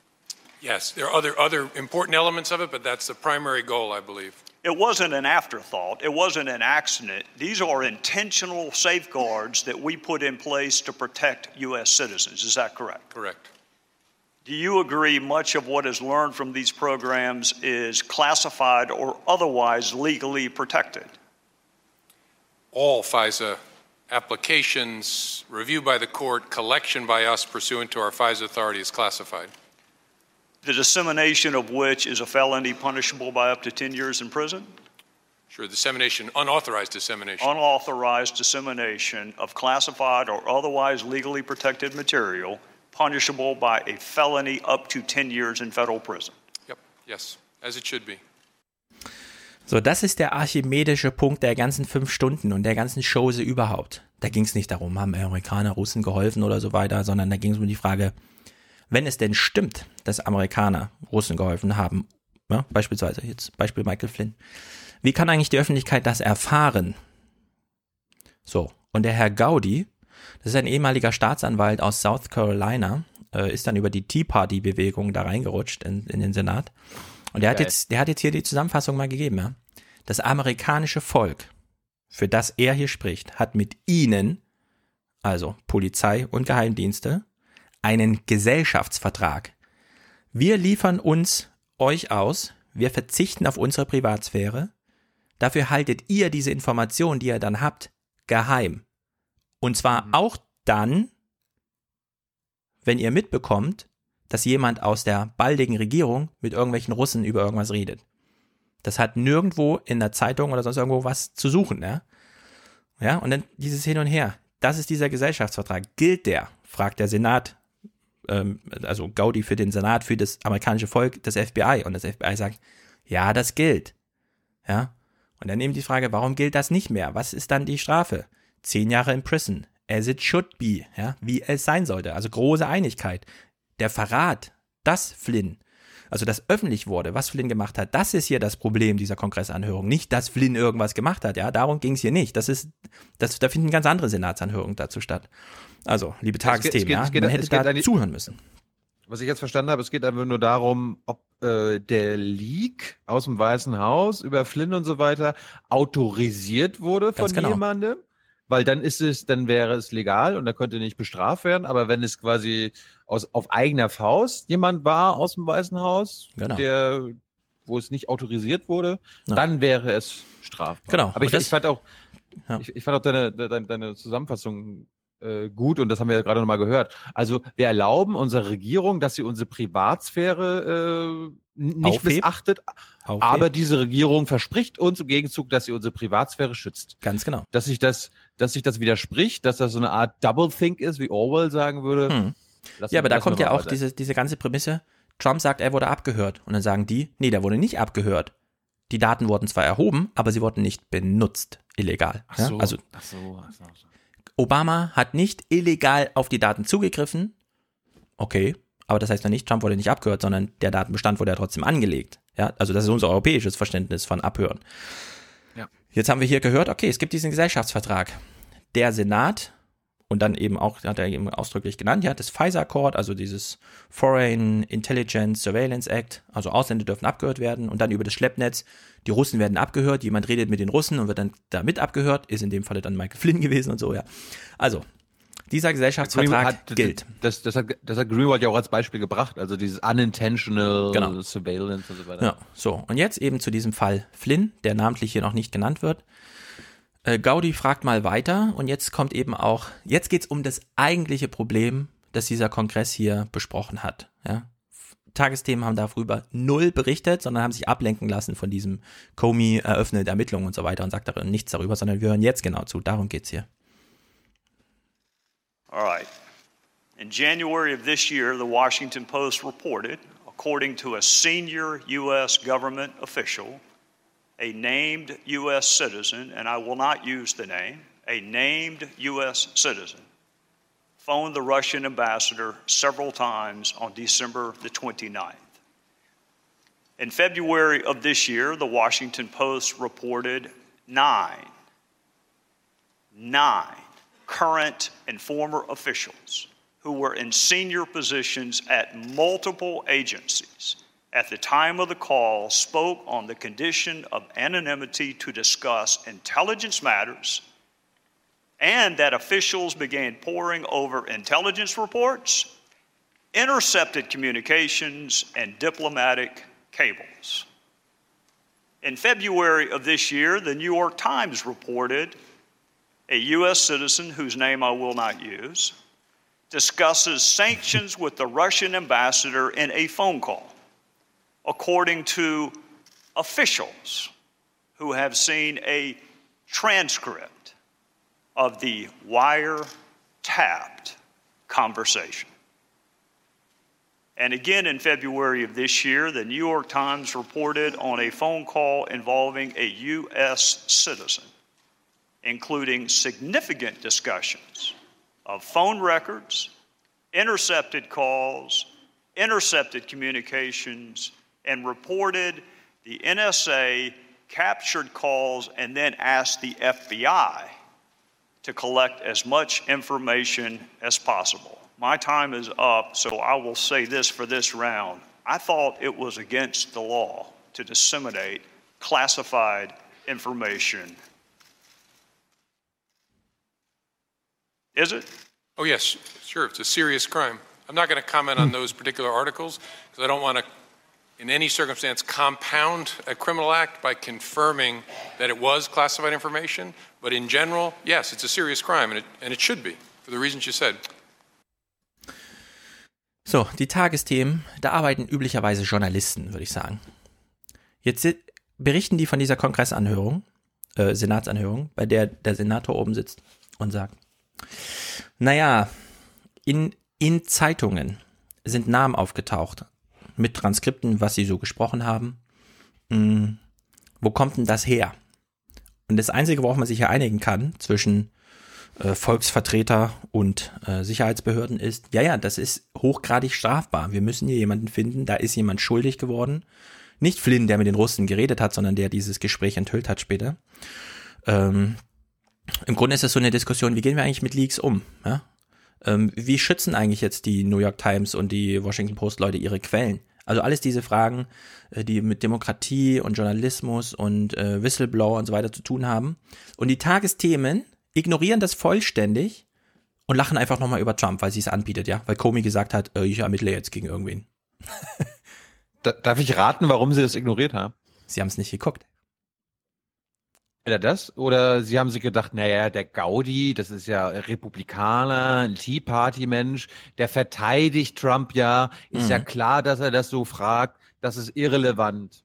Yes, there are other important elements of it, but that's the primary goal, I believe. It wasn't an afterthought. It wasn't an accident. These are intentional safeguards that we put in place to protect U.S. citizens. Is that correct? Correct. Do you agree much of what is learned from these programs is classified or otherwise legally protected? All FISA applications, review by the court, collection by us pursuant to our FISA authority is classified. The dissemination of which is a felony punishable by up to 10 years in prison? Sure, dissemination, unauthorized dissemination. Unauthorized dissemination of classified or otherwise legally protected material punishable by a felony up to 10 years in federal prison. Yep, yes, as it should be. So, das ist der archimedische Punkt der ganzen 5 Stunden und der ganzen Chose überhaupt. Da ging es nicht darum, haben Amerikaner Russen geholfen oder so weiter, sondern da ging es um die Frage, wenn es denn stimmt, dass Amerikaner Russen geholfen haben, ja, beispielsweise jetzt Beispiel Michael Flynn, wie kann eigentlich die Öffentlichkeit das erfahren? So, und der Herr Gowdy, das ist ein ehemaliger Staatsanwalt aus South Carolina, ist dann über die Tea Party-Bewegung da reingerutscht in den Senat. Und der hat jetzt hier die Zusammenfassung mal gegeben. Ja? Das amerikanische Volk, für das er hier spricht, hat mit Ihnen, also Polizei und Geheimdienste, einen Gesellschaftsvertrag. Wir liefern euch aus, wir verzichten auf unsere Privatsphäre, dafür haltet ihr diese Informationen, die ihr dann habt, geheim. Und zwar auch dann, wenn ihr mitbekommt, dass jemand aus der baldigen Regierung mit irgendwelchen Russen über irgendwas redet. Das hat nirgendwo in der Zeitung oder sonst irgendwo was zu suchen. Ja, und dann dieses Hin und Her. Das ist dieser Gesellschaftsvertrag. Gilt der? Fragt der Senat, also Gowdy für den Senat, für das amerikanische Volk, das FBI. Und das FBI sagt, ja, das gilt. Ja. Und dann eben die Frage, warum gilt das nicht mehr? Was ist dann die Strafe? 10 Jahre in Prison. As it should be. Ja, wie es sein sollte. Also große Einigkeit. Der Verrat, dass Flynn, also dass öffentlich wurde, was Flynn gemacht hat, das ist hier das Problem dieser Kongressanhörung. Nicht, dass Flynn irgendwas gemacht hat, ja, darum ging es hier nicht. Da finden ganz andere Senatsanhörungen dazu statt. Also, liebe Tagesthemen, man hätte da zuhören müssen. Was ich jetzt verstanden habe, es geht einfach nur darum, ob der Leak aus dem Weißen Haus über Flynn und so weiter autorisiert wurde von jemandem. Weil dann wäre es legal und da könnte nicht bestraft werden. Aber wenn es quasi auf eigener Faust jemand war aus dem Weißen Haus, wo es nicht autorisiert wurde, dann wäre es strafbar. Genau. Aber ich fand auch, Ja. Ich fand auch deine Zusammenfassung gut und das haben wir ja gerade nochmal gehört. Also wir erlauben unserer Regierung, dass sie unsere Privatsphäre nicht missachtet, aber diese Regierung verspricht uns im Gegenzug, dass sie unsere Privatsphäre schützt. Ganz genau. Dass sich das widerspricht, dass das so eine Art Doublethink ist, wie Orwell sagen würde. Ja, aber da kommt ja auch diese ganze Prämisse, Trump sagt, er wurde abgehört. Und dann sagen die, nee, der wurde nicht abgehört. Die Daten wurden zwar erhoben, aber sie wurden nicht benutzt, illegal. Ach so. Ja? Also Obama hat nicht illegal auf die Daten zugegriffen. Okay, aber das heißt noch nicht, Trump wurde nicht abgehört, sondern der Datenbestand wurde ja trotzdem angelegt. Ja, also das ist unser europäisches Verständnis von Abhören. Ja. Jetzt haben wir hier gehört, okay, es gibt diesen Gesellschaftsvertrag. Der Senat und dann eben auch, hat er eben ausdrücklich genannt, ja, das FISA-Accord, also dieses Foreign Intelligence Surveillance Act, also Ausländer dürfen abgehört werden und dann über das Schleppnetz, die Russen werden abgehört, jemand redet mit den Russen und wird dann damit abgehört, ist in dem Falle dann Michael Flynn gewesen und so, ja. Also, dieser Gesellschaftsvertrag gilt. Das hat Greenwald ja auch als Beispiel gebracht, also dieses unintentional Surveillance und so weiter. Ja, so. Und jetzt eben zu diesem Fall Flynn, der namentlich hier noch nicht genannt wird. Gaudi fragt mal weiter und jetzt geht's um das eigentliche Problem, das dieser Kongress hier besprochen hat. Ja? Tagesthemen haben darüber 0 berichtet, sondern haben sich ablenken lassen von diesem Comey eröffnet Ermittlungen und so weiter und sagt darin nichts darüber, sondern wir hören jetzt genau zu. Darum geht's hier. All right. In January of this year, the Washington Post reported, according to a senior U.S. government official, a named U.S. citizen, and I will not use the name, a named U.S. citizen, phoned the Russian ambassador several times on December the 29th. In February of this year, the Washington Post reported 9 current and former officials who were in senior positions at multiple agencies at the time of the call spoke on the condition of anonymity to discuss intelligence matters, and that officials began poring over intelligence reports, intercepted communications, and diplomatic cables. In February of this year, the New York Times reported a U.S. citizen, whose name I will not use, discusses sanctions with the Russian ambassador in a phone call, according to officials who have seen a transcript of the wiretapped conversation. And again in February of this year, the New York Times reported on a phone call involving a U.S. citizen, including significant discussions of phone records, intercepted calls, intercepted communications, and reported the NSA captured calls and then asked the FBI to collect as much information as possible. My time is up, so I will say this for this round. I thought it was against the law to disseminate classified information. Is it? Oh, yes, sure. It's a serious crime. I'm not going to comment on those particular articles because I don't want to, in any circumstance, compound a criminal act by confirming that it was classified information. But in general, yes, it's a serious crime, and it should be, for the reasons you said. So, die Tagesthemen, da arbeiten üblicherweise Journalisten, würde ich sagen. Jetzt berichten die von dieser Kongressanhörung, Senatsanhörung, bei der der Senator oben sitzt und sagt, naja, in Zeitungen sind Namen aufgetaucht mit Transkripten, was sie so gesprochen haben. Wo kommt denn das her? Und das Einzige, worauf man sich ja einigen kann zwischen Volksvertreter und Sicherheitsbehörden ist, ja, das ist hochgradig strafbar. Wir müssen hier jemanden finden, da ist jemand schuldig geworden. Nicht Flynn, der mit den Russen geredet hat, sondern der dieses Gespräch enthüllt hat später. Im Grunde ist es so eine Diskussion, wie gehen wir eigentlich mit Leaks um? Ja? Wie schützen eigentlich jetzt die New York Times und die Washington Post Leute ihre Quellen? Also alles diese Fragen, die mit Demokratie und Journalismus und Whistleblower und so weiter zu tun haben. Und die Tagesthemen ignorieren das vollständig und lachen einfach nochmal über Trump, weil sie es anbietet, ja, weil Comey gesagt hat, ich ermittle jetzt gegen irgendwen. Darf ich raten, warum sie das ignoriert haben? Sie haben es nicht geguckt. Entweder das oder sie haben sich gedacht, naja, der Gaudi, das ist ja Republikaner, ein Tea Party Mensch, der verteidigt Trump ja, ist ja klar, dass er das so fragt, das ist irrelevant.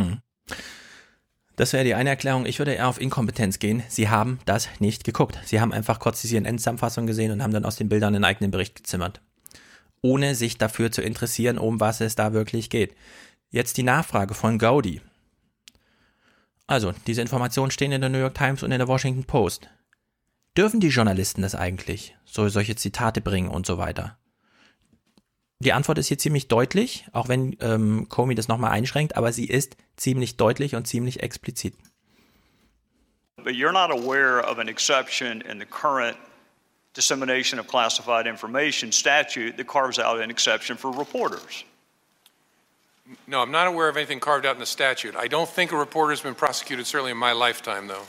Das wäre die eine Erklärung. Ich würde eher auf Inkompetenz gehen. Sie haben das nicht geguckt. Sie haben einfach kurz die CNN-Zusammenfassung gesehen und haben dann aus den Bildern einen eigenen Bericht gezimmert. Ohne sich dafür zu interessieren, um was es da wirklich geht. Jetzt die Nachfrage von Gaudi. Also, diese Informationen stehen in der New York Times und in der Washington Post. Dürfen die Journalisten das eigentlich? Solche Zitate bringen und so weiter? Die Antwort ist hier ziemlich deutlich, auch wenn Comey das nochmal einschränkt, aber sie ist ziemlich deutlich und ziemlich explizit. But you're not aware of an exception in the current dissemination of classified information statute that carves out an exception for reporters. No, I'm not aware of anything carved out in the statute. I don't think a reporter has been prosecuted, certainly in my lifetime, though.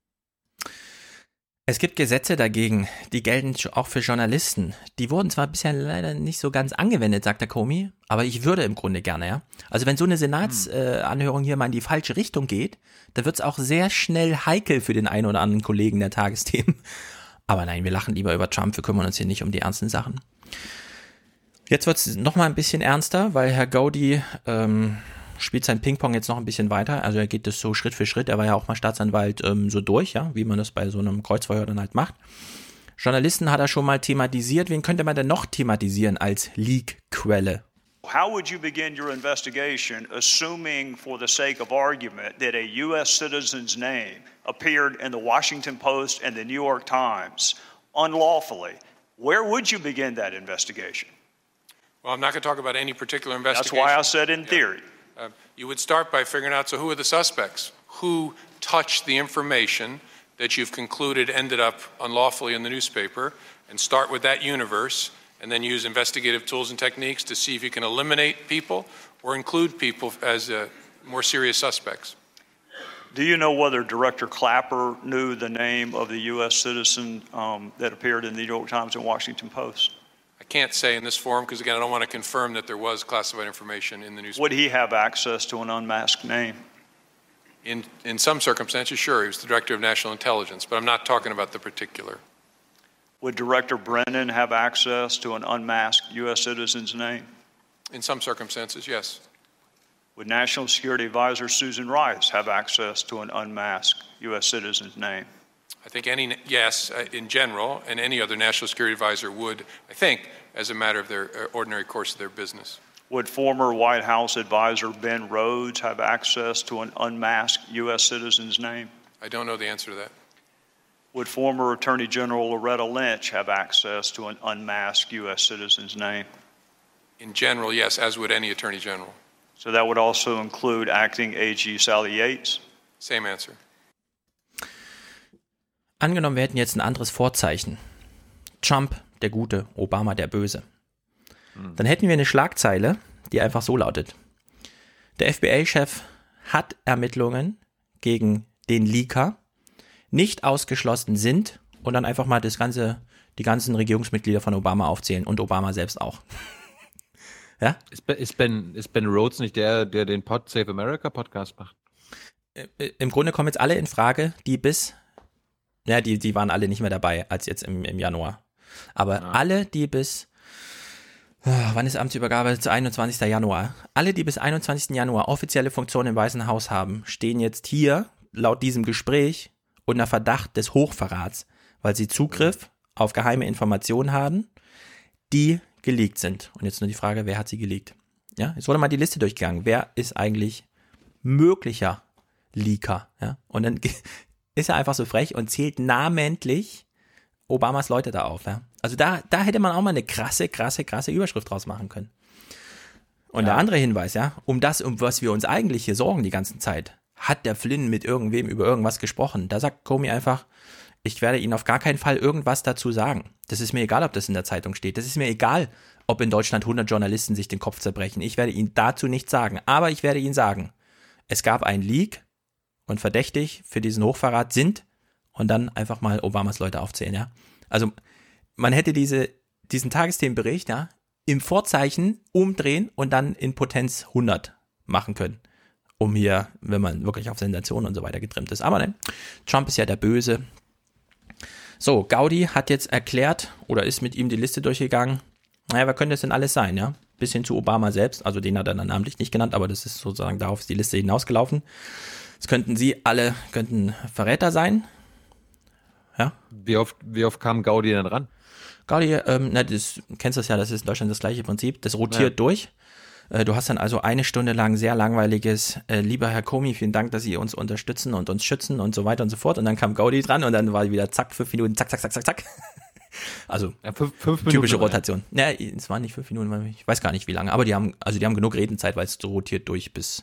Es gibt Gesetze dagegen, die gelten auch für Journalisten. Die wurden zwar bisher leider nicht so ganz angewendet, sagt der Comey, aber ich würde im Grunde gerne, ja. Also wenn so eine Senatsanhörung hier mal in die falsche Richtung geht, dann wird es auch sehr schnell heikel für den einen oder anderen Kollegen der Tagesthemen. Aber nein, wir lachen lieber über Trump, wir kümmern uns hier nicht um die ernsten Sachen. Jetzt wird es nochmal ein bisschen ernster, weil Herr Gaudi spielt sein Ping-Pong jetzt noch ein bisschen weiter. Also er geht das so Schritt für Schritt. Er war ja auch mal Staatsanwalt so durch, ja, wie man das bei so einem Kreuzverhör dann halt macht. Journalisten hat er schon mal thematisiert. Wen könnte man denn noch thematisieren als Leak-Quelle? How would you begin your investigation assuming for the sake of argument that a U.S. citizen's name appeared in the Washington Post and the New York Times unlawfully? Where would you begin that investigation? Well, I'm not going to talk about any particular investigation. That's why I said in theory. You would start by figuring out, so who are the suspects? Who touched the information that you've concluded ended up unlawfully in the newspaper, and start with that universe, and then use investigative tools and techniques to see if you can eliminate people or include people as more serious suspects. Do you know whether Director Clapper knew the name of the U.S. citizen that appeared in the New York Times and Washington Post? I can't say in this forum because, again, I don't want to confirm that there was classified information in the newspaper. Would he have access to an unmasked name? In some circumstances, sure. He was the Director of National Intelligence, but I'm not talking about the particular. Would Director Brennan have access to an unmasked U.S. citizen's name? In some circumstances, yes. Would National Security Advisor Susan Rice have access to an unmasked U.S. citizen's name? I think yes, in general, and any other national security advisor would, I think, as a matter of their ordinary course of their business. Would former White House advisor Ben Rhodes have access to an unmasked U.S. citizen's name? I don't know the answer to that. Would former Attorney General Loretta Lynch have access to an unmasked U.S. citizen's name? In general, yes, as would any Attorney General. So that would also include Acting AG Sally Yates? Same answer. Angenommen, wir hätten jetzt ein anderes Vorzeichen. Trump, der Gute, Obama, der Böse. Dann hätten wir eine Schlagzeile, die einfach so lautet. Der FBI-Chef hat Ermittlungen gegen den Leaker, nicht ausgeschlossen sind, und dann einfach mal die ganzen Regierungsmitglieder von Obama aufzählen und Obama selbst auch. Ja? Ist Ben Rhodes nicht der den Save America Podcast macht? Im Grunde kommen jetzt alle in Frage, die waren alle nicht mehr dabei als jetzt im Januar. Aber alle, die bis, wann ist Amtsübergabe? 21. Januar. Alle, die bis 21. Januar offizielle Funktionen im Weißen Haus haben, stehen jetzt hier, laut diesem Gespräch, unter Verdacht des Hochverrats, weil sie Zugriff auf geheime Informationen haben, die geleakt sind. Und jetzt nur die Frage, wer hat sie geleakt? Ja, jetzt wurde mal die Liste durchgegangen. Wer ist eigentlich möglicher Leaker? Ja, und dann ist er einfach so frech und zählt namentlich Obamas Leute da auf. Ja? Also da hätte man auch mal eine krasse Überschrift draus machen können. Und der andere Hinweis, ja, um was wir uns eigentlich hier sorgen die ganze Zeit, hat der Flynn mit irgendwem über irgendwas gesprochen. Da sagt Comey einfach, ich werde Ihnen auf gar keinen Fall irgendwas dazu sagen. Das ist mir egal, ob das in der Zeitung steht. Das ist mir egal, ob in Deutschland 100 Journalisten sich den Kopf zerbrechen. Ich werde Ihnen dazu nichts sagen. Aber ich werde Ihnen sagen, es gab einen Leak, und verdächtig für diesen Hochverrat sind, und dann einfach mal Obamas Leute aufzählen, ja. Also man hätte diesen Tagesthemenbericht, ja, im Vorzeichen umdrehen und dann in Potenz 100 machen können. um hier, wenn man wirklich auf Sensationen und so weiter getrimmt ist. Aber nein, Trump ist ja der Böse. So, Gaudi hat jetzt erklärt oder ist mit ihm die Liste durchgegangen. Naja, wer könnte es denn alles sein, ja? Bis hin zu Obama selbst, also den hat er dann namentlich nicht genannt, aber das ist sozusagen, darauf ist die Liste hinausgelaufen. Es könnten Verräter sein. Ja? Wie oft kam Gaudi denn ran? Gaudi, kennst du das ja, das ist in Deutschland das gleiche Prinzip, das rotiert durch. Du hast dann also eine Stunde lang sehr langweiliges, lieber Herr Comey, vielen Dank, dass Sie uns unterstützen und uns schützen und so weiter und so fort. Und dann kam Gaudi dran und dann war wieder zack, 5 Minuten, zack, zack, zack, zack, zack. Also ja, 5 Minuten, typische Rotation. Ja, es waren nicht 5 Minuten, ich weiß gar nicht wie lange, aber die haben genug Redenzeit, weil es so rotiert durch bis.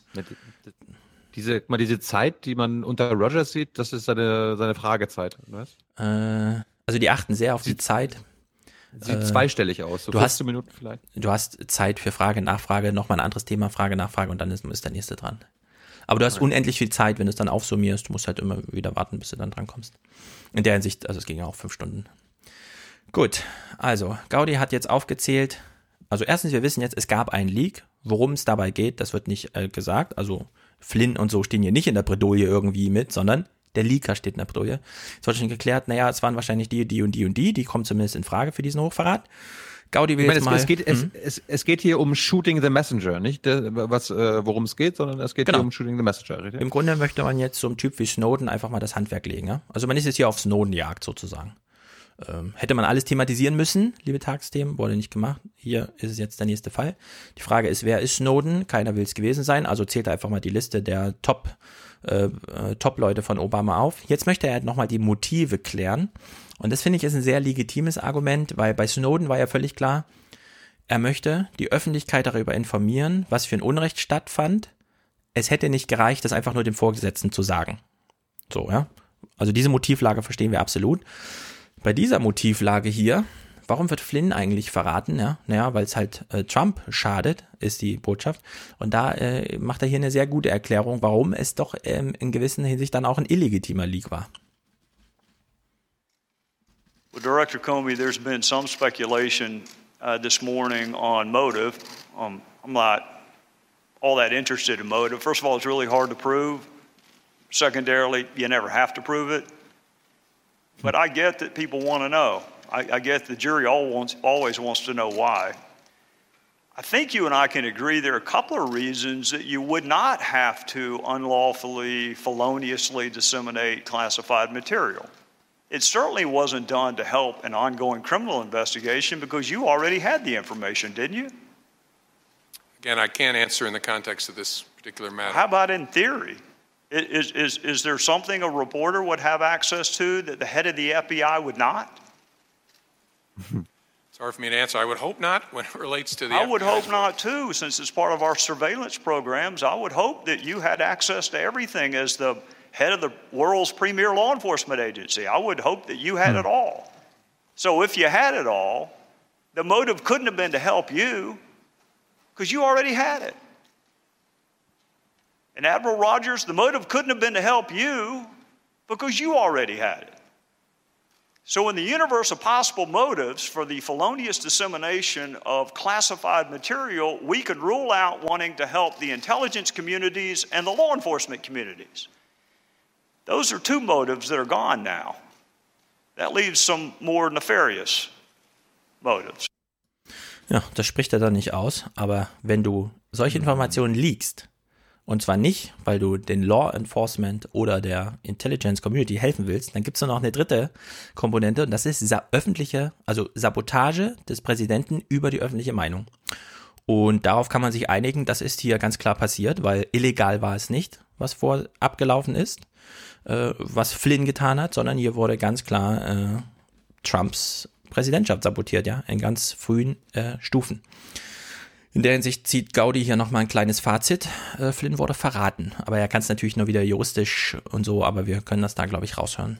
Diese Zeit, die man unter Rogers sieht, das ist seine Fragezeit, weißt? Also die achten sehr auf die Zeit. Sieht zweistellig aus, so 15 Minuten vielleicht. Du hast Zeit für Frage, Nachfrage, nochmal ein anderes Thema, Frage, Nachfrage und dann ist der nächste dran. Aber du hast unendlich viel Zeit, wenn du es dann aufsummierst. Du musst halt immer wieder warten, bis du dann dran kommst. In der Hinsicht, also es ging ja auch 5 Stunden. Gut, also Gaudi hat jetzt aufgezählt. Also erstens, wir wissen jetzt, es gab einen Leak. Worum es dabei geht, das wird nicht gesagt. Also Flynn und so stehen hier nicht in der Bredouille irgendwie mit, sondern der Leaker steht in der Bredouille. Jetzt wurde schon geklärt, naja, es waren wahrscheinlich die kommen zumindest in Frage für diesen Hochverrat. Gaudi will jetzt mal... Es geht hier um Shooting the Messenger, nicht worum es geht, sondern es geht hier um Shooting the Messenger. Richtig? Im Grunde möchte man jetzt so einem Typ wie Snowden einfach mal das Handwerk legen. Ja? Also man ist jetzt hier auf Snowden-Jagd sozusagen. Hätte man alles thematisieren müssen, liebe Tagesthemen, wurde nicht gemacht. Hier ist es jetzt der nächste Fall. Die Frage ist, wer ist Snowden? Keiner will es gewesen sein, also zählt er einfach mal die Liste der Top-Leute von Obama auf. Jetzt möchte er halt nochmal die Motive klären. Und das finde ich ist ein sehr legitimes Argument, weil bei Snowden war ja völlig klar, er möchte die Öffentlichkeit darüber informieren, was für ein Unrecht stattfand. Es hätte nicht gereicht, das einfach nur dem Vorgesetzten zu sagen. So, ja. Also diese Motivlage verstehen wir absolut. Bei dieser Motivlage hier, warum wird Flynn eigentlich verraten? Ja, naja, weil es halt Trump schadet, ist die Botschaft. Und da macht er hier eine sehr gute Erklärung, warum es doch in gewisser Hinsicht dann auch ein illegitimer Leak war. Well, Director Comey, there's been some speculation this morning on motive. I'm not all that interested in motive. First of all, it's really hard to prove. Secondarily, you never have to prove it. But I get that people want to know. I get the jury always wants to know why. I think you and I can agree there are a couple of reasons that you would not have to unlawfully, feloniously disseminate classified material. It certainly wasn't done to help an ongoing criminal investigation because you already had the information, didn't you? Again, I can't answer in the context of this particular matter. How about in theory? Is there something a reporter would have access to that the head of the FBI would not? It's hard for me to answer. I would hope not when it relates to the I would hope not too, since it's part of our surveillance programs. I would hope that you had access to everything as the head of the world's premier law enforcement agency. I would hope that you had it all. So if you had it all, the motive couldn't have been to help you because you already had it. And Admiral Rogers, the motive couldn't have been to help you because you already had it. So in the universe of possible motives for the felonious dissemination of classified material, we could rule out wanting to help the intelligence communities and the law enforcement communities. Those are 2 motives that are gone now. That leaves some more nefarious motives. Ja, das spricht er dann nicht aus, aber wenn du solche Informationen leakst, und zwar nicht, weil du den Law Enforcement oder der Intelligence Community helfen willst, dann gibt es noch eine dritte Komponente und das ist Sabotage des Präsidenten über die öffentliche Meinung. Und darauf kann man sich einigen, das ist hier ganz klar passiert, weil illegal war es nicht, was abgelaufen ist, was Flynn getan hat, sondern hier wurde ganz klar Trumps Präsidentschaft sabotiert, ja, in ganz frühen Stufen. In der Hinsicht zieht Gaudi hier nochmal ein kleines Fazit. Flynn wurde verraten, aber er kann es natürlich nur wieder juristisch und so, aber wir können das da, glaube ich, raushören.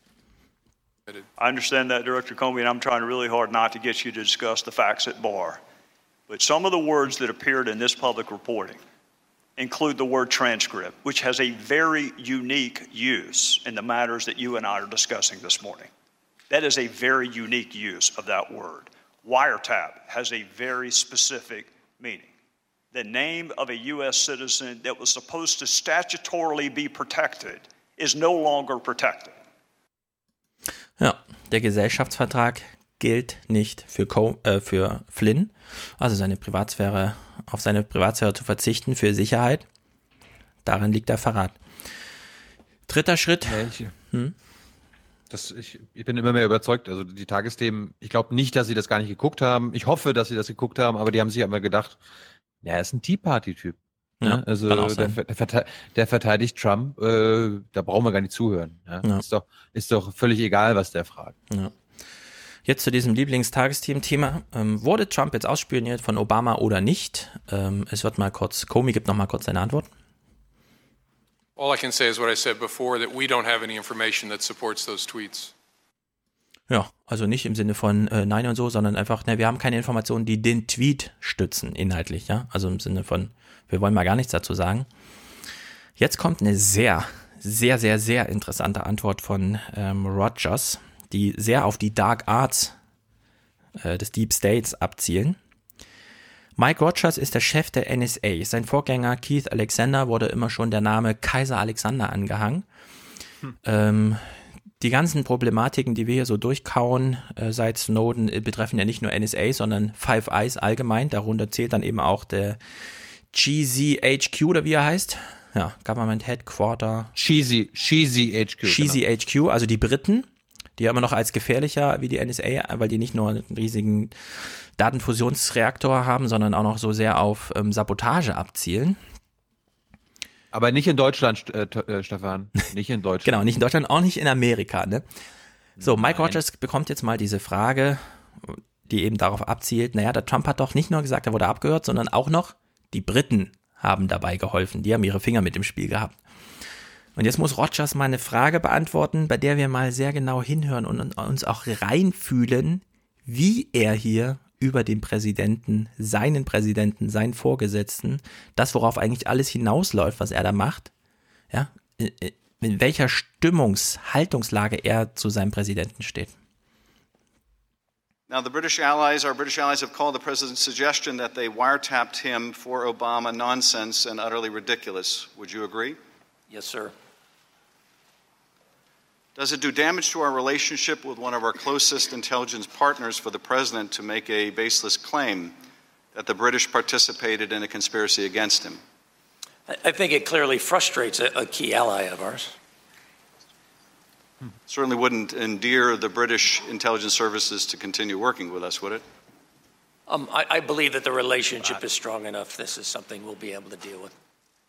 I understand that, Director Comey, and I'm trying really hard not to get you to discuss the facts at bar. But some of the words that appeared in this public reporting include the word transcript, which has a very unique use in the matters that you and I are discussing this morning. That is a very unique use of that word. Wiretap has a very specific meaning. the name of a U.S. citizen that was supposed to statutorily be protected is no longer protected. Ja, der Gesellschaftsvertrag gilt nicht für Flynn, also seine Privatsphäre, auf seine Privatsphäre zu verzichten für Sicherheit. Darin liegt der Verrat. Dritter Schritt. Ich bin immer mehr überzeugt, also die Tagesthemen, ich glaube nicht, dass sie das gar nicht geguckt haben. Ich hoffe, dass sie das geguckt haben, aber die haben sich immer gedacht, ja, er ist ein Tea Party-Typ. Ja, also der verteidigt Trump, da brauchen wir gar nicht zuhören. Ja? Ja. Ist doch völlig egal, was der fragt. Ja. Jetzt zu diesem Lieblingstagesthemen-Thema. Wurde Trump jetzt ausspioniert von Obama oder nicht? Es wird mal kurz, Comey gibt noch mal kurz seine Antwort. All I can say is what I said before, that we don't have any information that supports those tweets. Ja, also nicht im Sinne von nein und so, sondern einfach, wir haben keine Informationen, die den Tweet stützen, inhaltlich, ja. Also im Sinne von, wir wollen mal gar nichts dazu sagen. Jetzt kommt eine sehr, sehr, sehr, sehr interessante Antwort von Rogers, die sehr auf die Dark Arts des Deep States abzielen. Mike Rogers ist der Chef der NSA. Sein Vorgänger Keith Alexander wurde immer schon der Name Kaiser Alexander angehangen. Die ganzen Problematiken, die wir hier so durchkauen seit Snowden, betreffen ja nicht nur NSA, sondern Five Eyes allgemein. Darunter zählt dann eben auch der GCHQ oder wie er heißt. Ja, Government Headquarter. GCHQ. GCHQ, also die Briten, die ja immer noch als gefährlicher wie die NSA, weil die nicht nur einen riesigen Datenfusionsreaktor haben, sondern auch noch so sehr auf Sabotage abzielen. Aber nicht in Deutschland, Stefan. Nicht in Deutschland. Genau, nicht in Deutschland, auch nicht in Amerika. Ne? So, Mike Rogers bekommt jetzt mal diese Frage, die eben darauf abzielt, naja, der Trump hat doch nicht nur gesagt, er wurde abgehört, sondern auch noch, die Briten haben dabei geholfen. Die haben ihre Finger mit im Spiel gehabt. Und jetzt muss Rogers mal eine Frage beantworten, bei der wir mal sehr genau hinhören und uns auch reinfühlen, wie er hier über den Präsidenten, seinen Vorgesetzten, das, worauf eigentlich alles hinausläuft, was er da macht, ja, in welcher Haltungslage er zu seinem Präsidenten steht. Now, our British allies have called the president's suggestion that they wiretapped him for Obama nonsense and utterly ridiculous. Would you agree? Yes, sir. Does it do damage to our relationship with one of our closest intelligence partners for the president to make a baseless claim that the British participated in a conspiracy against him? I think it clearly frustrates a key ally of ours. Certainly wouldn't endear the British intelligence services to continue working with us, would it? I believe that the relationship is strong enough. This is something we'll be able to deal with.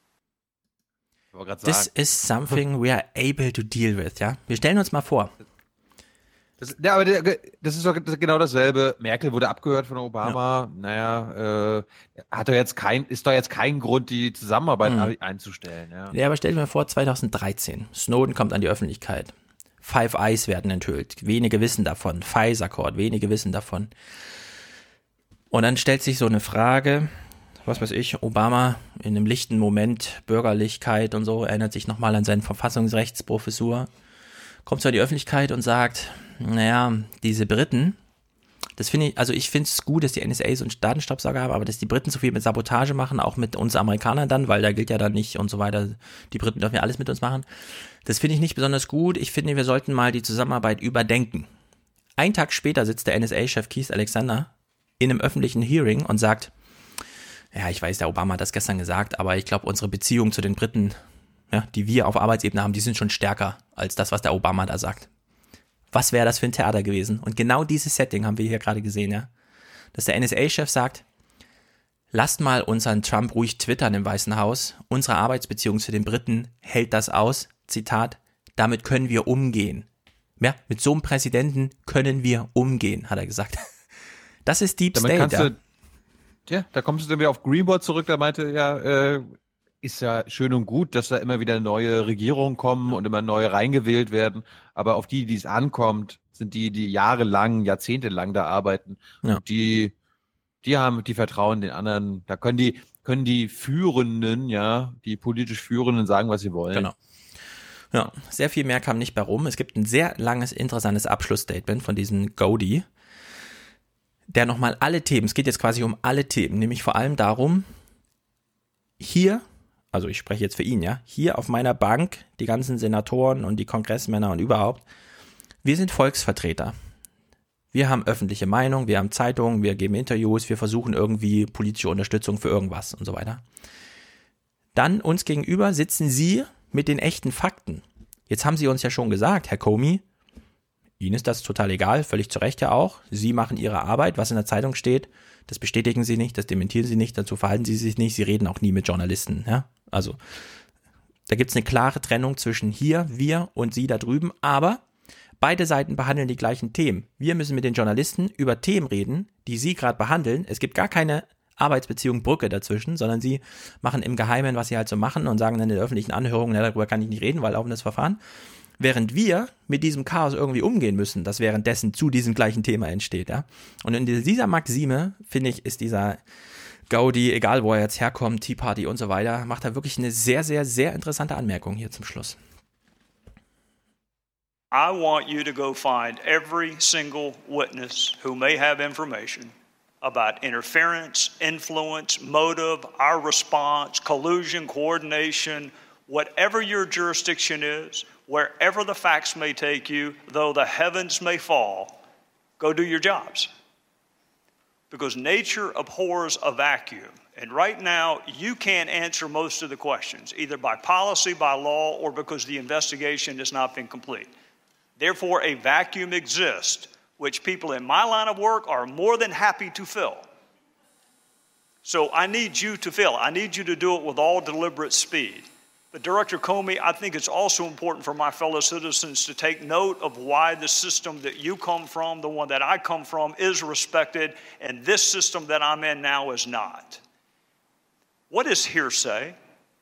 This is something we are able to deal with, ja? Wir stellen uns mal vor. Aber das ist doch genau dasselbe. Merkel wurde abgehört von Obama. Ja. Naja, ist doch jetzt kein Grund, die Zusammenarbeit einzustellen. Ja, aber stell dir mal vor, 2013. Snowden kommt an die Öffentlichkeit. Five Eyes werden enthüllt. Wenige wissen davon. FISA-Court, wenige wissen davon. Und dann stellt sich so eine Frage, was weiß ich, Obama in einem lichten Moment, Bürgerlichkeit und so, erinnert sich nochmal an seine Verfassungsrechtsprofessur, kommt zu die Öffentlichkeit und sagt, naja, diese Briten, das finde ich, also ich finde es gut, dass die NSA so einen Datenstaubsauger haben, aber dass die Briten so viel mit Sabotage machen, auch mit uns Amerikanern dann, weil da gilt ja dann nicht und so weiter, die Briten dürfen ja alles mit uns machen, das finde ich nicht besonders gut. Ich finde, wir sollten mal die Zusammenarbeit überdenken. Einen Tag später sitzt der NSA-Chef Keith Alexander in einem öffentlichen Hearing und sagt, ja, ich weiß, der Obama hat das gestern gesagt, aber ich glaube, unsere Beziehungen zu den Briten, ja, die wir auf Arbeitsebene haben, die sind schon stärker als das, was der Obama da sagt. Was wäre das für ein Theater gewesen? Und genau dieses Setting haben wir hier gerade gesehen, ja. Dass der NSA-Chef sagt, lasst mal unseren Trump ruhig twittern im Weißen Haus. Unsere Arbeitsbeziehung zu den Briten hält das aus. Zitat, damit können wir umgehen. Ja, mit so einem Präsidenten können wir umgehen, hat er gesagt. Das ist Deep State, ja. Da kommst du dann wieder auf Greenwald zurück, da meinte ist ja schön und gut, dass da immer wieder neue Regierungen kommen und immer neue reingewählt werden, aber auf die es ankommt, sind die jahrelang, jahrzehntelang da arbeiten. Ja. Und die vertrauen den anderen, da können die Führenden, ja, die politisch Führenden sagen, was sie wollen. Genau. Ja, sehr viel mehr kam nicht bei rum. Es gibt ein sehr langes, interessantes Abschlussstatement von diesem Godey, der nochmal alle Themen, es geht jetzt quasi um alle Themen, nämlich vor allem darum, hier, also ich spreche jetzt für ihn, ja, hier auf meiner Bank, die ganzen Senatoren und die Kongressmänner und überhaupt, wir sind Volksvertreter. Wir haben öffentliche Meinung, wir haben Zeitungen, wir geben Interviews, wir versuchen irgendwie politische Unterstützung für irgendwas und so weiter. Dann uns gegenüber sitzen Sie mit den echten Fakten. Jetzt haben Sie uns ja schon gesagt, Herr Comey, Ihnen ist das total egal, völlig zu Recht ja auch. Sie machen Ihre Arbeit, was in der Zeitung steht, das bestätigen Sie nicht, das dementieren Sie nicht, dazu verhalten Sie sich nicht, Sie reden auch nie mit Journalisten. Ja? Also da gibt es eine klare Trennung zwischen hier, wir und Sie da drüben, aber beide Seiten behandeln die gleichen Themen. Wir müssen mit den Journalisten über Themen reden, die Sie gerade behandeln. Es gibt gar keine Arbeitsbeziehung Brücke dazwischen, sondern Sie machen im Geheimen, was Sie halt so machen und sagen dann in der öffentlichen Anhörung, darüber kann ich nicht reden, weil laufendes Verfahren. Während wir mit diesem Chaos irgendwie umgehen müssen, das währenddessen zu diesem gleichen Thema entsteht. Ja? Und in dieser Maxime, finde ich, ist dieser Gaudi, egal wo er jetzt herkommt, Tea Party und so weiter, macht er wirklich eine sehr, sehr, sehr interessante Anmerkung hier zum Schluss. I want you to go find every single witness who may have information about interference, influence, motive, our response, collusion, coordination, whatever your jurisdiction is, wherever the facts may take you, though the heavens may fall, go do your jobs. Because nature abhors a vacuum. And right now, you can't answer most of the questions, either by policy, by law, or because the investigation has not been complete. Therefore, a vacuum exists, which people in my line of work are more than happy to fill. So I need you to fill. I need you to do it with all deliberate speed. But Director Comey, I think it's also important for my fellow citizens to take note of why the system that you come from, the one that I come from, is respected, and this system that I'm in now is not. What is hearsay?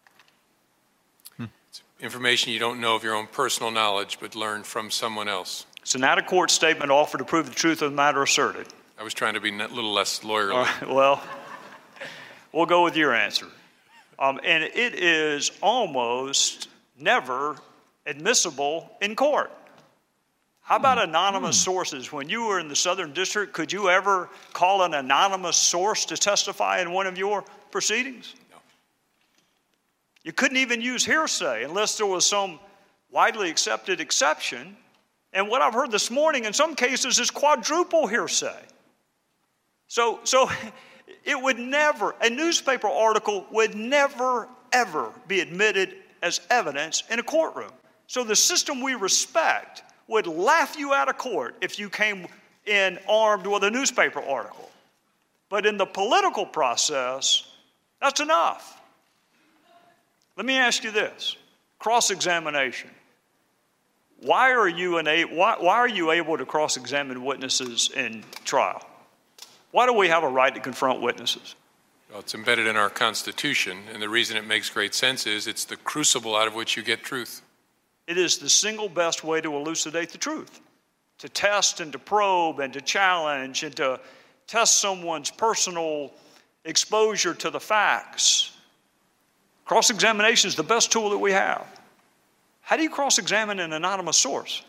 It's information you don't know of your own personal knowledge, but learned from someone else. It's an out-of-court statement offered to prove the truth of the matter asserted. I was trying to be a little less lawyerly. Well, we'll go with your answer. And it is almost never admissible in court. How about anonymous sources? When you were in the Southern District, could you ever call an anonymous source to testify in one of your proceedings? No. You couldn't even use hearsay unless there was some widely accepted exception. And what I've heard this morning in some cases is quadruple hearsay. So it would never, a newspaper article would never, ever be admitted as evidence in a courtroom. So the system we respect would laugh you out of court if you came in armed with a newspaper article. But in the political process, that's enough. Let me ask you this, cross-examination. Why are you able to cross-examine witnesses in trial? Why do we have a right to confront witnesses? Well, it's embedded in our Constitution, and the reason it makes great sense is it's the crucible out of which you get truth. It is the single best way to elucidate the truth, to test and to probe and to challenge and to test someone's personal exposure to the facts. Cross-examination is the best tool that we have. How do you cross-examine an anonymous source?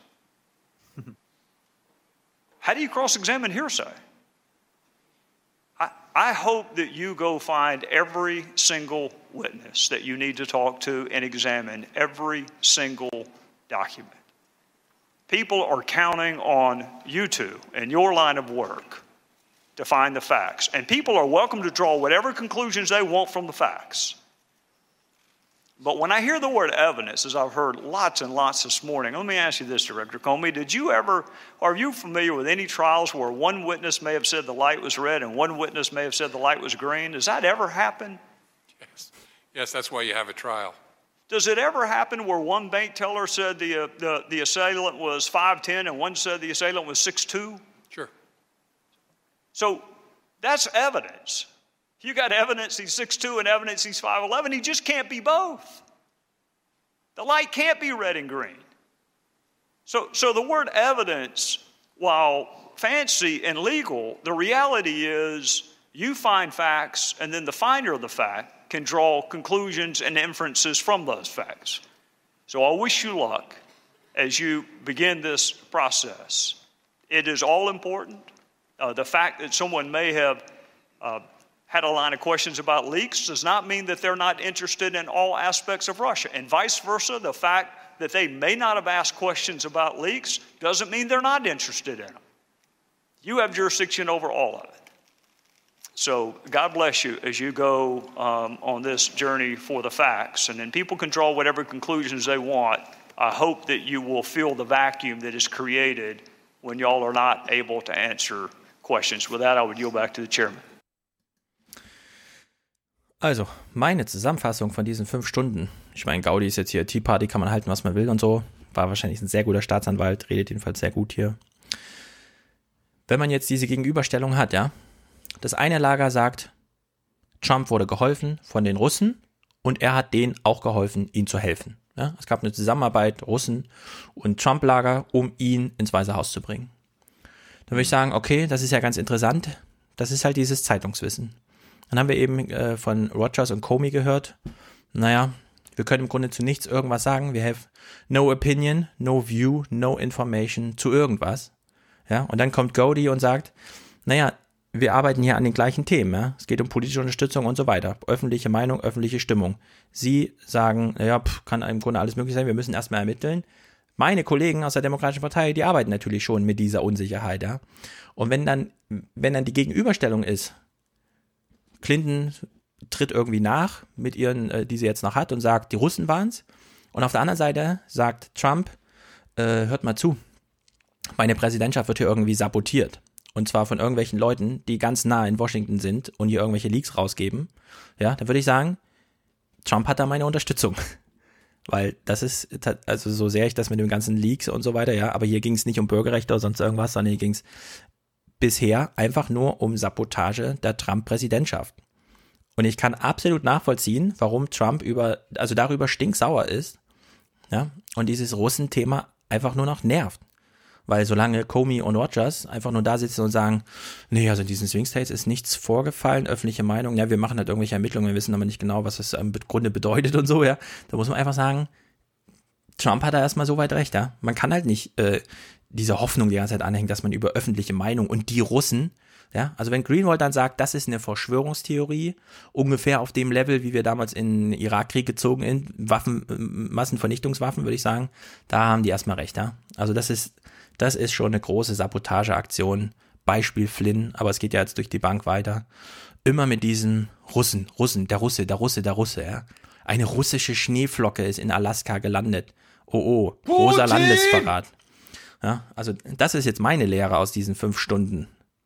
How do you cross-examine hearsay? I hope that you go find every single witness that you need to talk to and examine every single document. People are counting on you two and your line of work to find the facts. And people are welcome to draw whatever conclusions they want from the facts. But when I hear the word evidence, as I've heard lots and lots this morning, let me ask you this, Director Comey. Are you familiar with any trials where one witness may have said the light was red and one witness may have said the light was green? Does that ever happen? Yes, that's why you have a trial. Does it ever happen where one bank teller said the assailant was 5'10" and one said the assailant was 6'2"? Sure. So that's evidence. You got evidence he's 6'2" and evidence he's 5'11". He just can't be both. The light can't be red and green. So the word evidence, while fancy and legal, the reality is you find facts and then the finder of the fact can draw conclusions and inferences from those facts. So I wish you luck as you begin this process. It is all important. The fact that someone may have had a line of questions about leaks does not mean that they're not interested in all aspects of Russia. And vice versa, the fact that they may not have asked questions about leaks doesn't mean they're not interested in them. You have jurisdiction over all of it. So God bless you as you go on this journey for the facts. And then people can draw whatever conclusions they want. I hope that you will fill the vacuum that is created when y'all are not able to answer questions. With that, I would yield back to the chairman. Also, meine Zusammenfassung von diesen 5 Stunden. Ich meine, Gaudi ist jetzt hier Tea Party, kann man halten, was man will und so. War wahrscheinlich ein sehr guter Staatsanwalt, redet jedenfalls sehr gut hier. Wenn man jetzt diese Gegenüberstellung hat, ja, das eine Lager sagt, Trump wurde geholfen von den Russen und er hat denen auch geholfen, ihnen zu helfen. Ja, es gab eine Zusammenarbeit, Russen und Trump-Lager, um ihn ins Weiße Haus zu bringen. Dann würde ich sagen, okay, das ist ja ganz interessant. Das ist halt dieses Zeitungswissen. Dann haben wir eben von Rogers und Comey gehört, naja, wir können im Grunde zu nichts irgendwas sagen. Wir have no opinion, no view, no information zu irgendwas. Ja, und dann kommt Gaudi und sagt, naja, wir arbeiten hier an den gleichen Themen. Ja? Es geht um politische Unterstützung und so weiter. Öffentliche Meinung, öffentliche Stimmung. Sie sagen, naja, kann im Grunde alles möglich sein, wir müssen erstmal ermitteln. Meine Kollegen aus der Demokratischen Partei, die arbeiten natürlich schon mit dieser Unsicherheit. Ja? Und wenn dann die Gegenüberstellung ist, Clinton tritt irgendwie nach mit ihren, die sie jetzt noch hat und sagt, die Russen waren's. Und auf der anderen Seite sagt Trump, hört mal zu, meine Präsidentschaft wird hier irgendwie sabotiert. Und zwar von irgendwelchen Leuten, die ganz nah in Washington sind und hier irgendwelche Leaks rausgeben. Ja, dann würde ich sagen, Trump hat da meine Unterstützung. Weil das ist, also so sehr ich das mit den ganzen Leaks und so weiter, ja, aber hier ging es nicht um Bürgerrechte oder sonst irgendwas, sondern hier ging es bisher einfach nur um Sabotage der Trump-Präsidentschaft. Und ich kann absolut nachvollziehen, warum Trump darüber stinksauer ist, ja, und dieses Russen-Thema einfach nur noch nervt. Weil solange Comey und Rogers einfach nur da sitzen und sagen, nee, also in diesen Swing States ist nichts vorgefallen, öffentliche Meinung, ja, wir machen halt irgendwelche Ermittlungen, wir wissen aber nicht genau, was das im Grunde bedeutet und so, ja, da muss man einfach sagen, Trump hat da erstmal so weit recht, ja. Man kann halt nicht diese Hoffnung die ganze Zeit anhängen, dass man über öffentliche Meinung und die Russen, ja, also wenn Greenwald dann sagt, das ist eine Verschwörungstheorie, ungefähr auf dem Level, wie wir damals in den Irakkrieg gezogen sind, Massenvernichtungswaffen, würde ich sagen, da haben die erstmal recht, ja. Also das ist schon eine große Sabotageaktion, Beispiel Flynn, aber es geht ja jetzt durch die Bank weiter. Immer mit diesen Russen, der Russe, ja. Eine russische Schneeflocke ist in Alaska gelandet. Oh, großer Landesverrat. Ja, also das ist jetzt meine Lehre aus diesen 5 Stunden.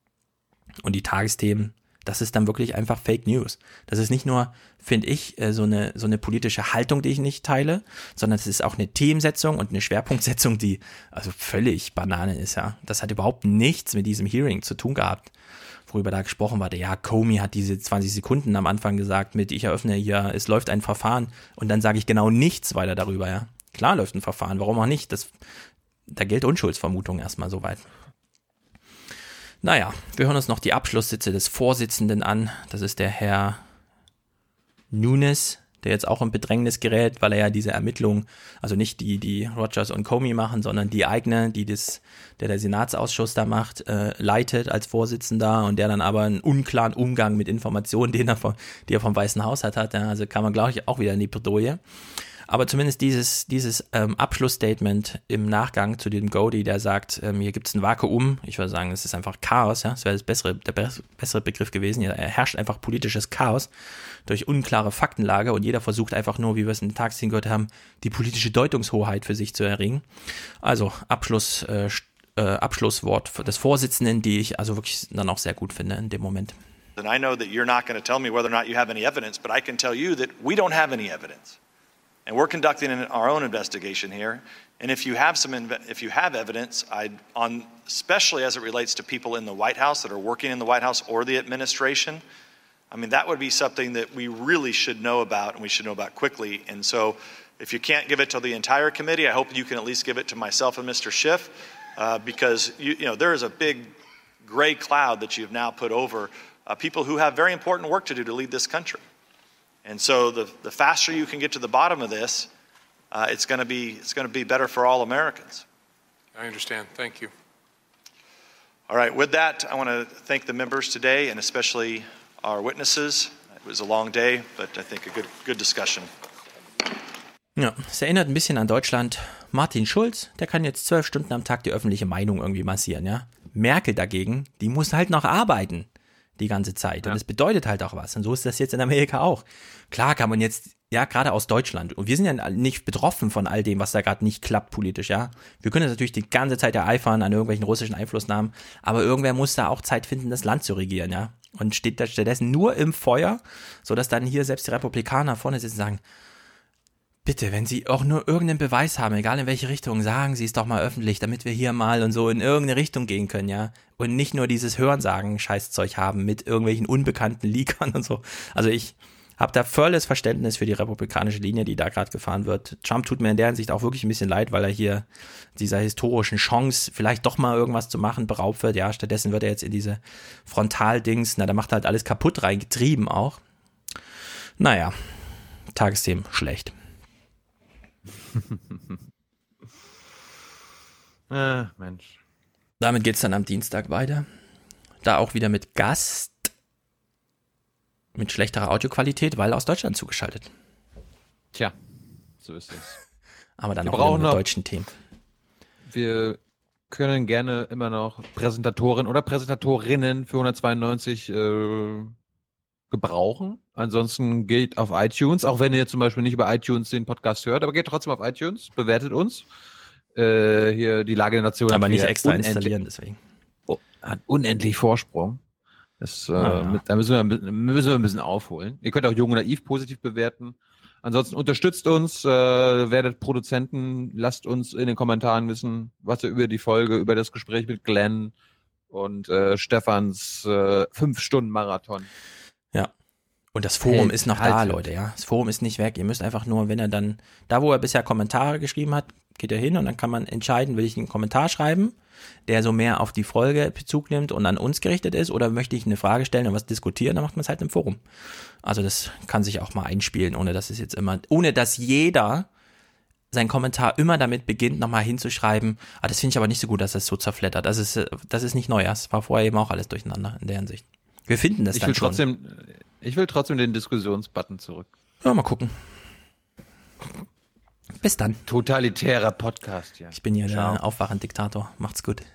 Und die Tagesthemen, das ist dann wirklich einfach Fake News. Das ist nicht nur, finde ich, so eine politische Haltung, die ich nicht teile, sondern es ist auch eine Themensetzung und eine Schwerpunktsetzung, die also völlig Banane ist, ja. Das hat überhaupt nichts mit diesem Hearing zu tun gehabt, worüber da gesprochen wurde. Ja, Comey hat diese 20 Sekunden am Anfang gesagt mit, ich eröffne hier, es läuft ein Verfahren und dann sage ich genau nichts weiter darüber, ja. Klar läuft ein Verfahren, warum auch nicht? Da gilt Unschuldsvermutung erstmal soweit. Naja, wir hören uns noch die Abschlusssitze des Vorsitzenden an. Das ist der Herr Nunes, der jetzt auch in Bedrängnis gerät, weil er ja diese Ermittlungen, also nicht die Rogers und Comey machen, sondern die eigene, der Senatsausschuss da macht, leitet als Vorsitzender und der dann aber einen unklaren Umgang mit Informationen, die er vom Weißen Haus hat. Ja, also kann man, glaube ich, auch wieder in die Bredouille. Aber zumindest dieses Abschlussstatement im Nachgang zu dem Gaudi, der sagt, hier gibt es ein Vakuum, ich würde sagen, es ist einfach Chaos, ja, das wäre der bessere Begriff gewesen, hier herrscht einfach politisches Chaos durch unklare Faktenlage und jeder versucht einfach nur, wie wir es in den Tagesthemen gehört haben, die politische Deutungshoheit für sich zu erringen. Also Abschlusswort des Vorsitzenden, die ich also wirklich dann auch sehr gut finde in dem Moment. And I know that you're not going to tell me whether or not you have any evidence, but I can tell you that we don't have any evidence. And we're conducting our own investigation here. And if you have evidence, especially as it relates to people in the White House that are working in the White House or the administration, I mean, that would be something that we really should know about, and we should know about quickly. And so if you can't give it to the entire committee, I hope you can at least give it to myself and Mr. Schiff, because there is a big gray cloud that you've now put over people who have very important work to do to lead this country. And so the faster you can get to the bottom of this, it's going to be better for all Americans. I understand. Thank you. All right. With that, I want to thank the members today, and especially our witnesses. It was a long day, but I think a good discussion. Ja, es erinnert ein bisschen an Deutschland. Martin Schulz, der kann jetzt 12 Stunden am Tag die öffentliche Meinung irgendwie massieren, ja. Merkel dagegen, die muss halt noch arbeiten die ganze Zeit. Und das bedeutet halt auch was. Und so ist das jetzt in Amerika auch. Klar kann man jetzt, ja, gerade aus Deutschland, und wir sind ja nicht betroffen von all dem, was da gerade nicht klappt politisch, ja. Wir können jetzt natürlich die ganze Zeit ereifern an irgendwelchen russischen Einflussnahmen, aber irgendwer muss da auch Zeit finden, das Land zu regieren, ja. Und steht da stattdessen nur im Feuer, sodass dann hier selbst die Republikaner vorne sitzen und sagen, bitte, wenn Sie auch nur irgendeinen Beweis haben, egal in welche Richtung, sagen Sie es doch mal öffentlich, damit wir hier mal und so in irgendeine Richtung gehen können, ja. Und nicht nur dieses Hörensagen-Scheißzeug haben mit irgendwelchen unbekannten Leakern und so. Also ich habe da volles Verständnis für die republikanische Linie, die da gerade gefahren wird. Trump tut mir in der Hinsicht auch wirklich ein bisschen leid, weil er hier dieser historischen Chance, vielleicht doch mal irgendwas zu machen, beraubt wird. Ja, stattdessen wird er jetzt in diese Frontaldings, da macht er halt alles kaputt reingetrieben auch. Naja, Tagesthemen schlecht. Mensch. Damit geht's dann am Dienstag weiter. Da auch wieder mit Gast. Mit schlechterer Audioqualität, weil aus Deutschland zugeschaltet. Tja, so ist es. Aber dann auch mit deutschen Themen. Wir können gerne immer noch Präsentatoren oder Präsentatorinnen für 192 gebrauchen. Ansonsten geht auf iTunes, auch wenn ihr zum Beispiel nicht über iTunes den Podcast hört, aber geht trotzdem auf iTunes, bewertet uns. Hier die Lage der Nation. Aber nicht extra installieren, deswegen. Hat unendlich Vorsprung. Da müssen wir ein bisschen aufholen. Ihr könnt auch Jung und Naiv positiv bewerten. Ansonsten unterstützt uns, werdet Produzenten, lasst uns in den Kommentaren wissen, was ihr über die Folge, über das Gespräch mit Glenn und Stefans 5-Stunden-Marathon. Ja. Und das Forum ist noch da, Leute, ja. Das Forum ist nicht weg. Ihr müsst einfach nur, wenn er dann, da wo er bisher Kommentare geschrieben hat, geht er hin und dann kann man entscheiden, will ich einen Kommentar schreiben, der so mehr auf die Folge Bezug nimmt und an uns gerichtet ist, oder möchte ich eine Frage stellen und was diskutieren, dann macht man es halt im Forum. Also das kann sich auch mal einspielen, ohne dass jeder seinen Kommentar immer damit beginnt, nochmal hinzuschreiben, das finde ich aber nicht so gut, dass das so zerflettert. Das ist nicht neu, das war vorher eben auch alles durcheinander in der Hinsicht. Wir finden das dann schon. Ich will trotzdem den Diskussionsbutton zurück. Ja, mal gucken. Bis dann. Totalitärer Podcast, ja. Ich bin hier der Aufwachen-Diktator. Macht's gut.